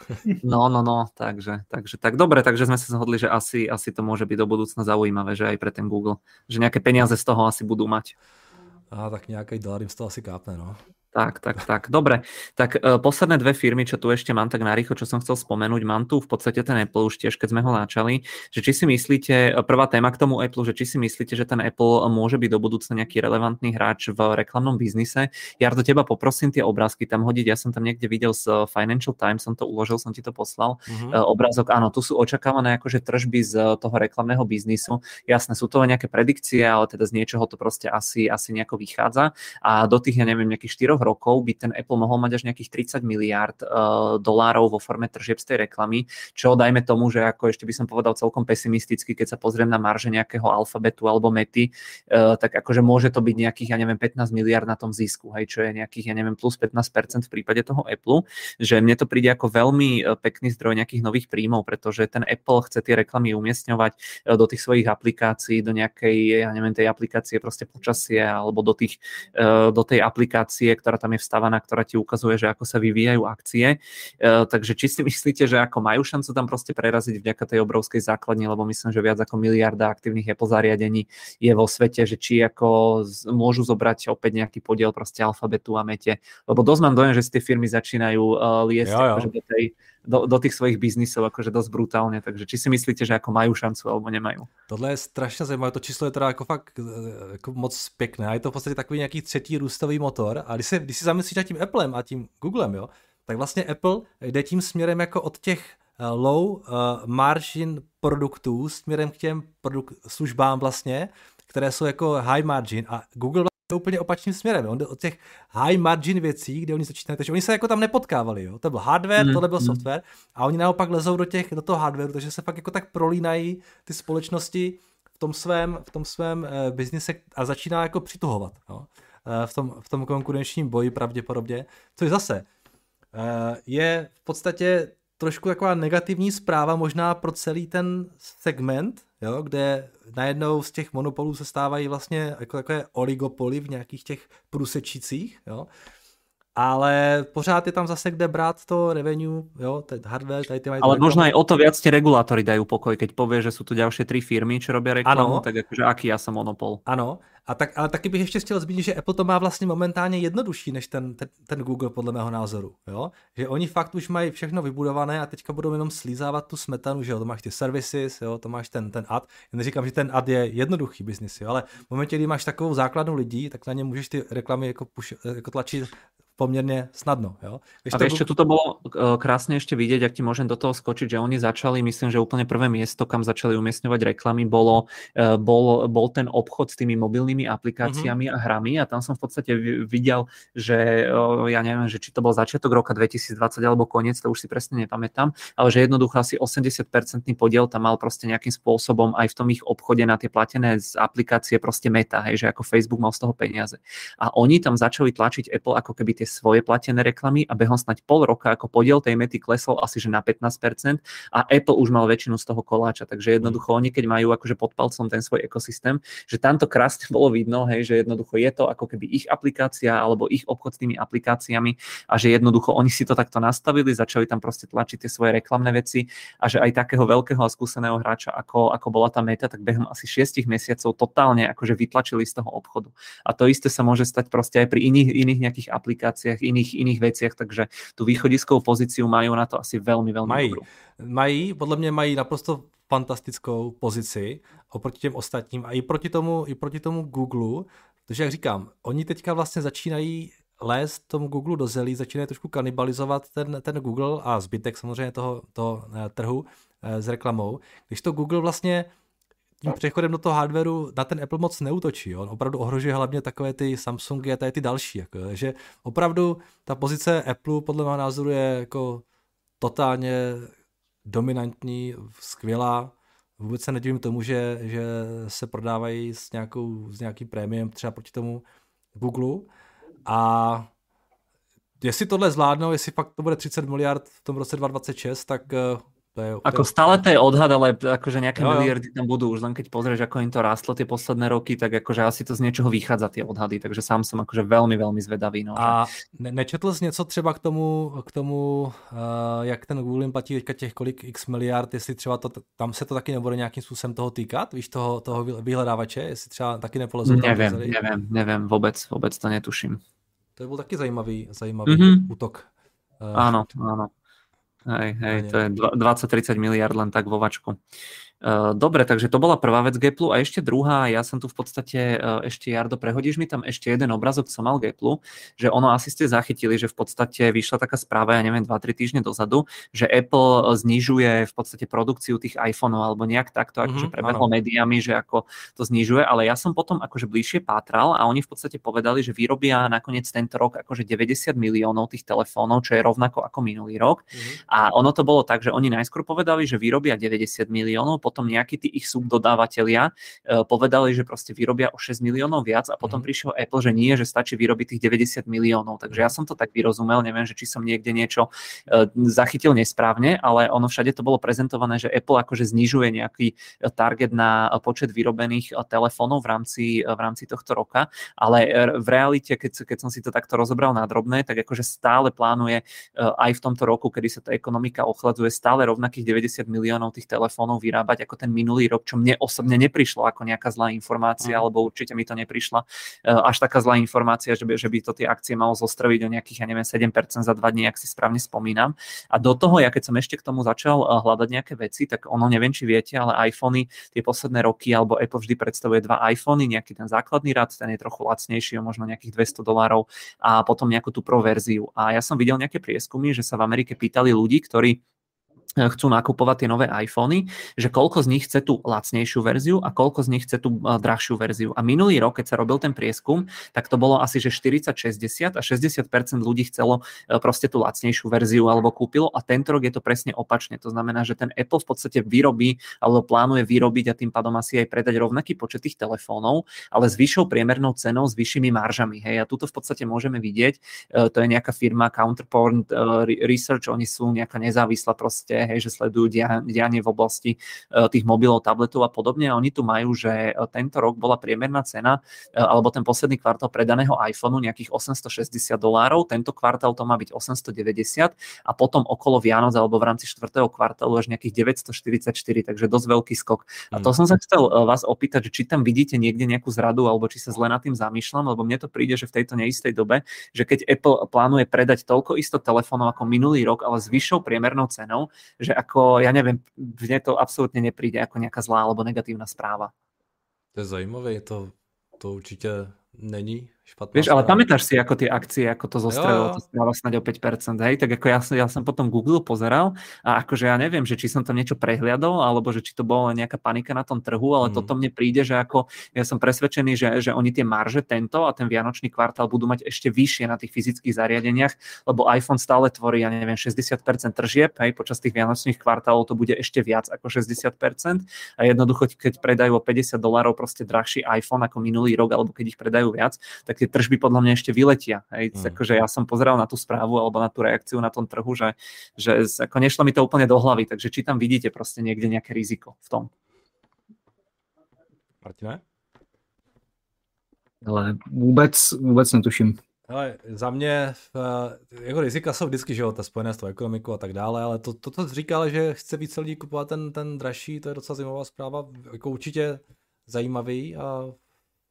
No, no, no, takže, takže tak. Dobre, takže sme sa zhodli, že asi, asi to môže byť do budúcna zaujímavé, že aj pre ten Google. Že nejaké peniaze z toho asi budú mať. Á, tak nejaký dolar im z toho asi kápne, no. Tak, tak, tak. Dobre. Tak uh, posledné dve firmy, čo tu ešte mám tak narýchlo, čo som chcel spomenúť, mám tu v podstate ten Apple už tiež, keď sme ho načali, že či si myslíte, prvá téma k tomu Apple, že či si myslíte, že ten Apple môže byť do budúcna nejaký relevantný hráč v reklamnom biznise. Jardo, teba poprosím tie obrázky tam hodiť, ja som tam niekde videl z Financial Times, som to uložil, som ti to poslal. Uh-huh. Uh, obrázok, áno, tu sú očakávané akože tržby z toho reklamného biznisu. Jasné, sú to nejaké predikcie, ale teda z niečoho to proste asi, asi nejako vychádza. A do tých, ja neviem, nejakých štyroch rokov by ten Apple mohol mať až nejakých tridsať miliárd uh, dolárov vo forme tržieb z tej reklamy, čo dajme tomu, že ako ešte by som povedal celkom pesimisticky, keď sa pozriem na marže nejakého Alphabetu alebo Mety, uh, tak akože môže to byť nejakých, ja neviem, pätnásť miliárd na tom zisku, hej, čo je nejakých, ja neviem, plus pätnásť percent v prípade toho Apple, že mne to príde ako veľmi pekný zdroj nejakých nových príjmov, pretože ten Apple chce tie reklamy umiestňovať do tých svojich aplikácií, do nejakej, ja neviem, tej aplikácie proste počasie alebo do, tých, uh, do tej aplikácie, ktorá tam je vstávaná, ktorá ti ukazuje, že ako sa vyvíjajú akcie. E, takže či si myslíte, že ako majú šancu tam proste preraziť vďaka tej obrovskej základni, lebo myslím, že viac ako miliarda aktívnych Apple zariadení je vo svete, že či ako z, môžu zobrať opäť nejaký podiel proste Alphabetu a Mete. Lebo dosť mám dojem, že z tie firmy začínajú uh, liesť akože do, tej, do, do tých svojich biznisov akože dosť brutálne. Takže či si myslíte, že ako majú šancu alebo nemajú? Tohle je strašně zajímavé, to číslo je teda jako fakt jako moc pěkné a je to v podstatě takový nějaký třetí růstový motor a když si, když si zamyslíš nad tím Applem a tím Googlem, jo, tak vlastně Apple jde tím směrem jako od těch low uh, margin produktů směrem k těm produk- službám vlastně, které jsou jako high margin a Google je úplně opačným směrem. On jde od těch high margin věcí, kde oni začínají, takže oni se jako tam nepotkávali, jo. To byl hardware, mm, tohle byl mm. software a oni naopak lezou do těch do toho hardwareu, takže se fakt jako tak prolínají ty společnosti v tom svém v tom svém uh, biznise a začíná jako přituhovat, jo. Uh, v tom v tom konkurenčním boji pravděpodobně. Což zase uh, je v podstatě trošku taková negativní zpráva možná pro celý ten segment, jo, kde najednou z těch monopolů se stávají vlastně jako takové oligopoly v nějakých těch průsečících, jo. Ale pořád je tam zase kde brát to revenue, jo, ten hardware, tady ty mají... Ale možno aj o to viac tie regulátory dajú pokoj, keď povie, že sú tu ďalšie tri firmy, čo robia reklamu, ano. Tak akože aký ja som monopol. Ano, a tak, ale taky bych ještě chtěl zmínit, že Apple to má vlastně momentálně jednodušší než ten, ten, ten Google podle mého názoru, jo, že oni fakt už mají všechno vybudované a teďka budou jenom slízávat tu smetanu, že jo, to máš ty services, jo, to máš ten, ten ad, já neříkám, že ten ad je jednoduchý biznis, jo, ale v momentě, kdy máš takovou základnu lidí, tak na ně můžeš ty reklamy jako, puš, jako tlačit pomerne snadno. Jo? A vieš, čo, tuto bolo krásne ešte vidieť, ak ti môžem do toho skočiť, že oni začali, myslím, že úplne prvé miesto, kam začali umiestňovať reklamy, bolo, bol, bol ten obchod s tými mobilnými aplikáciami mm-hmm. a hrami a tam som v podstate videl, že ja neviem, že či to bol začiatok roka dvetisícdvadsať alebo koniec, to už si presne nepamätám, ale že jednoducho asi osemdesiat percent podiel tam mal proste nejakým spôsobom aj v tom ich obchode na tie platené z aplikácie proste Meta, hej, že ako Facebook mal z toho peniaze. A oni tam začali tlačiť Apple ako keby tie svoje platené reklamy a behom snať pol roka ako podiel tej Mety klesol asi že na pätnásť percent a Apple už mal väčšinu z toho koláča, takže jednoducho oni keď majú akože pod palcom ten svoj ekosystém, že tam to krásne bolo vidno, hej, že jednoducho je to ako keby ich aplikácia alebo ich obchod s tými aplikáciami a že jednoducho oni si to takto nastavili, začali tam proste tlačiť tie svoje reklamné veci a že aj takého veľkého a skúseného hráča ako, ako bola tá Meta, tak behom asi šiestich mesiacov totálne akože vytlačili z toho obchodu. A to isté sa môže stať proste aj pri iných, iných nejakých aplikáciách aplikáciách, iných, iných veciach, takže tú východiskovou pozíciu majú na to asi veľmi, veľmi mají. dobrú. Mají, podle mě mají naprosto fantastickou pozici oproti těm ostatním a i proti tomu, i proti tomu Google, protože jak říkám, oni teďka vlastně začínají lézt tomu Google do zelí, začínají trošku kanibalizovat ten, ten Google a zbytek samozřejmě toho, toho trhu s reklamou, když to Google vlastně tím přechodem do toho hardwareu na ten Apple moc neútočí. On opravdu ohrožuje hlavně takové ty Samsungy a tady ty další. Jako, že opravdu ta pozice Apple podle mého názoru je jako totálně dominantní, skvělá. Vůbec se nedivím tomu, že, že se prodávají s, nějakou, s nějakým prémiem třeba proti tomu Google. A jestli tohle zvládnou, jestli fakt to bude třicet miliard v tom roce dva tisíce dvacet šest, tak to je... Ako stále to je odhad, ale akože nejaké jo, jo. miliardy tam budú. Už len keď pozrieš, ako im to rástlo tie posledné roky, tak akože asi to z niečoho vychádza tie odhady. Takže sám som akože veľmi, veľmi zvedavý. No. A ne- nečetl jsi něco třeba k tomu, k tomu uh, jak ten Google jim platí teďka těch kolik x miliard, jestli třeba to, tam se to taky nebude nějakým způsobem toho týkat, víš, toho, toho vyhledávače, jestli třeba taky nepolezou tam neviem, neviem, neviem, vôbec, vôbec to netuším. To byl taky zajímavý, zajímavý mm-hmm. útok. Uh, áno, áno. Hej, hej, to je dvadsať tridsať miliard len tak vo vačku. Dobre, takže to bola prvá vec Gaplu a ešte druhá, ja som tu v podstate, ešte Jardo, prehodíš mi tam ešte jeden obrazok, som mal Gaplu, že ono asi ste zachytili, že v podstate vyšla taká správa, ja neviem, dva tri týždne dozadu, že Apple znižuje v podstate produkciu tých iPhoneov alebo nejak takto, mm-hmm, akože prebehlo médiami, že ako to znižuje, ale ja som potom akože bližšie pátral a oni v podstate povedali, že vyrobia nakoniec tento rok akože deväťdesiat miliónov tých telefónov, čo je rovnako ako minulý rok. Mm-hmm. A ono to bolo tak, že oni najskôr povedali, že vyrobia deväťdesiat miliónov, potom nejakí tí ich subdodávateľia uh, povedali, že proste vyrobia o šesť miliónov viac a potom mm. prišiel Apple, že nie, že stačí vyrobiť tých deväťdesiat miliónov. Takže ja som to tak vyrozumel, neviem, že či som niekde niečo uh, zachytil nesprávne, ale ono všade to bolo prezentované, že Apple akože znižuje nejaký target na počet vyrobených telefónov v rámci, v rámci tohto roka, ale v realite, keď, keď som si to takto rozobral na drobné, tak akože stále plánuje uh, aj v tomto roku, kedy sa tá ekonomika ochladzuje, stále rovnakých deväťdesiat miliónov tých telefónov vyrábať ako ten minulý rok, čo mne osobne neprišlo ako nejaká zlá informácia, mm. alebo určite mi to neprišla uh, až taká zlá informácia, že by, že by to tie akcie malo zostroviť o nejakých, ja neviem, sedem percent za dva dní, ak si správne spomínam. A do toho, ja keď som ešte k tomu začal uh, hľadať nejaké veci, tak ono, neviem, či viete, ale iPhony tie posledné roky, alebo Apple vždy predstavuje dva iPhony, nejaký ten základný rad, ten je trochu lacnejší, o možno nejakých dvesto dolárov a potom nejakú tú pro verziu. A ja som videl nejaké prieskumy, že sa v Amerike pýtali ľudí, ktorí chcú nakupovať tie nové iPhony, že koľko z nich chce tú lacnejšiu verziu a koľko z nich chce tú drahšiu verziu. A minulý rok, keď sa robil ten prieskum, tak to bolo asi, že štyridsať šesťdesiat a šesťdesiat percent ľudí chcelo proste tú lacnejšiu verziu alebo kúpilo a tento rok je to presne opačne. To znamená, že ten Apple v podstate vyrobí alebo plánuje vyrobiť a tým pádom asi aj predať rovnaký počet tých telefónov, ale s vyššou priemernou cenou, s vyššími maržami. Hej, a tuto v podstate môžeme vidieť, to je nejaká firma Counterpoint Research, oni sú nejaká nezávislá proste, hej, že sledujú dianie v oblasti uh, tých mobilov, tabletov a podobne. A oni tu majú, že uh, tento rok bola priemerná cena uh, alebo ten posledný kvartál predaného iPhoneu nejakých osemstošesťdesiat dolárov. Tento kvartál to má byť osemstodeväťdesiat a potom okolo Vianoc alebo v rámci štvrtého kvartálu až nejakých deväťstoštyridsaťštyri, takže dosť veľký skok. A to som sa chcel uh, vás opýtať, že či tam vidíte niekde nejakú zradu alebo či sa zle nad tým zamýšľam, lebo mne to príde, že v tejto neistej dobe, že keď Apple plánuje predať toľko isto telefónov ako minulý rok, ale s vyššou priemernou cenou, že ako, ja neviem, mne to absolútne nepríde ako nejaká zlá alebo negatívna správa. To je zajímavé, to, to určite není špatná Vieš, správa. ale pamätáš si, ako tie akcie, ako to zostrelilo, to správa snáď o päť percent, hej? Tak ako ja, ja som potom Google pozeral a akože ja neviem, že či som tam niečo prehliadol, alebo že či to bola nejaká panika na tom trhu, ale mm. toto mne príde, že ako ja som presvedčený, že, že oni tie marže tento a ten vianočný kvartál budú mať ešte vyššie na tých fyzických zariadeniach, lebo iPhone stále tvorí, ja neviem, šesťdesiat percent tržieb, hej? Počas tých vianočných kvartálov to bude ešte viac ako šesťdesiat percent a jednoducho, keď predajú o päťdesiat dolárov proste drahší iPhone ako minulý rok, alebo keď ich predajú viac, tak tie tržby podľa mňa ešte vyletia. Hej. Mm. Akože ja som pozeral na tú správu alebo na tú reakciu na tom trhu, že, že ako nešlo mi to úplne do hlavy, takže či tam vidíte proste niekde nejaké riziko v tom. Martine? Ale vůbec, vůbec netuším. Ale za mě jako rizika jsou vždycky, že jo, ta spojené s tou ekonomikou a tak dále, ale to, to, to říkal, že chce více lidí kupovat ten, ten dražší, to je docela zajímavá zpráva, jako určitě zajímavý a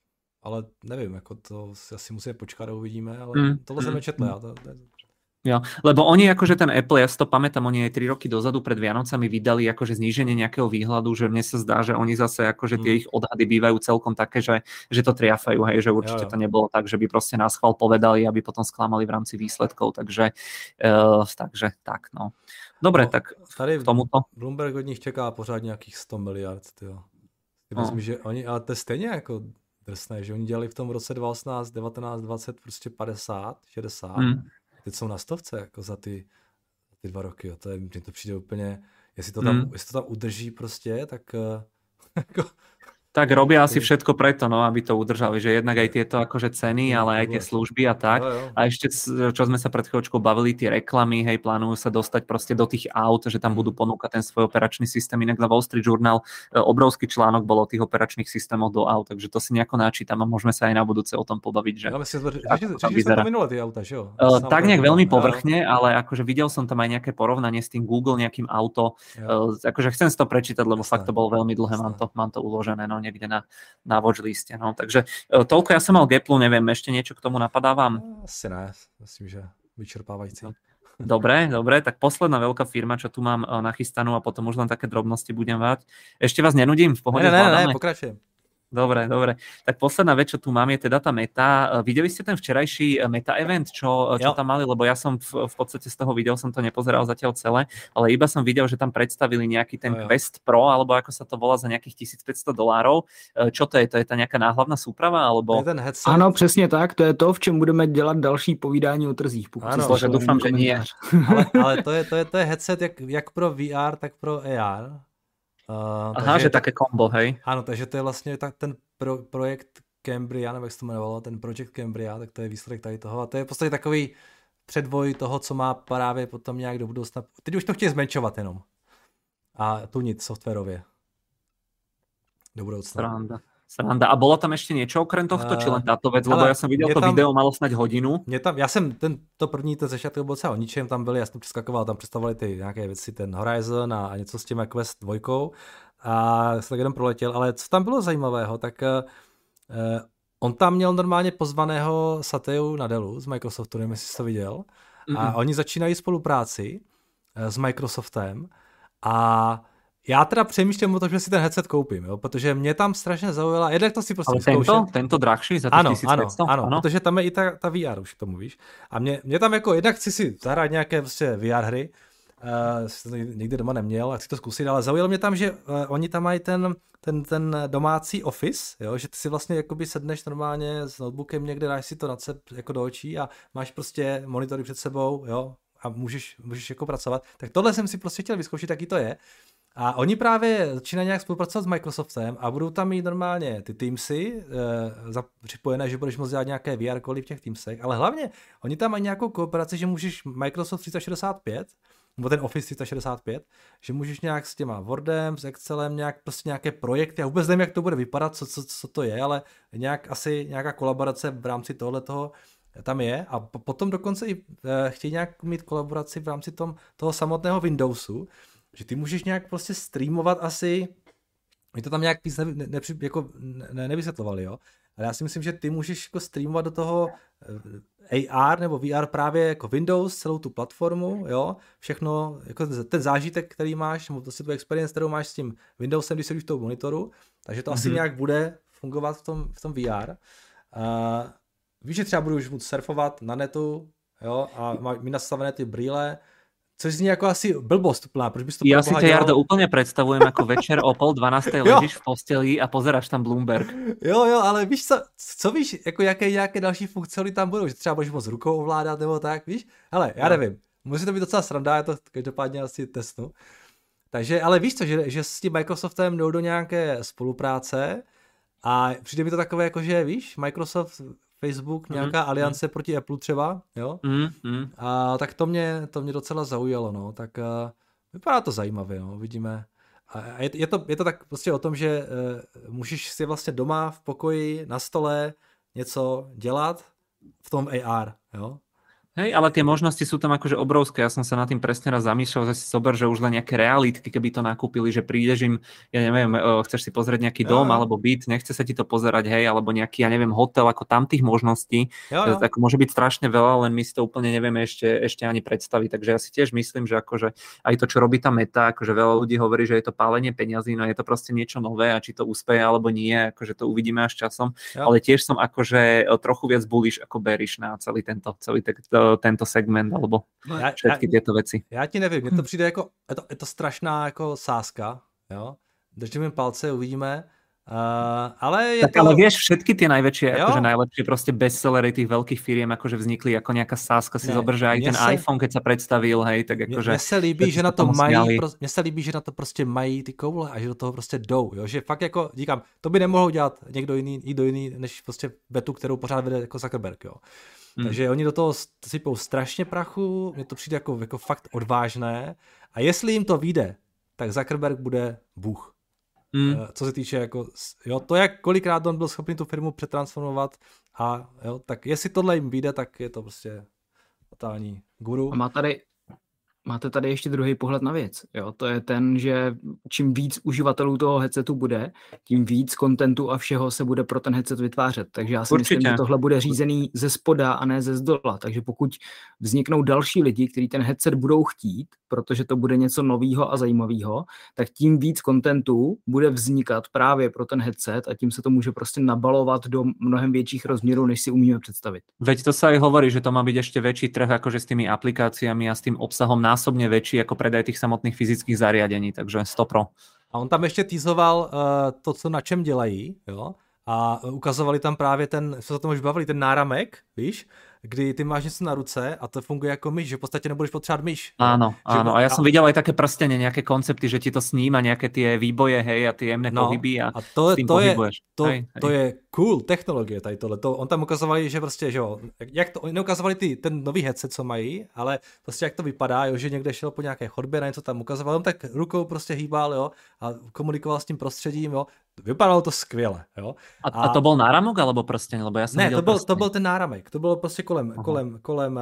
ale nevím, jako to si asi musíme počkat a uvidíme, ale mm, tohle mm, jsem nečetl mm. já. To, to je... Jo, lebo oni akože ten Apple, ja si to pamätám, oni aj tri roky dozadu pred Vianocami vydali akože zníženie nejakého výhľadu, že mne sa zdá, že oni zase akože tie Hmm. ich odhady bývajú celkom také, že, že to triafajú, hej, že určite Jo, jo. to nebolo tak, že by proste nás chval povedali, aby potom sklamali v rámci výsledkov, takže, uh, takže tak, no. Dobre, No, tak tady k tomuto. Bloomberg od nich čeká pořád nějakých sto miliard, tyjo. Ty No. vezmi, že oni, ale to je stejně jako drsné, že oni dělali v tom roce dva tisíce osmnáct, devatenáct, dvacet prostě padesát, šedesát. Mm. Teď jsou na stovce jako za ty, ty dva roky. Jo. To je, mně to přijde úplně, jestli to tam, Mm. jestli to tam udrží prostě, tak uh, jako, Tak robia asi všetko preto, no, aby to udržali, že jednak aj tieto akože ceny, ale aj tie služby a tak. Jo, jo. A ešte, čo sme sa pred chvíľočkou bavili, tie reklamy, hej, plánujú sa dostať proste do tých aut, že tam budú ponúkať ten svoj operačný systém. Inak na Wall Street Journal e, obrovský článok bol o tých operačných systémoch do aut, takže to si nejako načítam a môžeme sa aj na budúce o tom pobaviť, že... Ja myslím, že, ako že, to že vyzerá. to minule tie auta, že jo? Uh, Sám tak nejak to- veľmi jo, povrchne, ale akože videl som tam aj nejaké porovnanie s tým Google nejakým auto. jo. Uh, akože chcem si to prečítať, lebo Jasné. fakt to bolo veľmi dlhé, mám Jasné. to, mám to uložené no, niekde na, na watchliste. No. Takže uh, toľko ja som mal Gaplu, neviem, ešte niečo k tomu napadávam. Asi ne, myslím, že vyčerpávající. Dobre, dobre, tak posledná veľká firma, čo tu mám uh, nachystanú a potom už len také drobnosti budem mať. Ešte vás nenudím, v pohode Ne, ne, ne, zvládame? ne, pokračujem. Dobre, dobre. Tak posledná vec, čo tu mám, je teda tá Meta. Videli ste ten včerajší Meta event, čo, čo Jo. tam mali? Lebo ja som v, v podstate z toho videl, som to nepozeral zatiaľ celé, ale iba som videl, že tam predstavili nejaký ten Jo, jo. Quest Pro, alebo ako sa to volá, za nejakých tisícpäťsto dolárov. Čo to je? To je tá nejaká náhlavná súprava? To Alebo... je ten headset. Ano, přesně tak, to je to, v čem budeme dělat další povídání o trzích. Pokud Ano, si Bože, slyšel doufám, můj že nie. komentář. ale, ale to, je, to, je, to je headset jak, jak pro V R, tak pro A R. Uh, Aha, že to, také kombo, hej? Ano, takže to je vlastně tak ten pro, projekt Cambria, nebo jak se to jmenovalo, ten Project Cambria, tak to je výsledek tady toho. A to je v podstatě takový předvoj toho, co má právě potom nějak do budoucna. Teď už to chtějí zmenšovat jenom. A tunit softwarově. Do budoucna. Sranda. Sranda. A bolo tam ešte niečo okrem tohto, či len táto vec? Lebo ale ja som videl je to tam- video, malo snať hodinu. Mě tam, já jsem ten, to první, ten začátek byl třeba o ničem, tam byli, já jsem přeskakoval, tam představovali ty nějaké věci, ten Horizon a, a něco s tím Quest dvojkou a jsem tak jenom proletěl, ale co tam bylo zajímavého, tak uh, on tam měl normálně pozvaného Satyaju Nadellu z Microsoftu, nevím, jestli jsi to viděl, a Mm-mm. oni začínají spolupráci uh, s Microsoftem a já teda přemýšlím o tom, že si ten headset koupím, jo, protože mě tam strašně zaujala, jednak to si prostě Ale vyzkoušet. tento, tento drahší za Ano, tých tisícpäťsto? ano, ano, protože tam je i ta, ta V R, už k tomu víš. A mě, mě tam jako, jednak chci si zahrát nějaké prostě V R hry, uh, jsem to nikdy doma neměl a chci to zkusit, ale zaujalo mě tam, že uh, oni tam mají ten, ten, ten domácí Office, jo, že ty si vlastně jakoby sedneš normálně s notebookem někde, dáš si to na sebe jako do očí a máš prostě monitory před sebou, jo, a můžeš, můžeš jako pracovat. Tak tohle jsem si prostě chtěl vyzkoušet, jaký to je. A oni právě začínají nějak spolupracovat s Microsoftem a budou tam mít normálně ty Teamsy e, připojené, že budeš moct dělat nějaké V R koly v těch Teamsech, ale hlavně oni tam mají nějakou kooperaci, že můžeš Microsoft tři sta šedesát pět, nebo ten Office tři sta šedesát pět, že můžeš nějak s těma Wordem, s Excelem, nějak prostě nějaké projekty, já vůbec nevím, jak to bude vypadat, co, co, co to je, ale nějak asi nějaká kolaborace v rámci tohletoho tam je a po, potom dokonce i e, chtějí nějak mít kolaboraci v rámci tom, toho samotného Windowsu, že ty můžeš nějak prostě streamovat asi, my to tam nějak víc ne, ne, ne, jako ne, nevysvětlovali, jo, ale já si myslím, že ty můžeš jako streamovat do toho A R nebo V R právě jako Windows, celou tu platformu, jo, všechno, jako ten zážitek, který máš, nebo to si tu experience, kterou máš s tím Windowsem, když sedíš v tom monitoru, takže to mm-hmm. asi nějak bude fungovat v tom, v tom V R. Uh, víš, že třeba budu už moct surfovat na netu, jo, a má mít nastavené ty brýle, což zní jako asi blbost úplná, proč bys to Ja si ťa, Jardo, úplne predstavujem ako večer o pol dvanástej ležíš v posteli a pozeráš tam Bloomberg. Jo, jo, ale víš co, co víš, jako jaké nějaké další funkcionality tam budou, že třeba budeš moc rukou ovládat nebo tak, víš? Hele, já nevím, musí to být docela sranda, já to každopádně asi testnu. Takže, ale víš co, že, že s tím Microsoftem jdou do nějaké spolupráce a přijde mi to takové jako, že víš, Microsoft, Facebook, nějaká mm, aliance mm. proti Apple třeba, jo? Mm, mm. A tak to mě, to mě docela zaujalo, no, tak uh, vypadá to zajímavě, no, vidíme. A je, je, to, je to tak prostě o tom, že uh, můžeš si vlastně doma v pokoji, na stole něco dělat v tom A R, jo? Hej, ale tie možnosti sú tam akože obrovské. Ja som sa nad tým presne raz zamýšľal, že si zober, že už len nejaké realitky, keby to nakúpili, že prídeš im, ja neviem, chceš si pozrieť nejaký jo, dom jo. alebo byt, nechce sa ti to pozerať, hej, alebo nejaký, ja neviem, hotel, ako tam tých možností, jo, jo. Tak môže byť strašne veľa, len my si to úplne nevieme ešte, ešte ani predstaviť. Takže ja si tiež myslím, že akože aj to, čo robí tá Meta, akože veľa ľudí hovorí, že je to pálenie peňazí, no je to proste niečo nové a či to úspeje alebo nie, akože to uvidíme až časom. Jo. Ale tiež som akože trochu viac bullish ako bearish na celý tento, celý tento, tento segment alebo ja, všetky ja, tieto veci. Já ti nevím, mně to přijde jako, je to, je to strašná jako sázka, jo, držíme palce, uvidíme, uh, ale je tak to... ale vieš, všetky tie najväčšie, akože najlepšie proste bestsellery tých veľkých firiem akože vznikli ako nejaká sázka, si zober, že aj ten se... iPhone, keď sa predstavil, hej, tak akože... Mně se líbí, že na to mají, pro, mně se líbí, že na to prostě mají ty koule a že do toho prostě jdou, jo, že fakt jako, říkám, to by nemohl dělat někdo jiný, někdo jiný, než prostě Betu, kterou pořád vede jako Zuckerberg, jo. Hmm. Takže oni do toho sypou strašně prachu, mně to přijde jako, jako fakt odvážné a jestli jim to vyjde, tak Zuckerberg bude bůh. Hmm. Co se týče jako, jo, to jak kolikrát on byl schopný tu firmu přetransformovat a jo, tak jestli tohle jim vyjde, tak je to prostě totální guru. A má tady Máte tady ještě druhý pohled na věc. Jo? To je ten, že čím víc uživatelů toho headsetu bude, tím víc kontentu a všeho se bude pro ten headset vytvářet. Takže já si Určitě. myslím, že tohle bude řízený ze spoda a ne ze zdola. Takže pokud vzniknou další lidi, kteří ten headset budou chtít, protože to bude něco nového a zajímavého, tak tím víc kontentu bude vznikat právě pro ten headset a tím se to může prostě nabalovat do mnohem větších rozměrů, než si umíme představit. Veď to sa aj hovorí, že to má byť ešte väčší trh akože s tými aplikáciami a s tým obsahom násobne väčší ako predaj tých samotných fyzických zariadení, takže sto pro. A on tam ještě teasoval uh, to, co na čem dělají, jo? A ukazovali tam právě ten, co se o tom už bavili, ten náramek, víš, kdy ty máš něco na ruce a to funguje jako myš, že v podstatě nebudeš potřebovat myš. Áno, áno. A ja som videl aj také prstenie, nejaké koncepty, že ti to sníma, nejaké tie výboje, hej, a tie jemné no, pohyby a, a to, s tým to pohybuješ. Je, to, hej, hej. to je cool technologie tady tohle. To, on tam ukazovali, že prostě, že jo, jak to, neukazovali ty, ten nový headset, co mají, ale prostě jak to vypadá, jo, že někde šel po nějaké chodbě, na něco tam ukazoval, on tak rukou prostě hýbal, jo, a komunikoval s tím prostředím, jo. Vypadalo to skvěle, jo. A, a to byl náramok alebo prsteň? Lebo ja som ne, to byl, prsteň. to byl ten náramek. To bylo prostě kolem, Aha. kolem, kolem uh,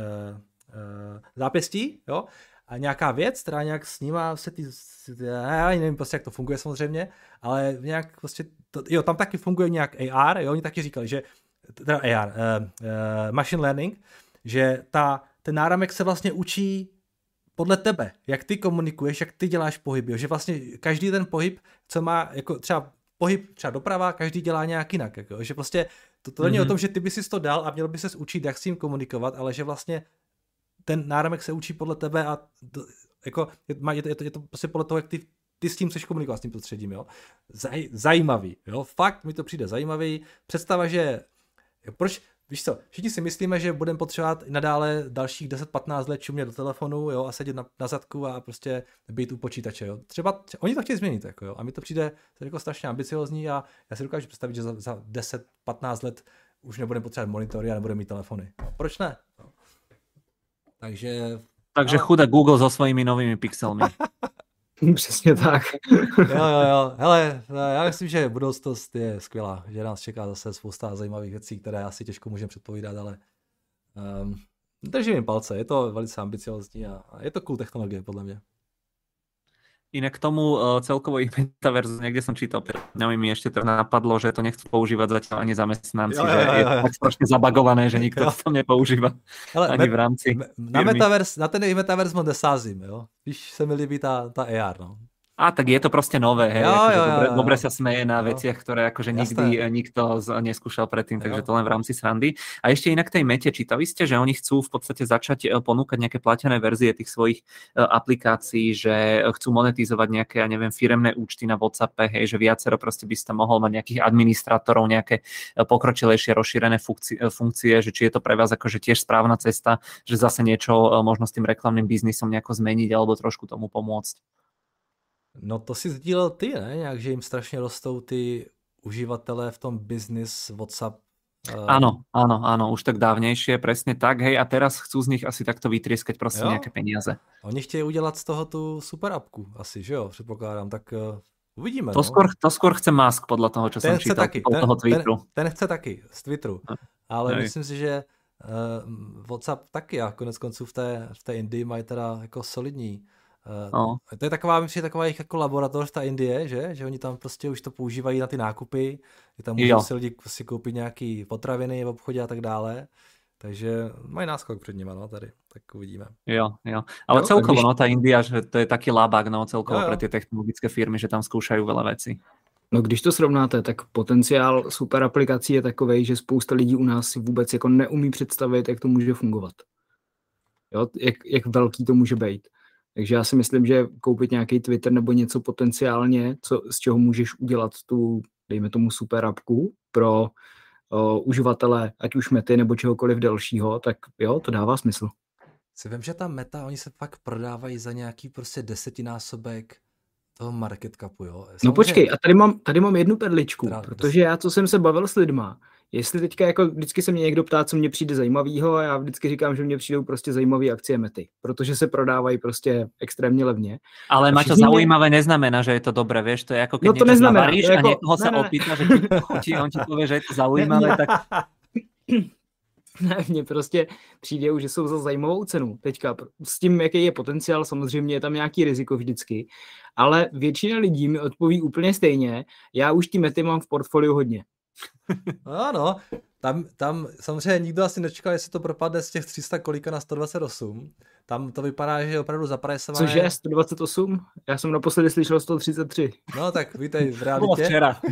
uh, zápěstí, jo. A nějaká věc, která nějak snímá se ty, já nevím prostě, jak to funguje samozřejmě, ale nějak prostě, to, jo, tam taky funguje nějak A R, jo, oni taky říkali, že, teda A R, uh, uh, machine learning, že ta, ten náramek se vlastně učí podle tebe, jak ty komunikuješ, jak ty děláš pohyby, že vlastně každý ten pohyb, co má, jako třeba pohyb třeba doprava, každý dělá nějak jinak, jako, že prostě to, to není mm-hmm. o tom, že ty bys si to dal a měl by ses učit, jak s tím komunikovat, ale že vlastně ten náramek se učí podle tebe a to, jako, je, je, to, je, to, je to prostě podle toho, jak ty, ty s tím chceš komunikovat, s tím prostředím, jo. Zaj, zajímavý, jo, fakt mi to přijde zajímavý, představa, že, proč, víš co, všichni si myslíme, že budeme potřebovat i nadále dalších deset patnáct let čumět do telefonu, jo, a sedět na, na zadku a prostě být u počítače, jo. Třeba, třeba oni to chtějí změnit, jako, jo, a mi to přijde jako strašně ambiciozní a já si dokážu představit, že za, za deset patnáct let už nebudeme potřebovat monitory a nebudeme mít telefony. No, proč ne? No. Takže... Takže ale... chudá Google so svojimi novými pixelmi. Přesně tak. jo, jo, jo. Hele, já myslím, že budoucnost je skvělá, že nás čeká zase spousta zajímavých věcí, které asi těžko můžeme předpovídat, ale um, držím jim palce, je to velice ambiciozní a, a je to cool technologie, podle mě. Inak k tomu uh, celkovo ich metaverzu, niekde som čítal, pred dňami mi ešte to napadlo, že to nechcú používať zatiaľ ani zamestnanci, jo, jo, jo, jo. že je to tak strašne zabagované, že nikto to tam nepoužíva. Hele, ani met, v rámci na, metaverse, na ten metaverse moc nesázím, jo. Víš, se mi líbí tá, tá á er, no. A tak je to proste nové, hej, jo, akože jo, dobre, jo, jo. dobre sa smeje na jo. veciach, ktoré akože nikdy Jasné. nikto z, neskúšal predtým, takže jo. to len v rámci srandy. A ešte inak tej Mete, čítali ste, že oni chcú v podstate začať ponúkať nejaké platené verzie tých svojich uh, aplikácií, že chcú monetizovať nejaké, ja neviem, firemné účty na WhatsAppe, hej, že viacero proste by si tam mohol mať nejakých administrátorov, nejaké pokročilejšie rozšírené funkcie, funkcie, že či je to pre vás akože tiež správna cesta, že zase niečo uh, možno s tým reklamným biznisom nejako zmeniť alebo trošku tomu pomôcť. No to si sdílel ty, ne? Nějak, že jim strašně rostou ty uživatelé v tom business WhatsApp. Áno, áno, áno, už tak dávnejšie, presne tak, hej, a teraz chcú z nich asi takto vytrieskať proste jo? nejaké peniaze. Oni chtějí udělat z toho tu super appku, asi, že jo, předpokládám, tak uh, uvidíme. To, no. skôr, to skôr chce Musk, podľa toho, čo ten som čítal taky, od toho ten, Twitteru. Ten, ten chce taky, z Twitteru, ale hej. myslím si, že uh, WhatsApp taky a konec konců v té, v té Indii mají teda jako solidní. Uh, no. To je taková, myslím, taková jejich jako laboratoř, ta Indie, že? Že oni tam prostě už to používají na ty nákupy, že tam můžou si lidi si koupit nějaký potraviny v obchodě a tak dále. Takže mají náskok před nima, no, tady, tak uvidíme. Jo, jo. Ale jo, celkovo, když... no, tá India, že to je taký labák, no, celkovo pre tie technologické firmy, že tam skúšajú veľa vecí. No, když to srovnáte, tak potenciál super aplikací je takovej, že spousta lidí u nás si vůbec jako neumí představit, jak to může fungovat. Jo, jak, jak velký to může být. Takže já si myslím, že koupit nějaký Twitter nebo něco potenciálně, co, z čeho můžeš udělat tu, dejme tomu, super appku pro o, uživatele, ať už Mety nebo čehokoliv dalšího, tak jo, to dává smysl. Si vím, že ta Meta, oni se fakt prodávají za nějaký prostě desetinásobek toho market capu, jo. Samozřejmě... No počkej, a tady mám, tady mám jednu perličku, teda, protože já, co jsem se bavil s lidma, jestli teďka jako vždycky se mě někdo ptá, co mně přijde zajímavýho, a já vždycky říkám, že mně přijdou prostě zajímavé akcie Mety, protože se prodávají prostě extrémně levně. Ale Maťo, zaujímavé mě... neznamená, že je to dobré, vieš, to je jako keď no to niečo neznamená, navaríš to jako... a niekoho sa opýta, že či to chutí, on ti povie, že je to zaujímavé, tak... Ne, mně prostě přijde, že jsou za zajímavou cenu. Teďka s tím, jaký je potenciál, samozřejmě je tam nějaký riziko vždycky, ale většina lidí mi odpoví úplně stejně. Já už ty Mety mám v portfoliu hodně. Ano, tam, tam samozřejmě nikdo asi nečekal, jestli to propadne z těch tři sta kolika na sto dvacet osm. Tam to vypadá, že je opravdu zaprajsované. Cože, sto dvacet osm? Já jsem naposledy slyšel sto třicet tři. No tak vítej v realitě. včera.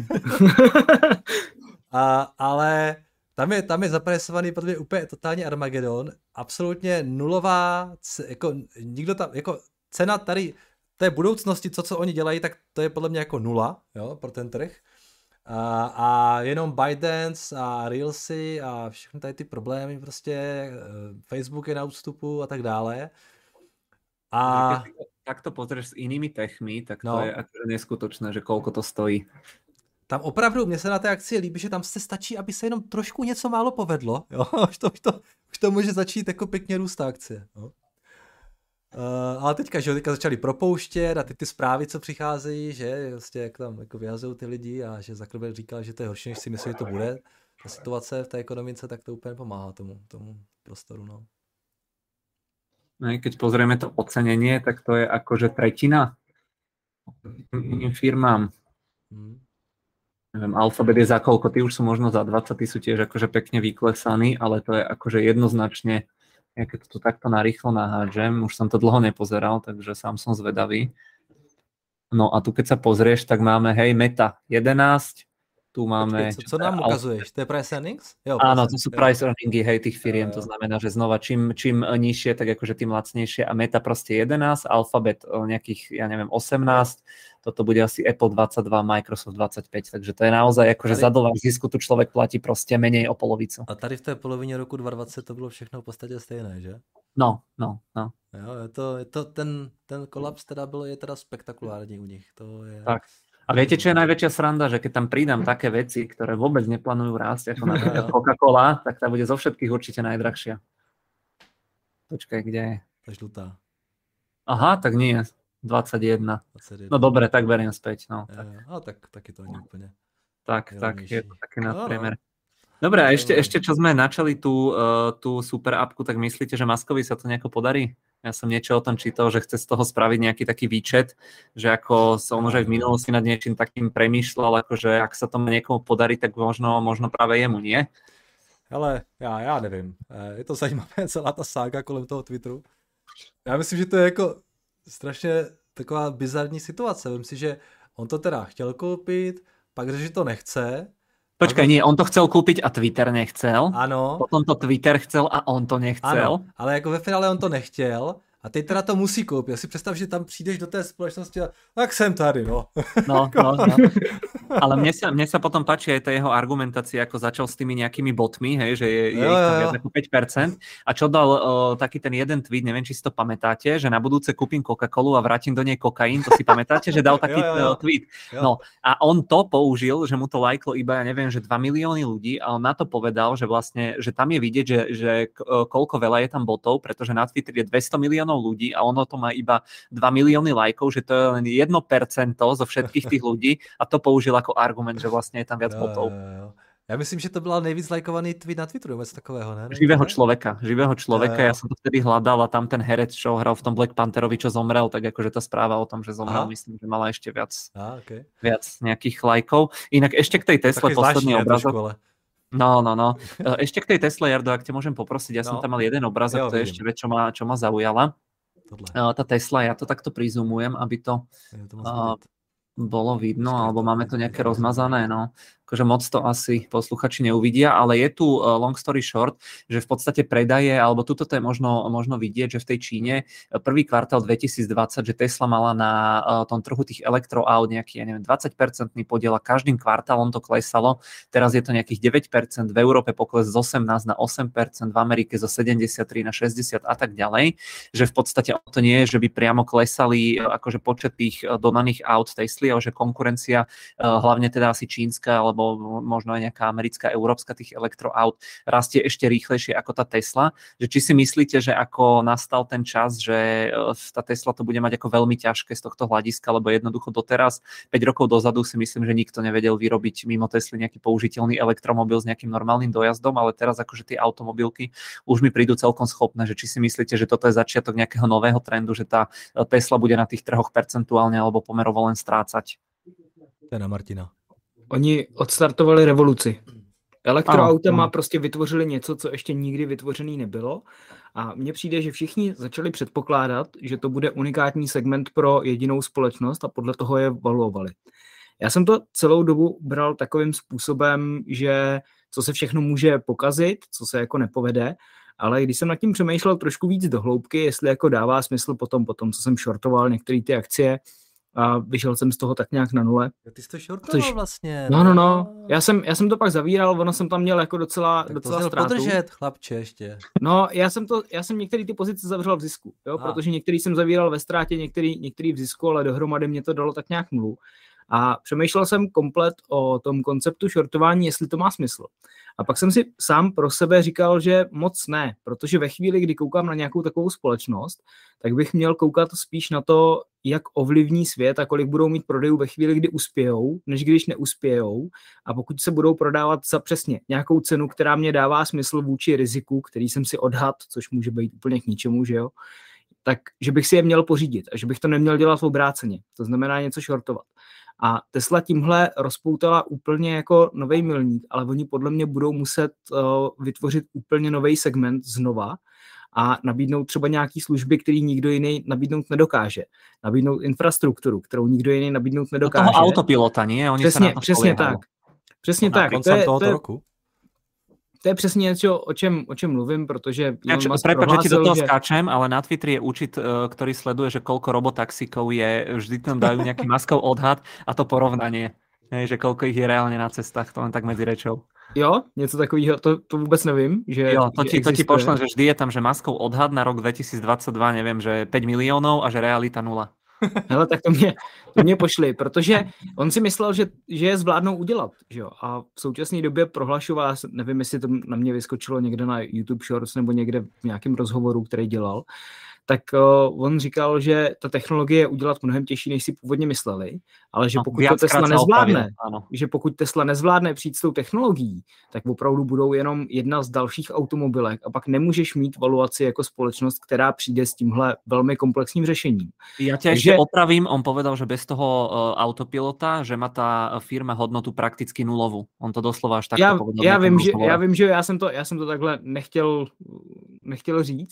A, ale tam je, tam je zaprajsovaný podle mě úplně totální Armagedon. Absolutně nulová, jako nikdo tam, jako cena tady té budoucnosti, co, co oni dělají, tak to je podle mě jako nula, jo, pro ten trh. A, a jenom ByteDance a Reelsy a všechny tady ty problémy, prostě Facebook je na ústupu a tak dále. A tak to pozrieš s inými techmi, tak to no. je akože neskutočné, že koľko to stojí. Tam opravdu, mně se na té akci líbí, že tam se stačí, aby se jenom trošku něco málo povedlo, jo, už to, už to, už to může začít jako pěkně růst ta akcie, jo. Uh, ale teďka, že teďka začali propouštět a ty, ty zprávy, co přicházejí, že vlastně jak tam jako vyhazují ty lidi a že Zuckerberg říkal, že to je horší, než si myslí, že to bude, ta situace v té ekonomice, tak to úplně pomáhá tomu, tomu prostoru, no. No keď pozrieme to ocenenie, tak to je akože tretina firmám. Hmm. Neviem, Alphabet je za koľko, ty už sú možno za dvadsať, ty sú tiež akože pekne vyklesaní, ale to je akože jednoznačne, ja keď to takto narýchlo nahádžem, už som to dlho nepozeral, takže sám som zvedavý. No a tu keď sa pozrieš, tak máme, hej, Meta jedenásť, tu máme... Počkej, co, co nám ukazuješ? To je price earnings? Jo, áno, to sú price earningy, hej, tých firiem, to znamená, že znova čím, čím nižšie, tak akože tým lacnejšie a Meta proste jedenásť, Alphabet nejakých, ja neviem, osemnásť, toto bude asi Apple dvadsaťdva, Microsoft dvadsaťpäť, takže to je naozaj akože tady... za dolar zisku tu človek platí proste menej o polovicu. A tady v té polovině roku dva tisíce dvacet to bylo všechno v podstatě stejné, že? No, no, no. Jo, je to, je to ten, ten kolaps teda byl, je teda spektakulární u nich, to je... Tak. A viete, čo je najväčšia sranda, že keď tam pridám také veci, ktoré vôbec neplánujú rásť, ako napríklad Coca-Cola, tak tá bude zo všetkých určite najdrahšia. Počkaj, kde je? To je žlutá. Aha, tak nie, dvadsaťjeden. dvadsaťjeden. No dobre, tak beriem späť. No, tak. Ja, no tak, tak je to ani úplne. Tak, tak, je to taký nadpriemer. Dobre, a ešte, ešte čo sme načali tú, uh, tú super appku, tak myslíte, že Muskovi sa to nejako podarí? Ja som niečo o tom čítal, že chce z toho spraviť nejaký taký výčet, že ako som už aj v minulosti nad niečím takým premýšľal, akože ak sa to niekomu podarí, tak možno, možno práve jemu, nie? Hele, já, já nevím. Je to zajímavé, celá ta sága kolem toho Twitteru. Já myslím, že to je jako strašně taková bizarní situace. Myslím si, že on to teda chtěl koupit, pak že to nechce. Počkaj, nie, on to chcel kúpiť a Twitter nechcel. Ano. Potom to Twitter chcel a on to nechcel. Ano, ale jako ve finále on to nechtěl a teď teda to musí koupit. Já si představ, že tam přijdeš do té společnosti a tak jsem tady, no. No, no, no. Ale mne sa, mne sa potom páči aj tá jeho argumentácia, ako začal s tými nejakými botmi, hej, že je, je jo, ich tam viac ako päť percent. A čo dal uh, taký ten jeden tweet, neviem, či si to pamätáte, že na budúce kúpim Coca-Colu a vrátim do nej kokain, to si pamätáte, že dal taký jo, jo, jo. tweet. Jo. No a on to použil, že mu to lajklo iba, ja neviem, že dva milióny ľudí a on na to povedal, že vlastne, že tam je vidieť, že, že koľko veľa je tam botov, pretože na Twitter je dvesto miliónov ľudí a ono to má iba dva milióny lajkov, že to je len jedno percento zo všetkých tých ľudí a to použil ako argument, že vlastne je tam viac botov. Jo, jo, jo. Já myslím, že to byla nejvíc lajkovaný tweet na Twitteru, něco takového, ne? Živého človeka, živého človeka. Ja som to vtedy hľadal a tam ten herec, čo hral v tom Black Pantherovi, čo zomrel, tak akože tá správa o tom, že zomrel, Aha. myslím, že mala ešte viac, Aha, okay. viac nejakých lajkov. Inak ešte k tej Tesle posledný obrazok. No, no, no. Ešte k tej Tesle, Jardo, ak te môžem poprosiť, ja no. som tam mal jeden obrazok, jo, to je ešte vec, čo ma, čo ma zaujala. Tohle. Tá Tesla, ja to takto prizumujem, aby to... Ja to uh, bolo vidno, alebo máme to nejaké rozmazané, no. Akože moc to asi posluchači neuvidia, ale je tu uh, long story short, že v podstate predaje, alebo tuto to je možno, možno vidieť, že v tej Číne prvý kvartál dvetisícdvadsať, že Tesla mala na uh, tom trhu tých elektroaut nejaký, ja neviem, dvadsať percent podiel a každým kvartálom to klesalo. Teraz je to nejakých deväť percent, v Európe pokles z osemnásť na osem percent, v Amerike zo sedemdesiattri na šesťdesiat a tak ďalej, že v podstate to nie je, že by priamo klesali uh, akože počet tých uh, dodaných aut Tesly, ale že konkurencia, uh, hlavne teda asi čínska, alebo možno aj nejaká americká, európska tých elektroaut rastie ešte rýchlejšie ako tá Tesla. Že či si myslíte, že ako nastal ten čas, že tá Tesla to bude mať ako veľmi ťažké z tohto hľadiska, lebo jednoducho doteraz, päť rokov dozadu si myslím, že nikto nevedel vyrobiť mimo Tesly nejaký použiteľný elektromobil s nejakým normálnym dojazdom, ale teraz akože tie automobilky už mi prídu celkom schopné, že či si myslíte, že toto je začiatok nejakého nového trendu, že tá Tesla bude na tých trhoch percentuálne alebo pomerovo len strácať? To je na Martina. Oni odstartovali revoluci. Elektroautama prostě vytvořili něco, co ještě nikdy vytvořený nebylo. A mně přijde, že všichni začali předpokládat, že to bude unikátní segment pro jedinou společnost a podle toho je valuovali. Já jsem to celou dobu bral takovým způsobem, že co se všechno může pokazit, co se jako nepovede, ale když jsem nad tím přemýšlel trošku víc do hloubky, jestli jako dává smysl potom, potom co jsem shortoval některé ty akcie, a vyšel jsem z toho tak nějak na nule. Ty jsi to shortoval což... vlastně. No, no, no. Já jsem, já jsem to pak zavíral, ono jsem tam měl jako docela, tak docela to ztrátu. podržet, chlapče, ještě. No, já jsem to, já jsem některé ty pozice zavřel v zisku, jo, protože některý jsem zavíral ve ztrátě, některý, některý v zisku, ale dohromady mě to dalo tak nějak nulu. A přemýšlel jsem komplet o tom konceptu shortování, jestli to má smysl. A pak jsem si sám pro sebe říkal, že moc ne, protože ve chvíli, kdy koukám na nějakou takovou společnost, tak bych měl koukat spíš na to, jak ovlivní svět a kolik budou mít prodejů ve chvíli, kdy uspějou, než když neuspějou. A pokud se budou prodávat za přesně nějakou cenu, která mě dává smysl vůči riziku, který jsem si odhad, což může být úplně k ničemu, že jo, tak že bych si je měl pořídit a že bych to neměl dělat obráceně. To znamená něco shortovat. A Tesla tímhle rozpoutala úplně jako nový milník, ale oni podle mě budou muset uh, vytvořit úplně nový segment znova a nabídnout třeba nějaký služby, který nikdo jiný nabídnout nedokáže. Nabídnout infrastrukturu, kterou nikdo jiný nabídnout nedokáže. Do toho autopilota, nie? Oni přesně, přesně tak. Přesně tak. To je, to, je, roku. to je přesně něco, o čem, o čem mluvím, protože... Prepač, že ti do toho že... skáčem, ale na Twitteri je účet, ktorý sleduje, že koľko robotaxíkov je, vždy tam dajú nejaký Muskov odhad a to porovnanie, že koľko ich je reálne na cestách, to len tak medzi rečou. Jo, něco takového, to, to vůbec nevím. Že, jo, to že ti, to ti pošlem, že vždy je tam, že Muskov odhad na rok dvetisícdvadsaťdva, neviem, že päť miliónov a že realita nula. Hele, tak to mě, to mě pošli, protože on si myslel, že, že je zvládnou udělat, že jo, a v současné době prohlašoval, nevím, jestli to na mě vyskočilo někde na YouTube Shorts nebo někde v nějakém rozhovoru, který dělal, tak uh, on říkal, že ta technologie je udělat mnohem těžší, než si původně mysleli, ale že pokud no, to Tesla nezvládne, že pokud Tesla nezvládne přijít s tou technologií, tak opravdu budou jenom jedna z dalších automobilek a pak nemůžeš mít valuaci jako společnost, která přijde s tímhle velmi komplexním řešením. Ja ťa Takže... ešte opravím, on povedal, že bez toho uh, autopilota, že má ta firma hodnotu prakticky nulovou. On to doslova až takto já, povedal. Já vím, že, já vím, že já jsem to, já jsem to takhle nechtěl, nechtěl říct,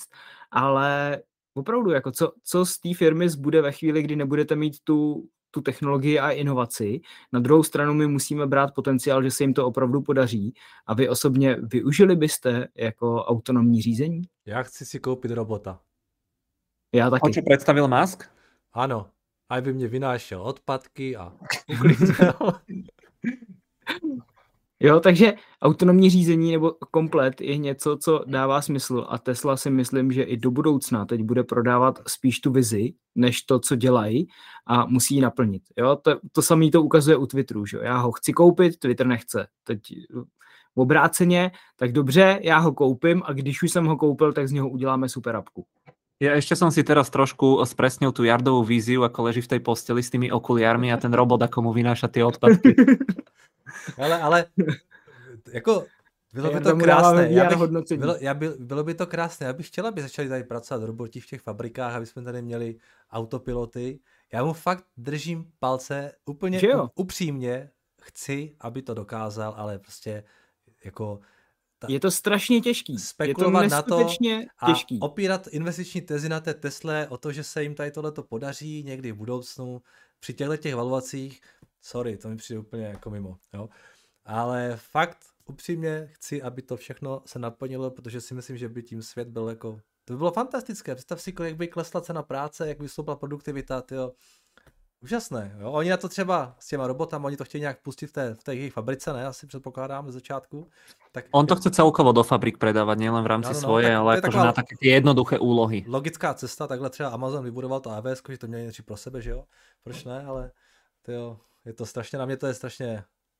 ale opravdu, jako co, co z té firmy zbude ve chvíli, kdy nebudete mít tu, tu technologii a inovaci. Na druhou stranu my musíme brát potenciál, že se jim to opravdu podaří. A vy osobně využili byste jako autonomní řízení? Já chci si koupit robota. Já taky. On čo představil Musk? Ano. Aj by mě vynášel odpadky a uklidil. Jo, takže autonomní řízení nebo komplet je něco, co dává smysl a Tesla si myslím, že i do budoucna teď bude prodávat spíš tu vizi, než to, co dělají a musí ji naplnit. Jo, to, to samé to ukazuje u Twitteru, že já ho chci koupit, Twitter nechce. Teď obráceně, tak dobře, já ho koupím a když už jsem ho koupil, tak z něho uděláme super apku. Ja ešte som si teraz trošku spresnil tú Jardovú víziu, ako leží v tej posteli s tými okuliármi a ten robot, ako mu vynáša tie odpadky. Ale, ale jako bylo by to krásné. Já bych, bylo, já by, bylo by to krásné. Já bych chtěla, aby začali tady pracovat roboti v těch fabrikách, aby jsme tady měli autopiloty. Já mu fakt držím palce úplně upřímně. Chci, aby to dokázal, ale prostě jako... Ta, je to strašně těžký. Spekulovat je to na to a těžký. opírat investiční tezi na té Tesle o to, že se jim tady tohleto podaří někdy v budoucnu při těchto těch valuacích, sorry, to mi přijde úplně jako mimo. Jo? Ale fakt upřímně chci, aby to všechno se naplnilo, protože si myslím, že by tím svět byl jako... To by bylo fantastické. Představ si, jak by klesla cena práce, jak by stoupla produktivita, tyjo. Úžasné, jo. Oni na to třeba s těma robotama, oni to chtějí nějak pustit v té, v té jejich fabrice, ne? Asi předpokládám z začátku. Tak, on to chce celkovo do fabrik predávať, nielen v rámci no, no, svoje, tak, ale akože na také jednoduché úlohy. Logická cesta, takhle třeba Amazon vybudoval to á vé es, že to měli něco pro sebe, že jo? Proč ne, ale tyjo, je to strašně, na mě to je strašně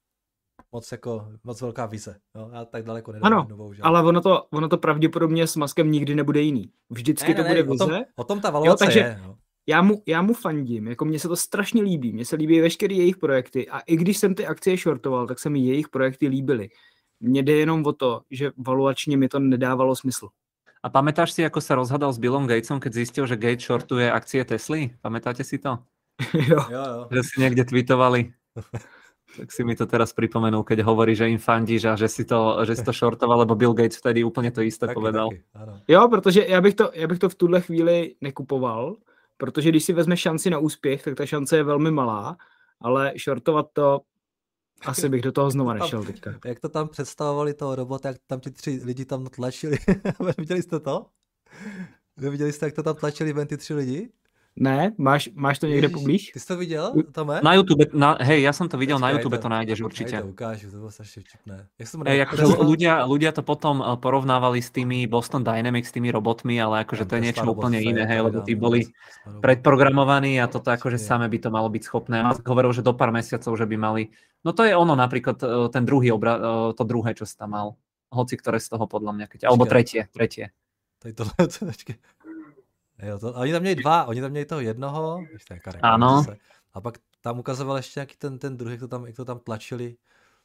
moc jako, moc velká vize, jo? Já tak daleko nedám ano, novou, že? Ale ono to, ono to pravděpodobně s Muskem nikdy nebude jiný. Vždycky ne, ne, to bude ne, vize. O tom, o tom ta valuace jo, takže... je, jo. Já mu, já mu fandím, jako mně se to strašně líbí, mně se líbí veškeré jejich projekty a i když jsem ty akcie shortoval, tak se mi jejich projekty líbily. Mně jde jenom o to, že valuačně mi to nedávalo smysl. A pamätáš si, ako sa rozhadal s Billom Gatesom, keď zistil, že Gates shortuje akcie Tesly? Pamätáte si to? jo. jo, jo. Že si niekde tweetovali. Tak si mi to teraz pripomenul, keď hovorí, že im fandíš a že si to, že si to shortoval, lebo Bill Gates vtedy úplne to isté taky, povedal. Taky, jo, protože já bych, to, já bych to v tuhle chvíli nekupoval, protože když si vezme šanci na úspěch, tak ta šance je velmi malá, ale shortovat to, asi bych do toho znova nešel teďka. Jak to tam představovali toho robota, jak tam ti tři lidi tam tlačili. Viděli jste to? Viděli jste, jak to tam tlačili ven ty tři lidi? Ne, máš, máš to někde poblíž? Ty jsi to viděl, Tome? Na YouTube, na, hej, ja som to videl, Počkej, na YouTube to, to nájdeš určite. Ja to ukážu, to bolo strašne vtipné. Hej, akože ľudia, ľudia to potom porovnávali s tými Boston Dynamics, s tými robotmi, ale akože to je niečo úplne iné, hej, lebo tí boli predprogramovaní a toto akože same by to malo byť schopné. A hovoril, že do pár mesiacov, že by mali, no to je ono napríklad ten druhý obra, to druhé, čo si tam mal. Hoci ktoré z toho podľa mňa, keď, alebo tretie, tretie. Tady tohle, počkej. Jo, to, oni tam měli dva, oni tam měli toho jednoho, ještě ano. Se, a pak tam ukazoval ještě nějaký ten, ten druhý, jak to tam, jak to tam tlačili.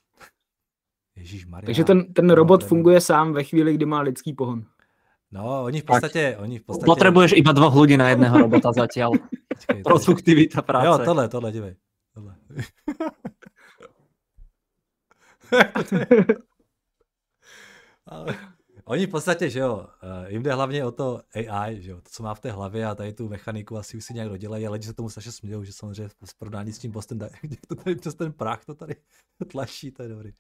Ježíšmarja. Takže ten, ten robot no, funguje sám ve chvíli, kdy má lidský pohon. No, oni v podstatě, oni v podstatě... Potrebuješ iba dvoch ľudí na jedného robota zatiaľ. Počkej, produktivita práce. Jo, tohle, tohle, dívej. Tohle. Ale... Oni v podstatě, že jo, jim jde hlavně o to á í, že jo, to, co má v té hlavě a tady tu mechaniku asi už si nějak dodělají, ale lidi se tomu strašně smějou, že samozřejmě v porovnání s tím Boston Dynamics, to tady přes ten prach to tady tlačí, to je dobrý.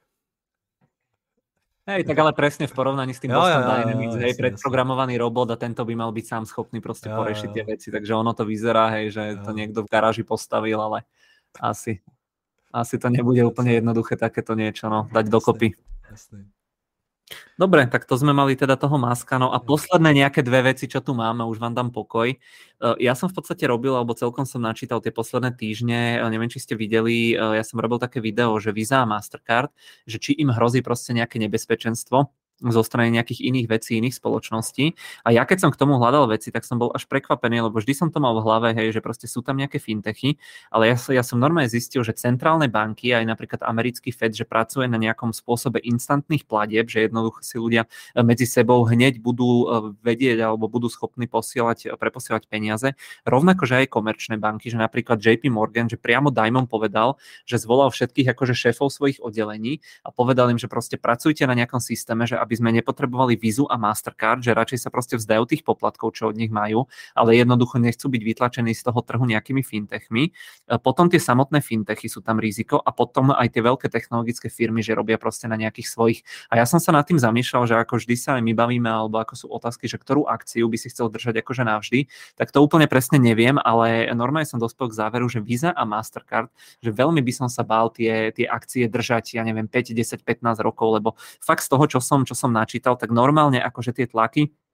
Hej, tak ale presne v porovnaní s tým jo, Boston jo, Dynamics, jo, hej, predprogramovaný robot a tento by mal byť sám schopný proste jo, porešiť tie veci, takže ono to vyzerá, hej, že jo. To niekto v garáži postavil, ale asi, asi to nebude úplne jednoduché takéto niečo, no, dať dokopy. Jasný. Dobre, tak to sme mali teda toho Muska. No a posledné nejaké dve veci, čo tu máme, už vám dám pokoj. Ja som v podstate robil, alebo celkom som načítal tie posledné týždne, neviem, či ste videli, ja som robil také video, že Visa a Mastercard, že či im hrozí proste nejaké nebezpečenstvo zo strany nejakých iných vecí, iných spoločností. A ja keď som k tomu hľadal veci, tak som bol až prekvapený, lebo vždy som to mal v hlave, hej, že proste sú tam nejaké fintechy, ale ja, ja som normálne zistil, že centrálne banky, aj napríklad americký Fed, že pracuje na nejakom spôsobe instantných platieb, že jednoducho si ľudia medzi sebou hneď budú vedieť alebo budú schopní posielať, preposielať peniaze. Rovnako, že aj komerčné banky, že napríklad J P Morgan, že priamo Diamond povedal, že zvolal všetkých akože šéfov svojich oddelení a povedal im, že proste pracujte na nejakom systéme, že aby sme nepotrebovali Visu a Mastercard, že radšej sa proste vzdajú tých poplatkov, čo od nich majú, ale jednoducho nechcú byť vytlačení z toho trhu nejakými fintechmi. Potom tie samotné fintechy sú tam riziko a potom aj tie veľké technologické firmy, že robia proste na nejakých svojich. A ja som sa nad tým zamýšľal, že ako vždy sa aj my bavíme, alebo ako sú otázky, že ktorú akciu by si chcel držať akože navždy, tak to úplne presne neviem, ale normálne som dospel k záveru, že Visa a Mastercard, že veľmi by som sa bál tie, tie akcie držať, ja neviem, päť, desať, pätnásť rokov, lebo fakt z toho, čo som, čo som načítal, tak normálne akože tie tlaky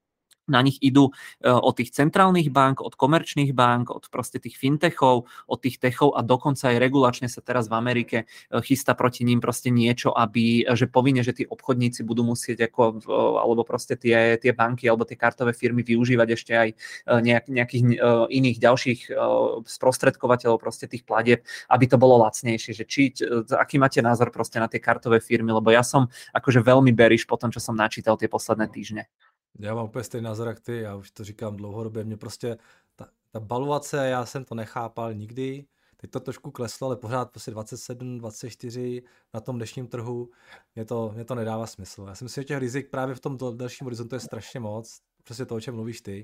Na nich idú od tých centrálnych bank, od komerčných bank, od proste tých fintechov, od tých techov a dokonca aj regulačne sa teraz v Amerike chystá proti ním proste niečo, aby, že povinne, že tí obchodníci budú musieť ako, alebo proste tie, tie banky alebo tie kartové firmy využívať ešte aj nejak, nejakých iných ďalších sprostredkovateľov proste tých platieb, aby to bolo lacnejšie. Že či, aký máte názor proste na tie kartové firmy, lebo ja som akože veľmi bearish po tom, čo som načítal tie posledné týždne. Já mám úplně stejný názor jak ty, já už to říkám dlouhodobě, mě prostě ta, ta baluace, já jsem to nechápal nikdy, teď to trošku kleslo, ale pořád prostě dvacet sedm, dvacet čtyři na tom dnešním trhu, mě to, mě to nedává smysl. Já si myslím, že těch rizik právě v tom dalším horizontu je strašně moc, přesně to, o čem mluvíš ty.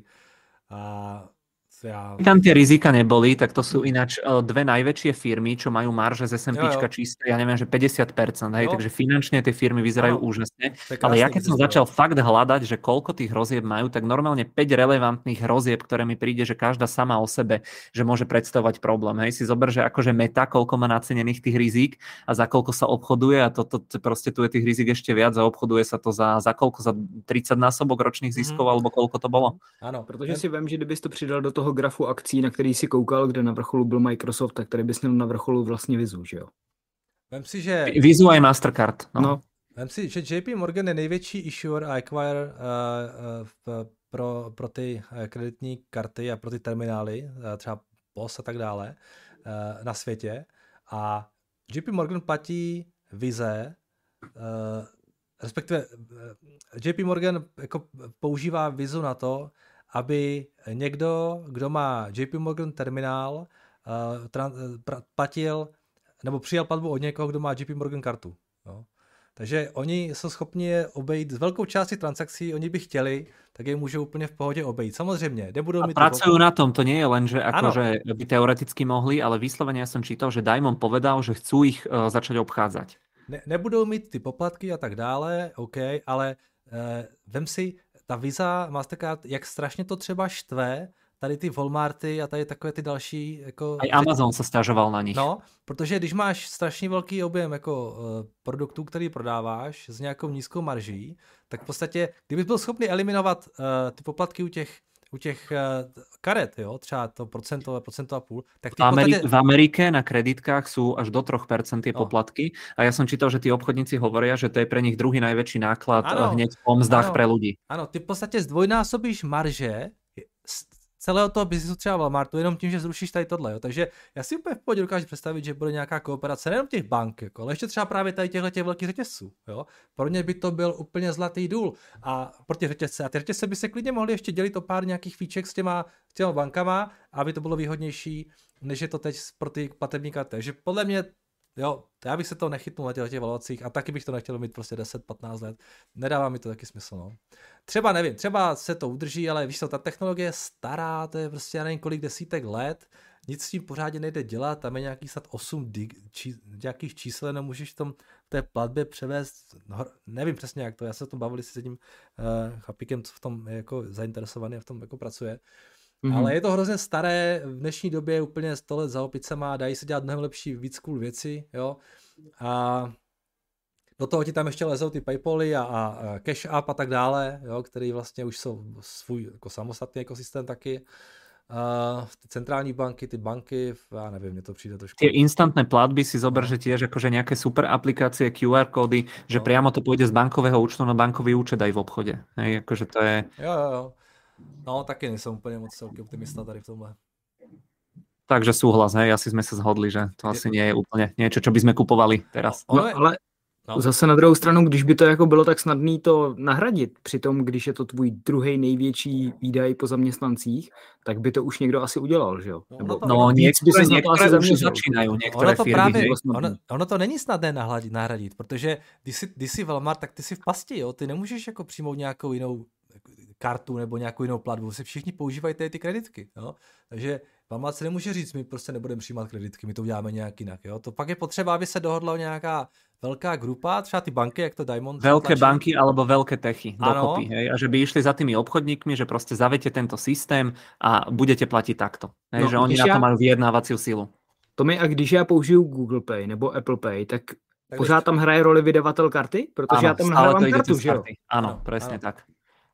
A ja... Tam tie rizika neboli, tak to sú ináč dve najväčšie firmy, čo majú marže z es and píčka čisté, ja neviem, že päťdesiat percent, hej, takže finančne tie firmy vyzerajú no, úžasne. Ale ja keď som začal fakt hľadať, že koľko tých rozieb majú, tak normálne päť relevantných rozieb, ktoré mi príde, že každá sama o sebe, že môže predstavovať problém. Hej, si zober, že akože Meta, koľko má nacenených tých rizík a za koľko sa obchoduje a toto to, to, proste tu je tých rizik ešte viac a obchoduje sa to za, za koľko, za tridsať násobok ročných ziskov, mm-hmm. alebo koľko to bolo. Áno, protože si viem, že kdybys to přidal do toho grafu akcí, na který si koukal, kde na vrcholu byl Microsoft, tak tady bys měl na vrcholu vlastně Vizu, že jo? Vem si, že... Vizu a Mastercard. No. no. Vem si, že J P Morgan je největší issuer a acquire uh, uh, pro, pro ty kreditní karty a pro ty terminály, uh, třeba P O S a tak dále, uh, na světě. A J P Morgan platí Vize, uh, respektive uh, J P Morgan jako používá Vizu na to, aby někdo, kdo má J P Morgan terminál, uh, tran, uh, platil nebo přijal platbu od někoho, kdo má J P Morgan kartu. No. Takže oni jsou schopni je obejít z velkou části transakcí, oni by chtěli, tak je můžou úplně v pohodě obejít. Samozřejmě, nebudou a mít... A pracujú na tom, to nie je len, že akože by teoreticky mohli, ale vyslovene ja som čítal, že Diamond povedal, že chcú ich uh, začať obchádzať. Ne, nebudou mít ty poplatky a tak dále, OK, ale uh, vem si, ta Visa, Mastercard, jak strašně to třeba štve, tady ty Walmarty a tady takové ty další... Jako, Aj Amazon se stěžoval na nich. No, protože když máš strašně velký objem jako uh, produktů, který prodáváš s nějakou nízkou marží, tak v podstatě, kdybys byl schopný eliminovat uh, ty poplatky u těch u těch uh, karet, jo, třeba to procento, procento a půl, tak ty v, Ameri- podstatě... v Amerike na kreditkách sú až do tri percentá tie no. poplatky a ja som čítal, že tí obchodníci hovoria, že to je pre nich druhý najväčší náklad ano, hneď po mzdách ano, pre ľudí. Áno, ty v podstate zdvojnásobíš marže celého toho biznisu třeba Walmartu jenom tím, že zrušíš tady tohle. Jo. Takže já si úplně v pohodě dokážu představit, že bude nějaká kooperace nejenom těch bank, jako, ale ještě třeba právě tady těchto těch velkých řetězců. Jo. Pro ně by to byl úplně zlatý důl. A pro ty řetězce. A ty řetězce by se klidně mohly ještě dělit o pár nějakých fíček s těma, s těma bankama, aby to bylo výhodnější, než je to teď pro ty platební karty. Takže podle mě jo, já bych se to nechytnul na těch, těch valuacích a taky bych to nechtěl mít prostě deset patnáct let. Nedává mi to taky smysl, no. Třeba nevím, třeba se to udrží, ale víš co, ta technologie je stará, to je prostě já nevím kolik desítek let, nic s tím pořádně nejde dělat, tam je nějaký snad osm dig, či, nějakých čísel, nemůžeš v tom v té platbě převést, no, nevím přesně jak to, já se o tom bavili s tím uh, chlapíkem, co v tom je jako zainteresovaný a v tom jako pracuje. Mm-hmm. Ale je to hrozně staré, v dnešní době úplně sto let za opicema, dají se dělat mnohem lepší, víc cool věci, jo. A do toho ti tam ještě lezou ty Paypaly a, a Cash App a tak dále, jo, který vlastně už jsou svůj jako samostatný ekosystém taky. Uh, ty centrální banky, ty banky, já nevím, mně to přijde trošku. Tie instantné platby si zober, no. že tiež akože nejaké super aplikácie, Q R kódy, že no. priamo to pôjde z bankového účtu na bankový účet aj v obchode. Hej, akože to je... Jo, jo, jo. No, taky nejsem úplně moc celky optimista tady v tomhle. Takže súhlas, hej, asi sme sa zhodli, že to asi nie je úplne niečo, čo by sme kupovali teraz. No, no ale no. Zase na druhou stranu, když by to jako bylo tak snadné to nahradit, přitom když je to tvůj druhý největší výdaj po zaměstnancích, tak by to už někdo asi udělal, že jo? Nebo, no, no niektoré, niektoré už začínajú, niektoré ono to firmy. Právě, ono, ono to není snadné nahradit, nahradit protože když jsi, když jsi Walmart, tak ty jsi v pasti, jo? Ty nemůžeš jako přijmout nějakou jinou kartu nebo nějakou jinou platbu, se všichni používají ty, ty kreditky, jo? Takže Walmart se nemůže říct, my prostě nebudeme přijímat kreditky, my to uděláme nějak jinak, jo? To pak je potřeba, aby se dohodla nějaká veľká grupa, třeba ty banky, jak to Diamond... Veľké banky alebo veľké techy dokopy, hej? A že by išli za tými obchodníkmi, že proste zavete tento systém a budete platiť takto. Hej? No, že oni na to já... majú vyjednávaciu sílu. To mi, a když já použiju Google Pay nebo Apple Pay, tak, tak pořád tam hraje roli vydavatel karty? Protože ano, já tam nahrávám kartu, že jo? Ano, presne ano. tak.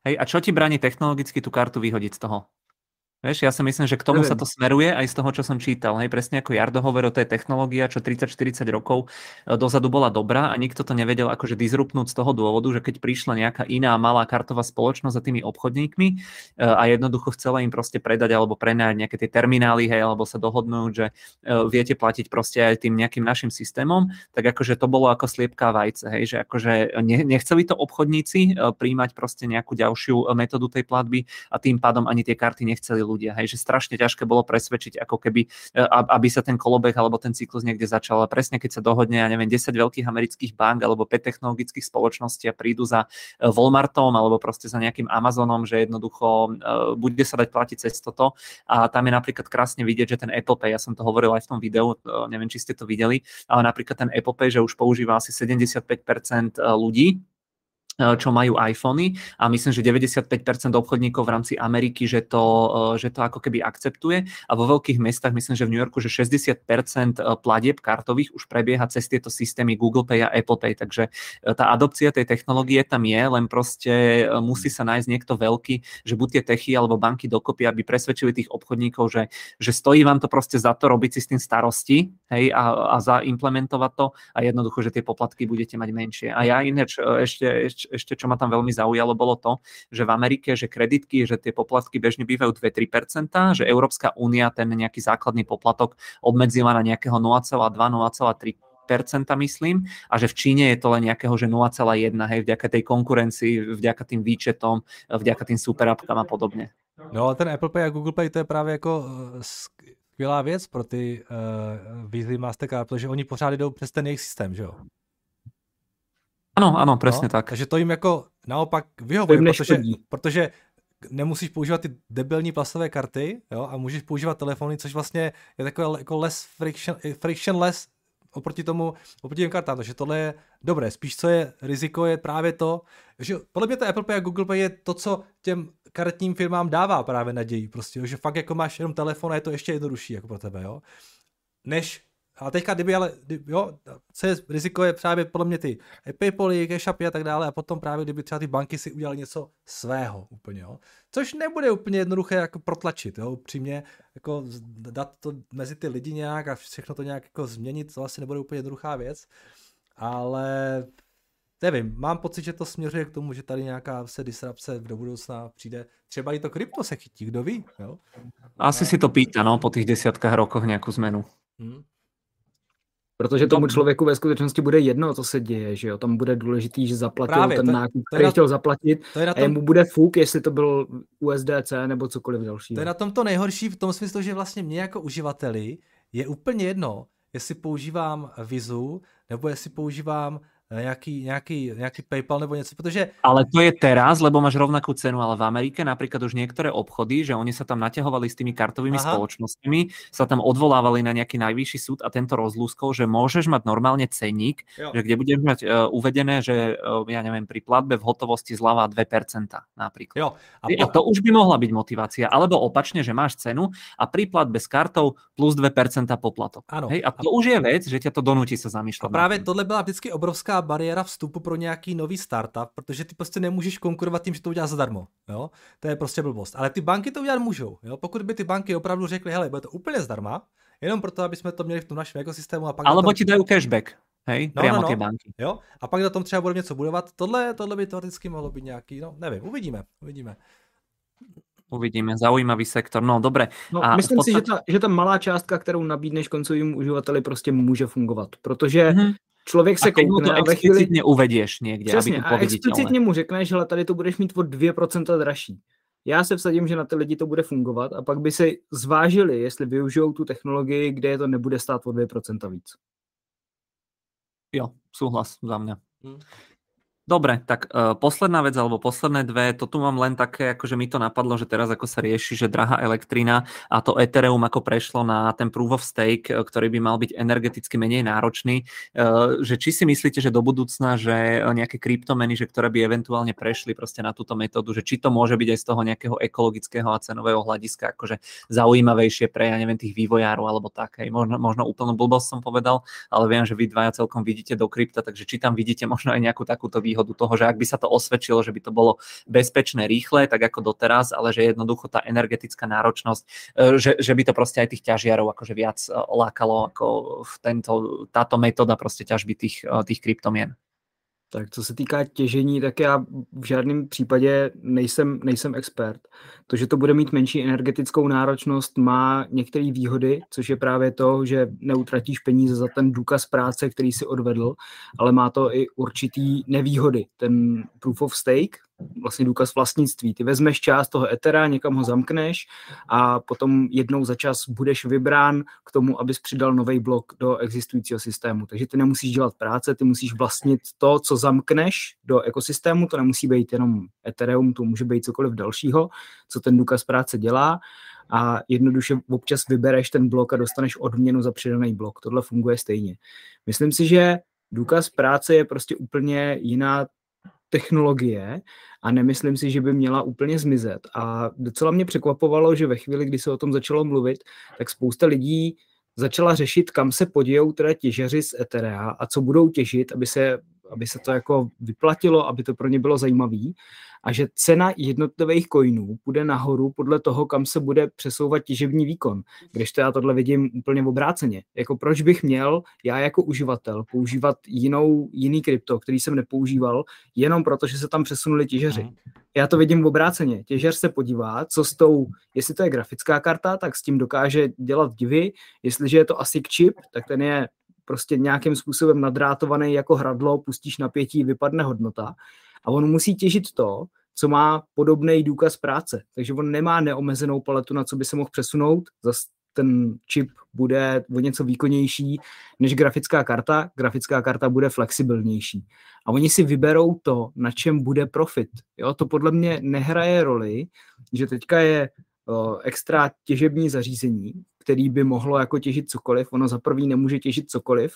Hej, a čo ti bráni technologicky tú kartu vyhodiť z toho? Vieš, ja si myslím, že k tomu Neviem. sa to smeruje aj z toho, čo som čítal. Hej, presne ako Jardo hovoril, to je technológia, čo tridsať štyridsať rokov dozadu bola dobrá a nikto to nevedel akože disruptnúť z toho dôvodu, že keď prišla nejaká iná malá kartová spoločnosť za tými obchodníkmi a jednoducho chcela im proste predať alebo prenajať nejaké tie terminály, hej, alebo sa dohodnúť, že viete platiť proste aj tým nejakým našim systémom, tak akože to bolo ako sliepka vajce, hej, že akože nechceli to obchodníci príjmať proste nejakú ďalšiu metódu tej platby a tým pádom ani tie karty nechceli ľudia, hej, že strašne ťažké bolo presvedčiť, ako keby, aby sa ten kolobeh alebo ten cyklus niekde začal. A presne keď sa dohodne, ja neviem, desať veľkých amerických bank alebo päť technologických spoločností a prídu za Walmartom alebo proste za nejakým Amazonom, že jednoducho bude sa dať platiť cez toto. A tam je napríklad krásne vidieť, že ten Apple Pay, ja som to hovoril aj v tom videu, neviem, či ste to videli, ale napríklad ten Apple Pay, že už používa asi sedemdesiatpäť percent ľudí, čo majú iPhony a myslím, že deväťdesiatpäť percent obchodníkov v rámci Ameriky, že to, že to ako keby akceptuje a vo veľkých mestách, myslím, že v New Yorku, že šesťdesiat percent platieb kartových už prebieha cez tieto systémy Google Pay a Apple Pay, takže tá adopcia tej technológie tam je, len proste musí sa nájsť niekto veľký, že buď tie techy alebo banky dokopy, aby presvedčili tých obchodníkov, že, že stojí vám to proste za to robiť si s tým starosti, hej, a, a zaimplementovať to a jednoducho, že tie poplatky budete mať menšie. A ja ináč ešte, ešte ešte čo ma tam veľmi zaujalo, bolo to, že v Amerike, že kreditky, že tie poplatky bežne bývajú dva až tri percentá, že Európska únia ten nejaký základný poplatok obmedzila na nejakého nula celá dva až nula celá tri percenta, myslím, a že v Číne je to len nejakého, že nula celá jedna, hej, vďaka tej konkurencii, vďaka tým výčetom, vďaka tým superappkám a podobne. No ale ten Apple Pay a Google Pay, to je právě jako skvělá věc pro ty uh, Visa, Mastercard, protože oni pořád jdou přes ten jejich systém, že jo? Ano, ano, přesně no, tak. Takže to jim jako naopak vyhovuje, protože, protože nemusíš používat ty debilní plastové karty, jo, a můžeš používat telefony, což vlastně je takové jako less friction, frictionless oproti tomu, oproti těm kartám, takže tohle je dobré. Spíš co je riziko, je právě to, že podle mě to Apple Pay a Google Pay je to, co těm karetním firmám dává právě naději, prostě, jo, že fakt jako máš jenom telefon a je to ještě jednodušší jako pro tebe, jo, než. A teďka, kdyby ale, kdyby, jo, co je riziko, je právě podle mě ty PayPaly, CashAppy a tak dále a potom právě, kdyby třeba ty banky si udělali něco svého úplně, jo. Což nebude úplně jednoduché jako protlačit, jo, upřímně, jako dát to mezi ty lidi nějak a všechno to nějak jako změnit, to asi nebude úplně jednoduchá věc, ale nevím, mám pocit, že to směřuje k tomu, že tady nějaká se disrupce do budoucna přijde, třeba i to krypto se chytí, kdo ví, jo. Asi a... si to pýta, no, po těch desiatkách rokoch nějakou zmenu. Hmm. Protože tomu člověku ve skutečnosti bude jedno, co se děje, že jo? Tam bude důležitý, že zaplatil Právě, ten to, nákup, který chtěl zaplatit to a jemu bude fuk, jestli to byl U S D C nebo cokoliv dalšího. To je na tom to nejhorší v tom smyslu, že vlastně mě jako uživateli je úplně jedno, jestli používám Visu nebo jestli používám nejaký, nejaký, nejaký PayPal nebo něco, protože... Ale to je teraz, lebo máš rovnakú cenu, ale v Amerike napríklad už niektoré obchody, že oni sa tam naťahovali s tými kartovými Aha. spoločnosťami, sa tam odvolávali na nejaký najvyšší súd a tento rozlúskol, že môžeš mať normálne cenník, jo. Že kde budeš mať uh, uvedené, že uh, ja neviem, pri platbe v hotovosti zľava dve percentá napríklad. Jo. A, po... a to už by mohla byť motivácia, alebo opačne, že máš cenu a pri platbe s kartou plus dve percentá poplatok. Hej, a to a... už je vec, že ťa to donúti sa zamýšľať. A práve tohle byla vždycky obrovská bariéra vstupu pro nějaký nový startup, protože ty prostě nemůžeš konkurovat tím, že to uděláš zadarmo, jo? To je prostě blbost. Ale ty banky to udělat můžou, jo? Pokud by ty banky opravdu řekly, hele, bude to úplně zdarma, jenom proto, aby jsme to měli v tom našem ekosystému a pak alebo tom... ti dají cashback, hej, no, priamo no, no. ty banky. Jo? A pak na tom třeba budeme něco budovat. Tohle, tohle by teoreticky mohlo být nějaký, no, nevím, uvidíme, uvidíme. Uvidíme, zaujímavý sektor, no dobre. No, a myslím podstate... si, že ta, že ta malá částka, kterou nabídneš koncovým uživateli, prostě může fungovat, protože mm-hmm. člověk se koukne a ve chvíli... explicitně uvedieš někde, Přesně, aby to a explicitně mu řekneš, že tady to budeš mít o dvě procenta dražší. Já se vsadím, že na ty lidi to bude fungovat a pak by si zvážili, jestli využijou tu technologii, kde je to nebude stát o dvě procenta víc. Jo, súhlas za mňa. Hmm. Dobre, tak uh, posledná vec, alebo posledné dve, to tu mám len také, akože mi to napadlo, že teraz ako sa rieši, že drahá elektrina a to Ethereum ako prešlo na ten proof of stake, ktorý by mal byť energeticky menej náročný, uh, že či si myslíte, že do budúcna, že nejaké kryptomeny, že ktoré by eventuálne prešli proste na túto metódu, že či to môže byť aj z toho nejakého ekologického a cenového hľadiska akože zaujímavejšie pre, ja neviem, tých vývojárov alebo tak, hej, možno, možno úplnú blbosť som povedal, ale viem, že vy dvaja celkom vidíte do krypta, takže či tam vidíte možno aj nejakú takúto výhodu výhodu toho, že ak by sa to osvedčilo, že by to bolo bezpečné, rýchle, tak ako doteraz, ale že jednoducho tá energetická náročnosť, že, že by to proste aj tých ťažiarov akože viac lákalo ako v tento, táto metóda proste ťažby tých, tých kryptomien. Tak co se týká těžení, tak já v žádném případě nejsem, nejsem expert. To, že to bude mít menší energetickou náročnost, má některé výhody, což je právě to, že neutratíš peníze za ten důkaz práce, který si odvedl, ale má to i určitý nevýhody. Ten proof of stake, vlastně důkaz vlastnictví. Ty vezmeš část toho Ethera, někam ho zamkneš a potom jednou za čas budeš vybrán k tomu, abys přidal nový blok do existujícího systému. Takže ty nemusíš dělat práce, ty musíš vlastnit to, co zamkneš do ekosystému, to nemusí být jenom Ethereum, to může být cokoliv dalšího, co ten důkaz práce dělá a jednoduše občas vybereš ten blok a dostaneš odměnu za přidaný blok. Tohle funguje stejně. Myslím si, že důkaz práce je prostě úplně jiná technologie a nemyslím si, že by měla úplně zmizet. A docela mě překvapovalo, že ve chvíli, kdy se o tom začalo mluvit, tak spousta lidí začala řešit, kam se podějou teda těžaři z Etherea a co budou těžit, aby se, aby se to jako vyplatilo, aby to pro ně bylo zajímavý. A že cena jednotlivých coinů půjde nahoru podle toho, kam se bude přesouvat těžební výkon. Kdežto já tohle vidím úplně obráceně. Jako proč bych měl já jako uživatel používat jinou, jiný krypto, který jsem nepoužíval, jenom proto, že se tam přesunuli těžaři. Já to vidím obráceně. Těžař se podívá, co s tou, jestli to je grafická karta, tak s tím dokáže dělat divy. Jestliže je to A S I C chip, tak ten je prostě nějakým způsobem nadrátovaný jako hradlo, pustíš napětí, vypadne hodnota. A on musí těžit to, co má podobný důkaz práce. Takže on nemá neomezenou paletu, na co by se mohl přesunout. Zas ten čip bude o něco výkonnější než grafická karta. Grafická karta bude flexibilnější. A oni si vyberou to, na čem bude profit. Jo, to podle mě nehraje roli, že teďka je o, extra těžební zařízení, který by mohlo jako těžit cokoliv. Ono za prvý nemůže těžit cokoliv.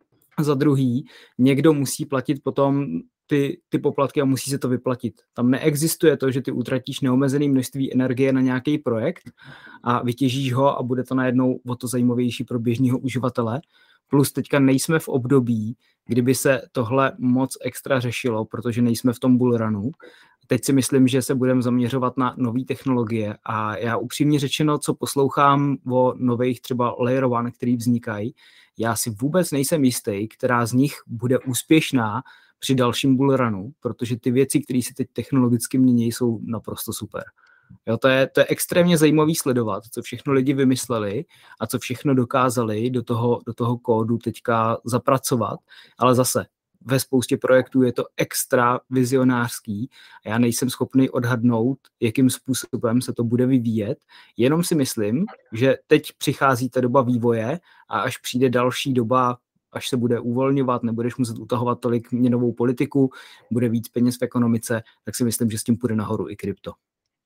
Za druhý, někdo musí platit potom ty, ty poplatky a musí se to vyplatit. Tam neexistuje to, že ty utratíš neomezené množství energie na nějaký projekt a vytěžíš ho a bude to najednou o to zajímavější pro běžného uživatele. Plus teďka nejsme v období, kdyby se tohle moc extra řešilo, protože nejsme v tom bullrunu. Teď si myslím, že se budeme zaměřovat na nové technologie a já upřímně řečeno, co poslouchám o nových třeba Layer One, který vznikají, já si vůbec nejsem jistý, která z nich bude úspěšná při dalším bullrunu, protože ty věci, které se teď technologicky mění, jsou naprosto super. Jo, to je, to je extrémně zajímavý sledovat, co všechno lidi vymysleli a co všechno dokázali do toho, do toho kódu teďka zapracovat, ale zase ve spoustě projektů je to extra vizionářský a já nejsem schopný odhadnout, jakým způsobem se to bude vyvíjet. Jenom si myslím, že teď přichází ta doba vývoje a až přijde další doba, až se bude uvolňovat, nebudeš muset utahovat tolik měnovou politiku, bude víc peněz v ekonomice, tak si myslím, že s tím půjde nahoru i krypto.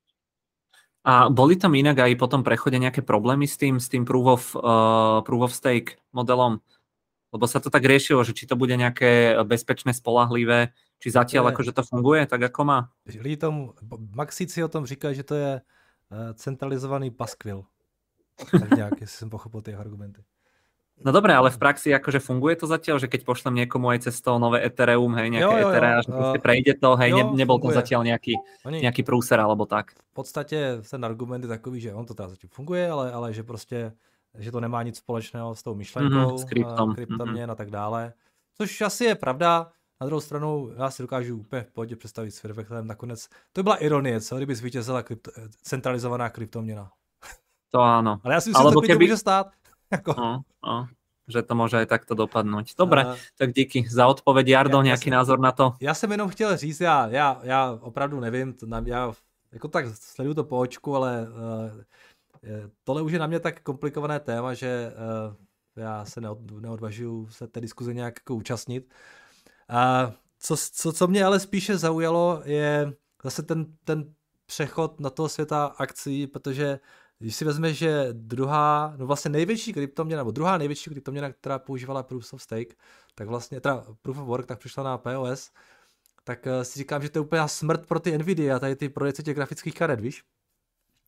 A boli tam inak aj po tom prechode nejaké problémy s tým, s tým proof of, uh, proof of stake modelom? Lebo sa to tak riešilo, že či to bude nejaké bezpečné, spolahlivé, či zatiaľ akože to funguje, tak ako má? Lidi tomu, Maxíci o tom říkají, že to je centralizovaný paskvil. Tak nějak, jestli jsem pochopil ty argumenty. No dobré, ale v praxi akože funguje to zatiaľ, že keď pošlem niekomu aj cez to nové Ethereum, hej, nejaké Ethereum, že proste prejde to, hej, jo, ne, nebol to zatiaľ nejaký, Oni, nejaký prúser alebo tak. V podstatě ten argument je takový, že on to teda zatím funguje, ale, ale že prostě, že to nemá nic společného s tou myšlenkou, mm-hmm, s kryptom, kryptoměn mm-hmm. a tak dále. Což asi je pravda. Na druhou stranu, já si dokážu úplně v pohodě představit s Firvechlem nakonec. To byla ironie, co kdyby zvítězila krypto, centralizovaná kryptoměna. To áno. Ale já si myslím, že to keby... může stát. Jako... No, no, že to může aj takto dopadnout. Dobre, uh, tak díky za odpověď. Jardo, nějaký názor na to? Já jsem jenom chtěl říct, já, já, já opravdu nevím, to na, já jako tak sleduju to po očku, ale uh, tohle už je na mě tak komplikované téma, že uh, já se neod, neodvažuju se té diskuze nějak jako účastnit. Uh, co, co, co mě ale spíše zaujalo, je zase ten, ten přechod na toho světa akcí, protože když si vezmeš, že druhá, no vlastně největší kryptoměna, nebo druhá největší kryptoměna, která používala Proof of Stake, tak vlastně, teda Proof of Work, tak přišla na P O S, tak si říkám, že to je úplná smrt pro ty Nvidia a tady ty prodejce těch grafických karet, víš?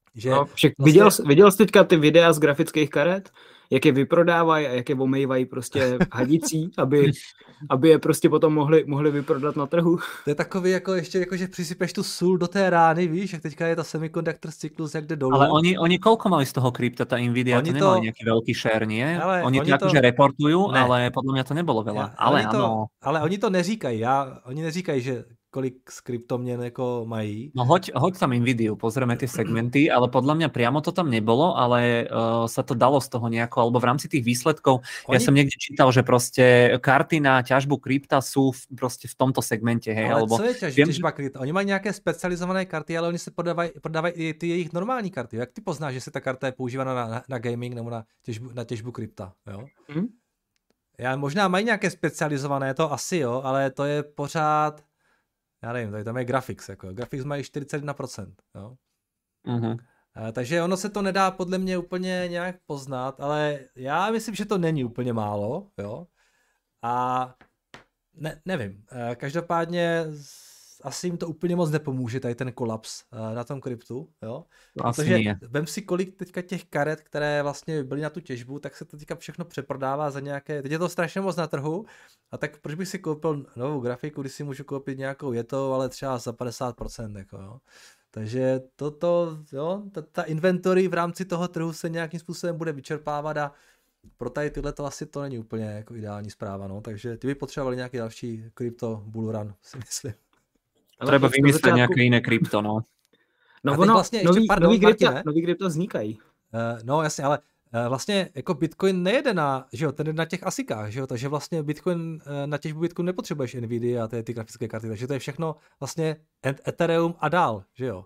Že no, však vlastně... viděl, viděl jsi teďka ty videa z grafických karet? Jak je vyprodávají a jak je omejvají prostě hadicí, aby, aby je prostě potom mohli, mohli vyprodat na trhu. To je takový, jako ještě, jako, že přisypeš tu sůl do té rány, víš, jak teďka je ta semiconductor cyklus, jak jde dolů. Ale oni, oni koľko mali z toho krypta, ta Nvidia, oni to nemali nejaký veľký share, nie? Ale oni, oni to akože reportujú, ne. Ale podľa mňa to nebolo veľa. Ja, ale oni to, ano. Ale oni to neříkají, já, oni neříkají, že kolik z kryptoměn jako mají. No hoď, hoď tam Nvidiu, pozrieme tie segmenty, ale podľa mňa priamo to tam nebolo, ale uh, sa to dalo z toho nejako, alebo v rámci tých výsledkov, Oni... ja som niekde čítal, že proste karty na ťažbu krypta sú v, proste v tomto segmente, hej, ale alebo... co je ťaž, viem, těžba krypta? Oni mají nějaké specializované karty, ale oni se prodávají, prodávají i ty jejich normální karty. Jak ty poznáš, že se ta karta je používána na, na, na gaming nebo na těžbu, na těžbu krypta, jo? Mm. Já, možná mají nějaké specializované, to asi jo, ale to je pořád... Já nevím, tady tam je Graphics, jako. Graphics mají čtyřicet jedna procent, jo. Uh-huh. A, takže ono se to nedá podle mě úplně nějak poznat, ale já myslím, že to není úplně málo, jo. A ne, nevím, každopádně asi jim to úplně moc nepomůže, tady ten kolaps na tom kryptu, jo. Protože vem si, kolik teďka těch karet, které vlastně byly na tu těžbu, tak se to teďka všechno přeprodává za nějaké, teď je to strašně moc na trhu, a tak proč bych si koupil novou grafiku, když si můžu koupit nějakou jetou, ale třeba za padesát procent, jako jo. Takže toto, jo, ta, ta inventory v rámci toho trhu se nějakým způsobem bude vyčerpávat a pro tady tyhle to asi to není úplně jako ideální zpráva, no, takže ty by potřebovali nějaký další krypto bullrun, si myslím. Treba vymyslet nějaké jiné krypto, no. No ono, vlastně nový, ještě, pardon, nový, krypta, nový krypta vznikají. Uh, no jasně, ale uh, vlastně jako Bitcoin nejede na, že jo, ten jde na těch asikách, že jo, takže vlastně Bitcoin, uh, na těžbu Bitcoin nepotřebuješ Nvidia a ty, ty grafické karty, takže to je všechno vlastně Ethereum a dál, že jo.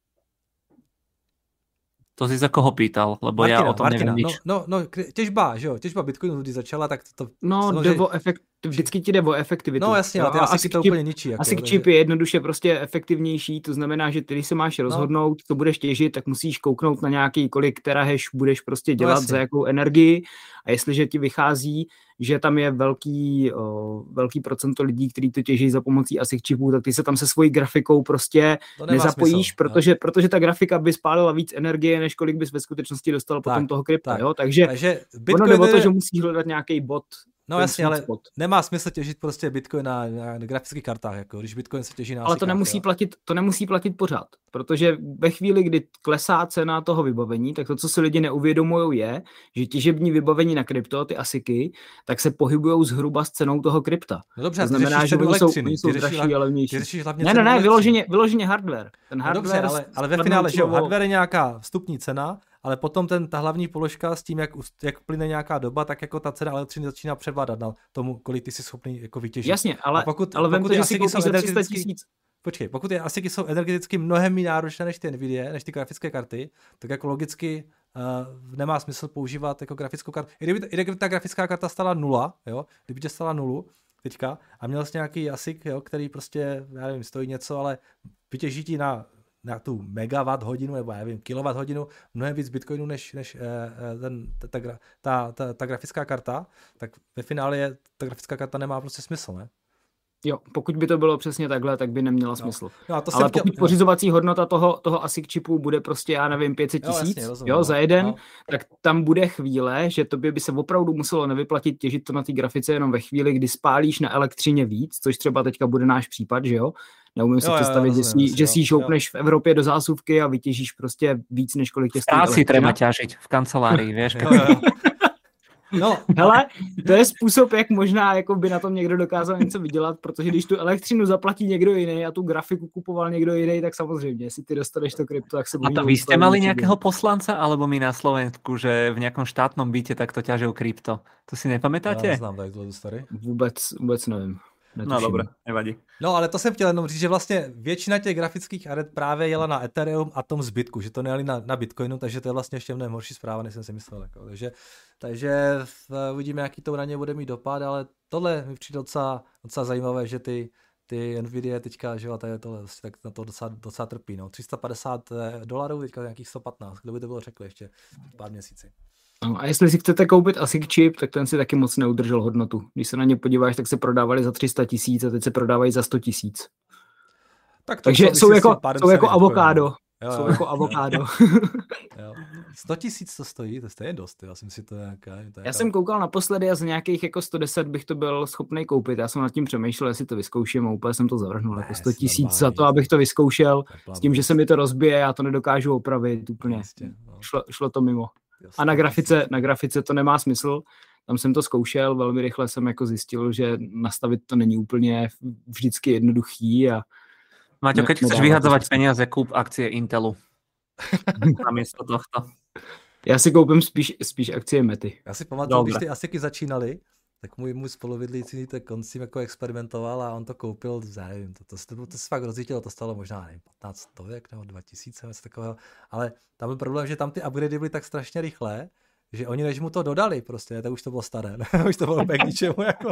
To si za koho pýtal, lebo Martina, ja o tom Martina, neviem nič. No, no, no, těžba, že jo, těžba Bitcoinu, když začala, tak to... No, samozřejmě... jde o efekt, vždycky ti jde o efektivitu. No jasně, ale ty ASICy to úplně ničí. Jako, ASIC chip je jednoduše prostě efektivnější, to znamená, že ty, když se máš rozhodnout, no. co budeš těžit, tak musíš kouknout na nějaký, kolik terahash budeš prostě dělat, no, za jakou energii, a jestliže ti vychází, že tam je velký, o, velký procento lidí, kteří to těží za pomocí ASIC čipů, tak ty se tam se svojí grafikou prostě nezapojíš, smysl, protože, protože ta grafika by spálila víc energie, než kolik bys ve skutečnosti dostal tak, potom toho krypta, tak. jo? Takže, Takže ono jde o to, že musíš hledat nějaký bot. No jasně, ale spot. Nemá smysl těžit prostě Bitcoin na, na grafických kartách, jako když Bitcoin se těží na Ale to nemusí, platit, to nemusí platit pořád, protože ve chvíli, kdy klesá cena toho vybavení, tak to, co si lidi neuvědomují, je, že těžební vybavení na krypto, ty ASICy, tak se pohybujou zhruba s cenou toho krypta. No dobře, to znamená, že oni jsou, oni jsou dražší a levnější. Ne, ne, ne, vyloženě, vyloženě hardware. Ten hardware no dobře, ale, ale ve finále, že jo, hardware je nějaká vstupní cena, ale potom ten, ta hlavní položka s tím, jak, jak plyne nějaká doba, tak jako ta cena elektřiny začíná převládat na tomu, kolik ty jsi schopný jako vytěžit. Jasně, ale, pokud, ale vem to, že si koupíš za tři sta tisíc. Počkej, pokud je ASICy jsou energeticky mnohem méně náročné než ty Nvidia, než ty grafické karty, tak jako logicky uh, nemá smysl používat jako grafickou kartu. I kdyby, i kdyby ta grafická karta stala nula, jo, kdyby tě stala nulu teďka a měl jsi nějaký ASIC, jo, který prostě, já nevím, stojí něco, ale vytěží ti na na tu megawatt hodinu, nebo já nevím, kilowatt hodinu, mnohem víc bitcoinu, než, než eh, ten, ta, ta, ta, ta, ta grafická karta, tak ve finále je, ta grafická karta nemá prostě smysl, ne? Jo, pokud by to bylo přesně takhle, tak by neměla smysl. No. No, to ale chtěl... pokud pořizovací hodnota toho, toho ASIC čipu bude prostě, já nevím, pět set tisíc jo, jasně, jo, za jeden, no. tak tam bude chvíle, že tobě by se opravdu muselo nevyplatit těžit to na té grafice jenom ve chvíli, kdy spálíš na elektřině víc, což třeba teďka bude náš případ, že jo? Neumím si jo, představit, jo, rozumím, že si ji šoupneš v Evropě do zásuvky a vytěžíš prostě víc, než kolik tě stojí. Stáci treba ťažiť v kancelárii, vieš. No, hele, to je způsob, jak možná jako by na tom někdo dokázal něco vydělat, protože když tu elektřinu zaplatí někdo jiný a tu grafiku kupoval někdo jiný, tak samozřejmě, jestli ty dostaneš to krypto, tak se budí. A to vy jste mali nějakého poslanca, alebo my na Slovensku, že v nějakom štátnom byte takto ťažil krypto? To si nepamätáte? Já neznám tak dlouho starý. Vůbec, vůbec nevím. Netuším. No dobré, nevadí. No ale to jsem chtěl jenom říct, že vlastně většina těch grafických aret právě jela na Ethereum a tom zbytku, že to nejeli na, na Bitcoinu, takže to je vlastně ještě mnohem horší zpráva, než jsem si myslel. Jako. Takže, takže uvidíme, jaký to na ně bude mít dopad, ale tohle mi přijde docela, docela zajímavé, že ty, ty Nvidia teďka, že jo, tady tohle, tak na to docela, docela trpí. No. tři sta padesát dolarů, teďka nějakých sto patnáct, kdo by to bylo řekl ještě pár měsíci. No, a jestli si chcete koupit ASIC čip, tak ten si taky moc neudržel hodnotu. Když se na ně podíváš, tak se prodávali za tři sta tisíc a teď se prodávají za sto tisíc. Tak Takže jsou jako, jsou jako avokádo. Jo, jsou jo, jako avokádo. sto tisíc to stojí, to je stejně dost. Já jsem si to nějaká... To já jsem koukal naposledy a z nějakých jako sto deset bych to byl schopný koupit. Já jsem nad tím přemýšlel, jestli to vyzkouším a úplně jsem to zavrhnul. Ne, jako sto tisíc za to, abych to vyzkoušel. S tím, že se mi to rozbije, já to nedokážu opravit úplně. Jistě, no. šlo, šlo to mimo. A na grafice, na grafice to nemá smysl. Tam jsem to zkoušel, velmi rychle jsem jako zjistil, že nastavit to není úplně vždycky jednoduchý. A Maťo, keď chceš vyhadzovať peniaze, kúp akcie Intelu. Namiesto tohto. Já si koupím spíš, spíš akcie Mety. Já si pamatuju, když ty ASICy začínaly, tak můj, můj spolubydlící to koncím jako experimentoval a on to koupil, nevím, to, to, to, to, to se fakt rozjítilo, to stalo možná nevím, patnáct stovek nebo dva tisíce, něco takového, ale tam byl problém, že tam ty upgradey byly tak strašně rychlé, že oni než mu to dodali prostě, tak už to bylo staré, už to bylo k ničemu. Jako.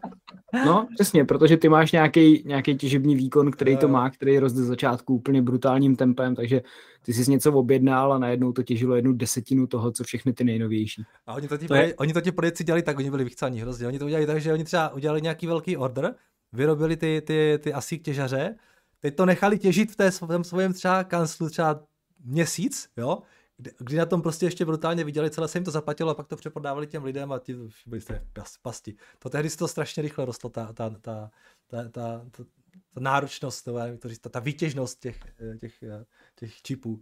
No, přesně, protože ty máš nějaký, nějaký těžební výkon, který to má, který roste z začátku úplně brutálním tempem, takže ty jsi něco objednal a najednou to těžilo jednu desetinu toho, co všechny ty nejnovější. A oni to ti, to je... oni to ti prodejci dělali tak, oni byli vychcaní hrozně. Oni to udělali tak, že oni třeba udělali nějaký velký order, vyrobili ty, ty, ty ASIC těžaře, teď to nechali těžit v té svém, svém třeba kanclu třeba měsíc, jo, kdy na tom prostě ještě brutálně viděli, celé se jim to zaplatilo a pak to přeprodávali těm lidem a ti byli jste pasti. To tehdy se to strašně rychle rostlo, ta, ta, ta, ta, ta, ta, ta, ta náročnost, ta, ta výtěžnost těch, těch, těch čipů.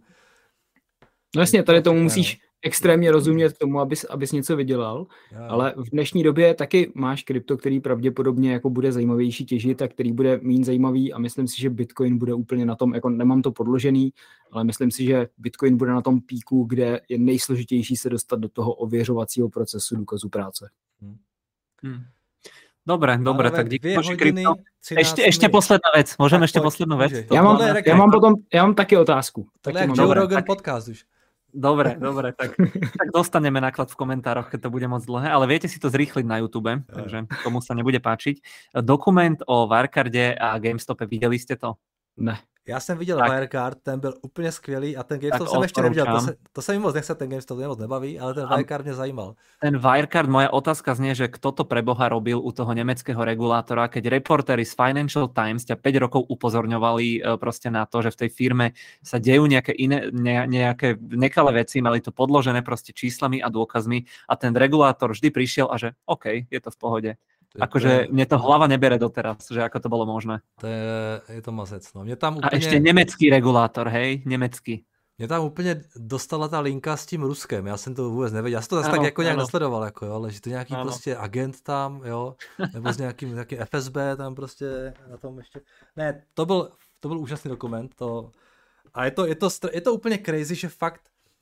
No jasně, tady tomu musíš extrémně rozumět k tomu, abys, abys něco vydělal, já. Ale v dnešní době taky máš krypto, který pravděpodobně jako bude zajímavější těžit a který bude méně zajímavý a myslím si, že Bitcoin bude úplně na tom, jako nemám to podložený, ale myslím si, že Bitcoin bude na tom píku, kde je nejsložitější se dostat do toho ověřovacího procesu důkazu práce. Hmm. Hmm. Dobre, dobre, tak díky bože krypto. Ešte, ešte posledná vec, môžeme ešte poslednú vec? Ja mám, ja mám potom, ja mám taky otázku. To je Joe Rogan podcast už. Dobre, dobre, tak, tak dostaneme náklad v komentároch, keď to bude moc dlhé, ale viete si to zrýchliť na YouTube, takže komu sa nebude páčiť. Dokument o Wirecarde a GameStope, videli ste to? Ne. Já jsem viděl tak. Wirecard, ten byl úplně skvělý a ten GameStop jsem ještě neviděl, to se, to se mi moc nechce, ten GameStop mě moc nebaví, ale ten Wirecard mě zajímal. Ten Wirecard, moja otázka znie, že kto to pre Boha robil u toho nemeckého regulátora, keď reportéri z Financial Times ťa päť rokov upozorňovali proste na to, že v tej firme sa dejú nejaké iné, ne, nejaké nekalé veci, mali to podložené proste číslami a dôkazmi a ten regulátor vždy prišiel a že OK, je to v pohode. Akože mne to hlava nebere doteraz, že ako to bolo možné. To je, je to mazec, no. Mě tam úplně... A ešte nemecký regulátor, hej? Nemecký. Mě tam úplně dostala ta linka s tím Ruskem, já jsem to vůbec nevěděl. Já jsem to zase ano, tak jako nějak nesledoval, jako, jo, ale že to nějaký ano. prostě agent tam, jo, nebo s nějakým, nějakým F S B tam prostě na tom ještě. Ne, to byl, to byl úžasný dokument, to... A je to, je to, je to úplně crazy, že fakt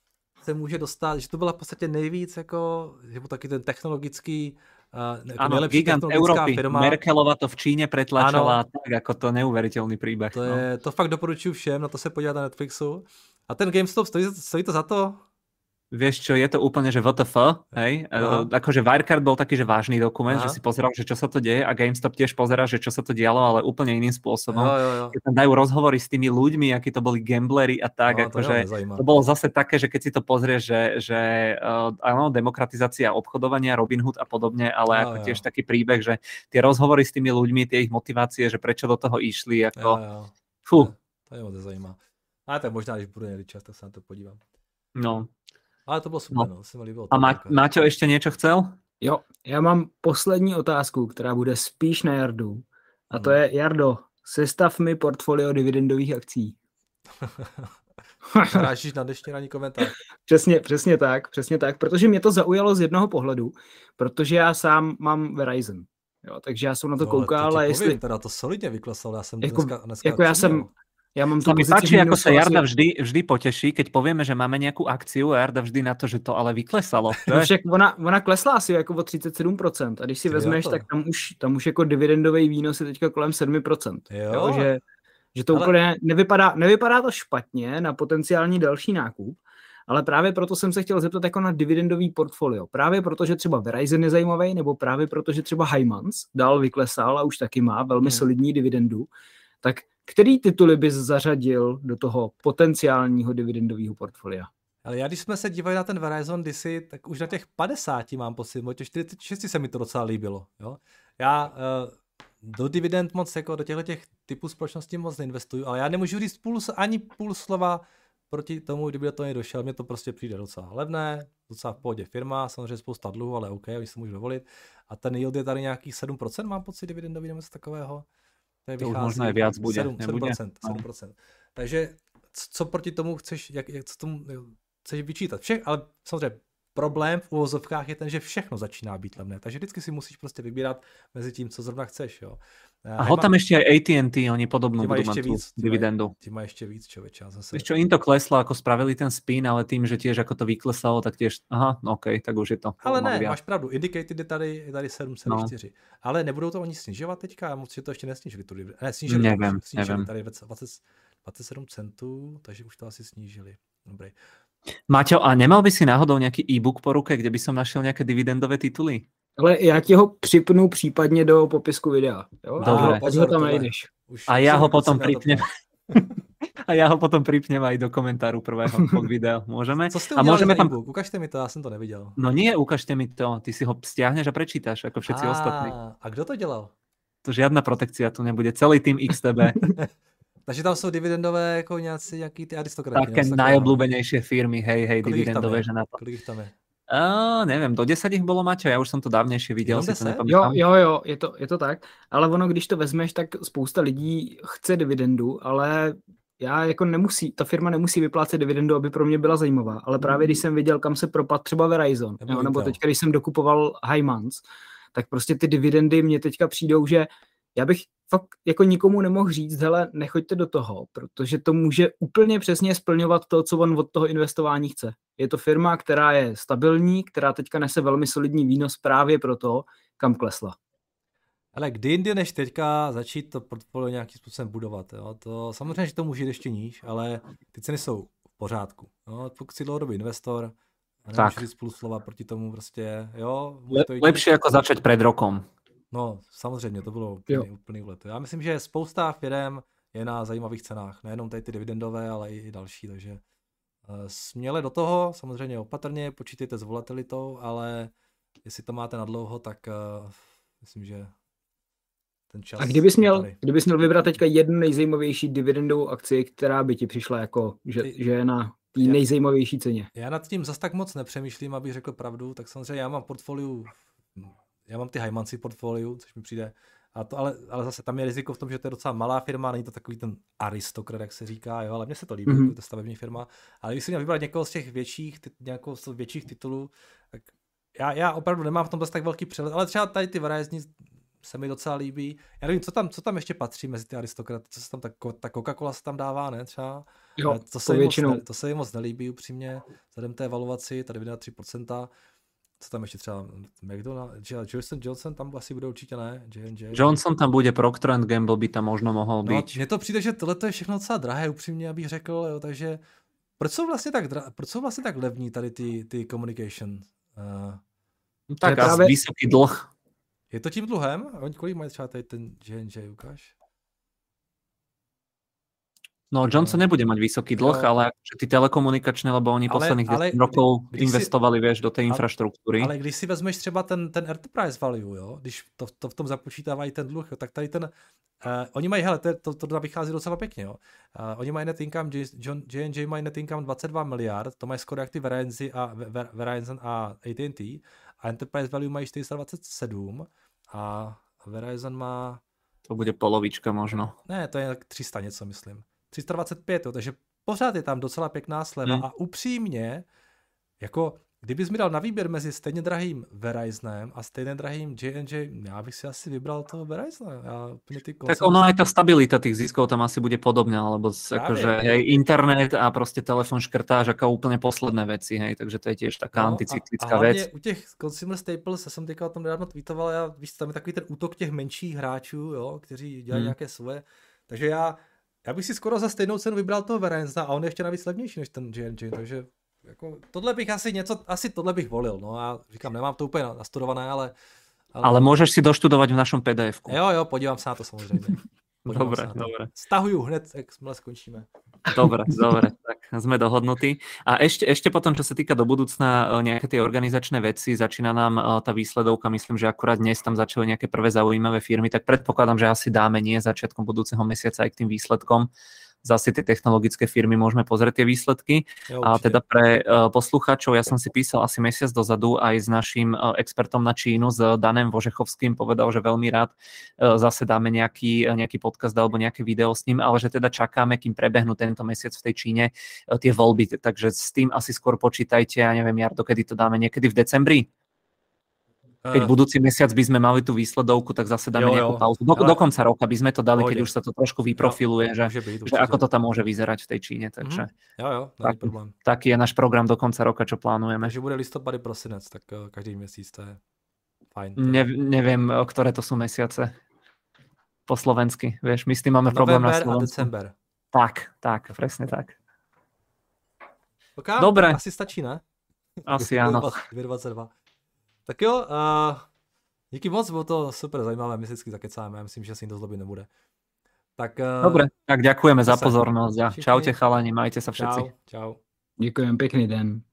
se může dostat, že to byla v podstatě nejvíc, jako, že byl taky ten technologický Uh, áno, gigant Európy. Firma. Merkelova to v Číne pretlačala, ano. Tak ako to neuveriteľný príbeh. To, je, no. To fakt doporučuji všem, na to se podívat na Netflixu. A ten GameStop, stojí, stojí to za to? Vieš čo, je to úplne, že W T F, hej? Uh, akože Wirecard bol taký, že vážny dokument, aha. Že si pozeral, že čo sa to deje a GameStop tiež pozerá, že čo sa to dialo, ale úplne iným spôsobom. Jo, jo, jo. Keď tam dajú rozhovory s tými ľuďmi, akí to boli gambleri a tak, no, akože to, to bolo zase také, že keď si to pozrieš, že, že uh, áno, demokratizácia obchodovania, Robinhood a podobne, ale jo, ako jo. Tiež taký príbeh, že tie rozhovory s tými ľuďmi, tie ich motivácie, že prečo do toho išli, ako... Jo, jo. Fú. To je moc zajímá. A tak možná, když budu někdy čas, tak sa na to podívám. No. Ale to bylo super, no. Se mi líbilo. A Má, Máťo ještě něco chcel? Jo, já mám poslední otázku, která bude spíš na Jardu. A to je, Jardo, sestav mi portfolio dividendových akcí. Narážíš na dnešní ranní komentář. Přesně, přesně tak, přesně tak, protože mě to zaujalo z jednoho pohledu, protože já sám mám Verizon. Jo, takže já jsem na to no, koukal, to a jestli... Povím, teda to solidně vyklesal, já jsem jako, dneska, dneska jako já jsem... Ja mám sa mi páči, ako sa Jarda vždy, vždy poteší, keď povieme, že máme nejakú akciu a Jarda vždy na to, že to ale vyklesalo. No však ona, ona klesla asi jako o třicet sedm procent a když si vezmeš, tak tam už, tam už jako dividendový výnos je teďka kolem sedm procent. Jo. Jo, že, že to ale... úplně nevypadá, nevypadá to špatně na potenciální další nákup, ale právě proto jsem se chtěl zeptat jako na dividendový portfolio. Právě proto, že třeba Verizon je zajímavý, nebo právě proto, že třeba Heimans dál vyklesal a už taky má velmi hmm. solidní dividendu, tak který tituly bys zařadil do toho potenciálního dividendového portfolia? Ale já, když jsme se dívali na ten Verizon kdysi, tak už na těch padesáti mám pocit, o těch čtyřicet šest se mi to docela líbilo. Jo? Já uh, do dividend moc, jako do těchto těch typů společností moc neinvestuju, ale já nemůžu říct půl, ani půl slova proti tomu, kdyby do toho nedošel, mně to prostě přijde docela levné, docela v pohodě firma, samozřejmě spousta dluhu, ale OK, oni si můžu dovolit. A ten yield je tady nějakých sedm procent, mám pocit, dividendový nebo něco takového. To, to už možná i víc bude, sedm procent, sedm procent. Takže co proti tomu chceš, jak, jak co tomu chceš vyčítat? Všech, ale samozřejmě problém v uvozovkách je ten, že všechno začíná být levné, takže vždycky si musíš prostě vybírat mezi tím, co zrovna chceš. Jo. A ho tam ještě aj á té and té, oni podobnú budú mať tú dividendu. Ty má ešte víc, človeče. Zase... Ešte im to kleslo, ako spravili ten spin, ale tým, že tiež ako to vyklesalo, tak tiež, aha, OK, tak už je to. Ale ne, viac. Máš pravdu, indicated je tady, je tady sedm celá čtyři. No. Ale nebudou to oni snižovat teďka? Já moc, že to ještě nesnížili. Tu dividendu. Ne, snížili, nevím, už, snížili nevím. Tady dvacet, dvacet sedm centů, takže už to asi snížili. Dobrý. Maťo, a nemal by si náhodou nějaký e-book po ruke, kde by som našiel nějaké dividendové tituly? Ale já ti ho připnu případně do popisku videa. Jo? Dobre. A ho tam najdeš. A já ho potom pripnem. A já ho potom pripnem aj do komentáru prvého pod videa. Môžeme? Co jste udělali a môžeme tam... e-book? Ukažte mi to, já jsem to neviděl. No nie, ukažte mi to. Ty si ho stiahneš a prečítaš, ako všetci a, ostatní. A kdo to dělal? To žiadna protekcia tu nebude. Celý tým iks té bé. Takže tam jsou dividendové jako nějací, nějaký ty aristokraty. Také najobľúbenejšie firmy, hej, hej, kolik dividendové, že na to. Kolik ich tam je? Uh, nevím, do desať ich bolo, Maťo, já už jsem to dávnější viděl. Si to jo, jo, jo, je to, je to tak, ale ono, když to vezmeš, tak spousta lidí chce dividendu, ale já jako nemusí, ta firma nemusí vyplácet dividendu, aby pro mě byla zajímavá, ale právě když jsem viděl, kam se propad třeba Verizon, nebo, jo, nebo teďka, když jsem dokupoval Heimans, tak prostě ty dividendy mě teďka přijdou, že já bych fakt jako nikomu nemohl říct, hele, nechoďte do toho, protože to může úplně přesně splňovat to, co on od toho investování chce. Je to firma, která je stabilní, která teďka nese velmi solidní výnos právě pro to, kam klesla. Ale kdy jindy než teďka začít to portfolio nějakým způsobem budovat. Jo? To, samozřejmě, že to může jít ještě níž, ale ty ceny jsou v pořádku. Jo? Pokud jsi dlouhodobý investor, nemůžu říct půl slova proti tomu prostě. Jo? Le, to lepší jako začít před rokom. No, samozřejmě, to bylo úplný, úplný úlet. Já myslím, že spousta firem je na zajímavých cenách. Nejenom tady ty dividendové, ale i další, takže uh, směle do toho, samozřejmě opatrně, počítejte s volatilitou, ale jestli to máte na dlouho, tak uh, myslím, že ten čas... A kdybys měl, kdybys měl vybrat teďka jednu nejzajímavější dividendovou akci, která by ti přišla jako, že, ty, že je na té nejzajímavější ceně? Já nad tím zas tak moc nepřemýšlím, abych řekl pravdu, tak samozřejmě já mám portfoliu... Já mám ty Heimansi portfoliu, což mi přijde, a to, ale, ale zase tam je riziko v tom, že to je docela malá firma, není to takový ten aristokrat, jak se říká, jo, ale mně se to líbí, mm-hmm. jako to stavební firma, ale když si měl vybrat někoho z těch větších, ty, nějakou z těch větších titulů, tak já, já opravdu nemám v tom tak velký přehled, ale třeba tady ty Verizon se mi docela líbí. Já nevím, co tam, co tam ještě patří mezi ty aristokraty, co se tam, ta, ta Coca-Cola se tam dává, ne, třeba? Jo, to, se moc ne, to se jim moc nelíbí upřímně, vzhledem té evaluaci, tady vyjde tři procenta. Co tam ještě třeba McDonald's, Johnson Johnson tam asi bude určitě ne, J and J. Johnson tam bude, Procter and Gamble by tam možno mohl být. No, mně to přijde, že tohle je všechno docela drahé, upřímně, abych řekl, jo, takže proč jsou vlastně tak, dra- proč jsou vlastně tak levní tady ty, ty communication? Uh, tak asi právě... vysoký dlh. Je to tím dluhem? Oni kolik mají třeba tady ten J and J, ukáž? No, Johnson nebude mať vysoký dlh, jo. Ale ty telekomunikačné, lebo oni ale, posledných desať rokov kdy, investovali, si, vieš, do té infraštruktúry. Ale když si vezmeš třeba ten, ten enterprise value, jo, když to, to v tom započítávají ten dluh, jo, tak tady ten, uh, oni mají, hele, to, to, to vychází docela pěkně, jo. Uh, oni mají net income, J and J mají net income dvacet dva miliard, to mají skoro jak ty Verizon a, Verizon a A T and T, a enterprise value mají čtyři sta dvacet sedm a Verizon má... To bude polovička možno. Ne, to je tři sta něco, myslím. tři sta dvacet pět, jo, takže pořád je tam docela pěkná sleva hmm. a upřímně, jako kdybys mi dal na výběr mezi stejně drahým Verizonem a stejně drahým J and J, já bych si asi vybral toho Verizona. Já ty tak ono aj tá stabilita tých ziskov tam asi bude podobná, lebo akože hej, internet a prostě telefon škrtáš ako úplne posledné veci, hej, takže to je tiež taká no, anticyklická vec. A hlavně u těch consumer staples, já jsem teďka o tom nedávno tweetoval, já, víš, tam je takový ten útok těch menších hráčů, jo, kteří dělají hmm. nějaké svoje, takže já Já bych si skoro za stejnou cenu vybral toho Verizona a on je ještě navíc levnější než ten J and J, takže jako tohle bych asi něco, asi tohle bych volil, no já říkám, nemám to úplně nastudované, ale... Ale, ale můžeš si doštudovat v našem P D F ku. Jo, jo, podívám se na to samozřejmě. Podívám dobre, dobre. Stahuju hned, jakmile skončíme. Dobre, dobre, tak sme dohodnutí. A ešte, ešte potom, čo sa týka do budúcna nejaké tie organizačné veci, začína nám tá výsledovka, myslím, že akurát dnes tam začali nejaké prvé zaujímavé firmy, tak predpokladám, že asi dáme nie začiatkom budúceho mesiaca aj k tým výsledkom. zase tie technologické firmy môžeme pozrieť tie výsledky. Jo, a teda pre uh, poslucháčov, ja som si písal asi mesiac dozadu aj s našim uh, expertom na Čínu, s Danem Vožechovským, povedal, že veľmi rád uh, zase dáme nejaký, uh, nejaký podcast alebo nejaké video s ním, ale že teda čakáme, kým prebehnú tento mesiac v tej Číne uh, tie voľby. Takže s tým asi skôr počítajte, ja neviem, Jardo, kedy to dáme, niekedy v decembri? Keď budúci mesiac by sme mali tú výsledovku, tak zase dáme jo, nejakú pauzu. Do, do konca roka by sme to dali, keď už sa to trošku vyprofiluje, jo, že, byť, že ako to tam môže vyzerať v tej Číne. Takže mm-hmm. Jo, jo, tak, problém. Taký je náš program do konca roka, čo plánujeme. Takže bude listopad, prosinec, tak každý měsíc, to je fajn. Ne, neviem, ktoré to sú mesiace po slovensky. Vieš, my s tým máme problém na Slovensku. November a december. Tak, tak, presne tak. Okay, dobre. Asi stačí, ne? Asi áno. dvacet dva Tak jo, uh, díky moc, bylo to super zajímavé, my si vždycky zakecáme, já myslím, že si to zlobit nebude. Tak, uh, dobre, tak ďakujeme za pozornosť a čaute chalani, majte sa všetci. Čau, čau. Ďakujem, pekný den.